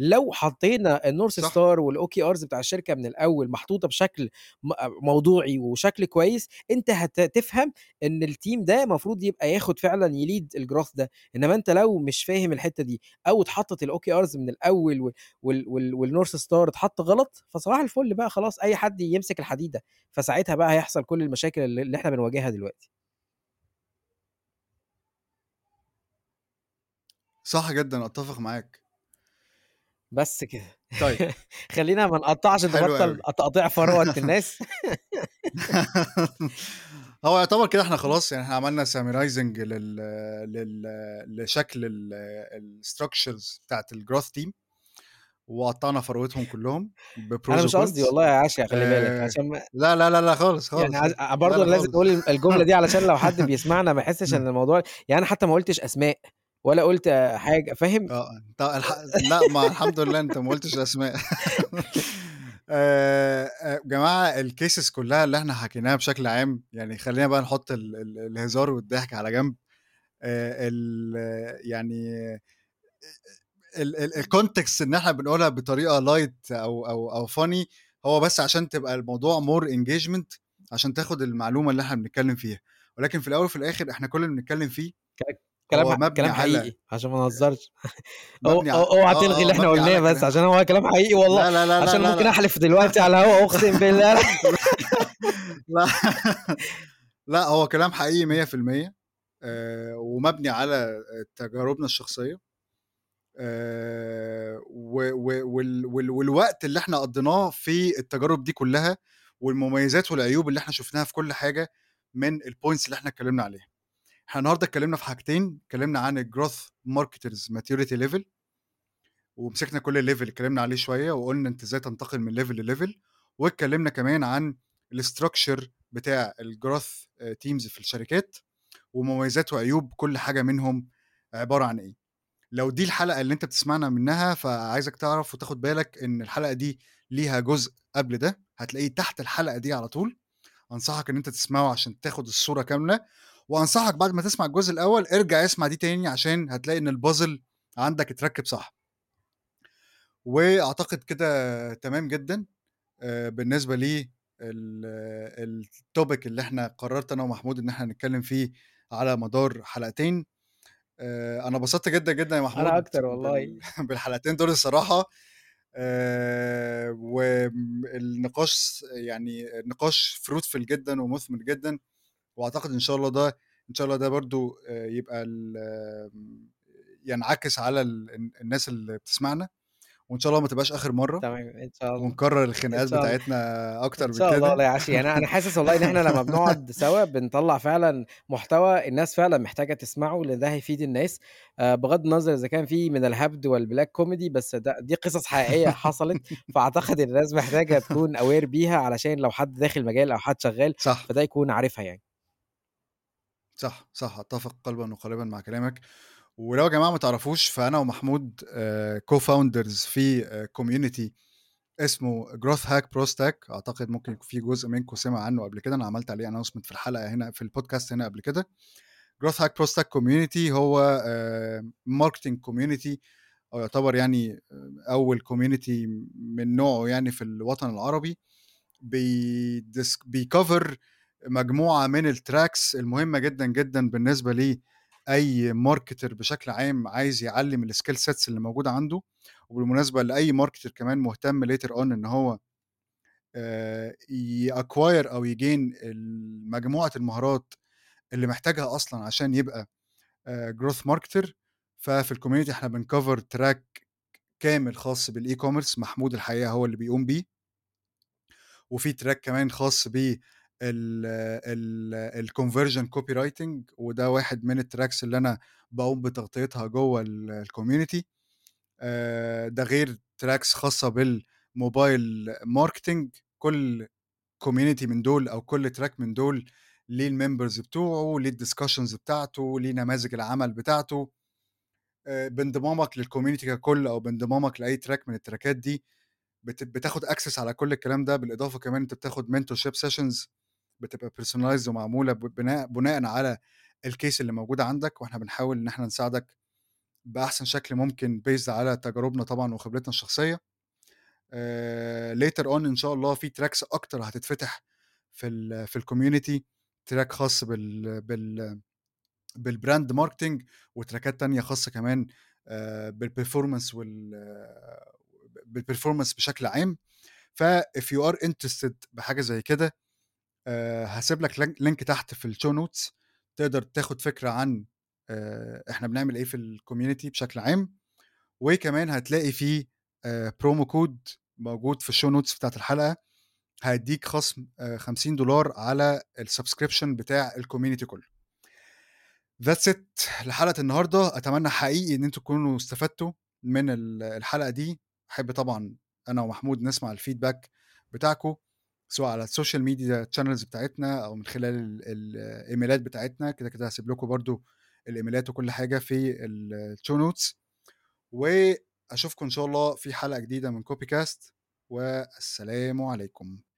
لو حطينا الNorth صح. Star والOKRs بتاع الشركة من الأول محطوطة بشكل م موضوعي وشكل كويس، أنت هت تفهم إن الteam ده المفروض يبقى ياخد فعلًا يlead الgrowth ده. إنما أنت لو مش فاهم الحتّة دي أو اتحطت الOKRs من الأول و وال وال والNorth Star اتحط غلط، فصباح الفل بقى خلاص أي حد يمسك الحديدة، فساعتها بقى هيحصل كل المشاكل اللي اللي إحنا بنواجهها دلوقتي. صح جدًا، أتّفق معاك. بس كده. طيب، خلّينا ما نقطّعش حلو نبطّل أوي. تقطيع فروة الناس. هو يعتبر كده إحنا خلاص يعني إحنا عملنا summarizing لل لل لشكل ال الstructures بتاعة الgrowth team وقطّعنا فروتهم كلّهم أنا بpros مش قصدي وcons. والله يا عشا خلّي بالك، آآ عشان ما لا، لا، لا، لا خالص، يعني خالص، عايز خالص. أ لا، برضه لا أنا لازم خالص. أقول الجملة دي علشان لو حد بيسمعنا ما يحسّش إن الموضوع يعني أنا حتى ما قُلتش أسماء ولا قُلت حاجة فاهم؟ آه، أنت الح لأ، ما الحمد لله أنت ما قُلتش أسماء. آآ، آآ، جماعة الcases كلّها اللي إحنا حكيناها بشكل عام، يعني خلّينا بقى نحُط ال ال الهزار والضحك على جنب. آآ، ال يعني ال ال الcontext إن إحنا بنقولها بطريقة light أو أو أو funny هو بس عشان تبقى الموضوع more engagement عشان تاخد المعلومة اللي إحنا بنتكلّم فيها، ولكن في الأول وفي الآخر إحنا كل اللي بنتكلّم فيه ك كلام هو ح مبني كلام على حقيقي عشان ما نهزرش. أو مبني ع أو اوعى آه، تلغي آه، اللي إحنا مبني قُلناه على بس كلا عشان هو كلام حقيقي والله، لا، لا، لا، لا، عشان لا، ممكن لأ. أحلف دلوقتي على الهوا أقسم بالله. لأ، لأ، هو كلام حقيقي مية في المية آآ، ومبني على تجاربنا الشخصية. آآ، و و وال وال والوقت اللي إحنا قضّيناه في التجارب دي كلّها، والمميزات والعيوب اللي إحنا شُفناها في كل حاجة من الpoints اللي إحنا اتكلّمنا عليها. إحنا النهارده اتكلّمنا في حاجتين، اتكلّمنا عن الgrowth marketers maturity level ومسكنا كل level اتكلّمنا عليه شوية، وقُلنا أنت إزاي تنتقل من level لlevel، واتكلّمنا كمان عن الstructure بتاع الgrowth آآ teams في الشركات، ومميزات وعيوب كل حاجة منهم عبارة عن إيه. لو دي الحلقة اللي أنت بتسمعنا منها، فعايزك تعرف وتاخد بالك إن الحلقة دي ليها جزء قبل ده، هتلاقيه تحت الحلقة دي على طول، أنصحك إن أنت تسمعه عشان تاخد الصورة كاملة، وأنصحك بعد ما تسمع الجزء الأول ارجع اسمع دي تاني عشان هتلاقي إن الpuzzle عندك اتركِّب صح. وأعتقد كده تمام جدًا آآ بالنسبة لي ال الtopic اللي إحنا قررت أنا ومحمود إن إحنا نتكلم فيه على مدار حلقتين. آآ أنا اتبسطت جدًا، جدًا يا أنا محمود أكتر والله. بال بالحلقتين دول الصراحة. آآ وآمم النقاش يعني نقاش fruitful جدًا ومُثمر جدًا، وأعتقد إن شاء الله ده إن شاء الله ده برضه آآ يبقى ال آمم ينعكس على ال الن الناس اللي بتسمعنا، وإن شاء الله ما تبقاش آخر مرّة، تمام، إن شاء الله، ونكرر إن الخناقات شاء الله. بتاعتنا إن أكتر من شاء الله كده. والله يا عشري، يعني أنا حاسس والله إن إحنا لمّا بنقعد سوا بنطلّع فعلًا محتوى الناس فعلًا محتاجة تسمعه، لإن ده هيفيد الناس، آآ بغض النظر إذا كان في من الهبد والبلاك كوميدي، بس ده دي قصص حقيقية حصلت، فأعتقد الناس محتاجة تكون aware بيها علشان لو حد داخل مجال أو حد شغال، صح. فده يكون عارفها يعني. صح، صح، أتّفق قلبًا وقالبًا مع كلامك. ولو يا جماعة ما تعرفوش فأنا ومحمود آآ co-founders في آآ community اسمه growth hack pro stack. أعتقد ممكن يكون في جزء منكم سمع عنه قبل كده، أنا عملت عليه announcement في الحلقة هنا في الpodcast هنا قبل كده. growth hack pro stack community هو آآ marketing community أو يعتبر يعني آآ أول community من نوعه يعني في الوطن العربي. بيدس بيcover مجموعة من الtracks المهمة جدًا، جدًا بالنسبة لأي marketer بشكل عام عايز يعلّم الskill sets اللي موجودة عنده. وبالمناسبة لأي marketer كمان مهتم later on إن هو آآ يacquire أو يgain ال مجموعة المهارات اللي محتاجها أصلًا عشان يبقى آآ growth marketer. ففي الcommunity إحنا بنcover track كامل خاص بالe-commerce محمود الحقيقة هو اللي بيقوم بيه. وفي تراك كمان خاص بال ال الconversion copywriting وده واحد من الtracks اللي أنا باقوم بتغطيتها جوّه ال الcommunity. آآ ده غير tracks خاصة بالmobile marketing. كل community من دول أو كل track من دول ليه الmembers بتوعه، ليه الdiscussions بتاعته، ليه نماذج العمل بتاعته. آآ بانضمامك للcommunity ككل أو بانضمامك لأي track من التراكات دي بت بتاخد access على كل الكلام ده. بالإضافة كمان أنت بتاخد mentorship sessions بتبقى personalized ومعمولة ب بناء بناءً على الcase اللي موجود عندك، وإحنا بنحاول إن إحنا نساعدك بأحسن شكل ممكن based على تجاربنا طبعًا وخبرتنا الشخصية. آآ later on إن شاء الله في tracks أكتر هتتفتح في ال في الcommunity track خاص بال بال بالbrand marketing وتراكات تانية خاصة كمان آآ بالperformance وال بالperformance بشكل عام. فIf you are interested بحاجة زي كده آآ هاسيب لك لينك لينك تحت في الshow notes تقدر تاخد فكرة عن آآ إحنا بنعمل إيه في الcommunity بشكل عام، وكمان هتلاقي في آآ promo code موجود في الshow notes بتاعة الحلقة، هيدّيك خصم آآ خمسين دولار على الsubscription بتاع الcommunity كلّه. That's it لحلقة النهارده، أتمنى حقيقي إن أنتم تكونوا استفدتوا من ال الحلقة دي، أحب طبعًا أنا ومحمود نسمع الfeedback بتاعكم، سواء على السوشيال ميديا channels بتاعتنا أو من خلال ال ال الإيميلات بتاعتنا، كده، كده هاسيب لكم برضه الإيميلات وكل حاجة في الshow notes، وأشوفكم إن شاء الله في حلقة جديدة من copycast والسلام عليكم.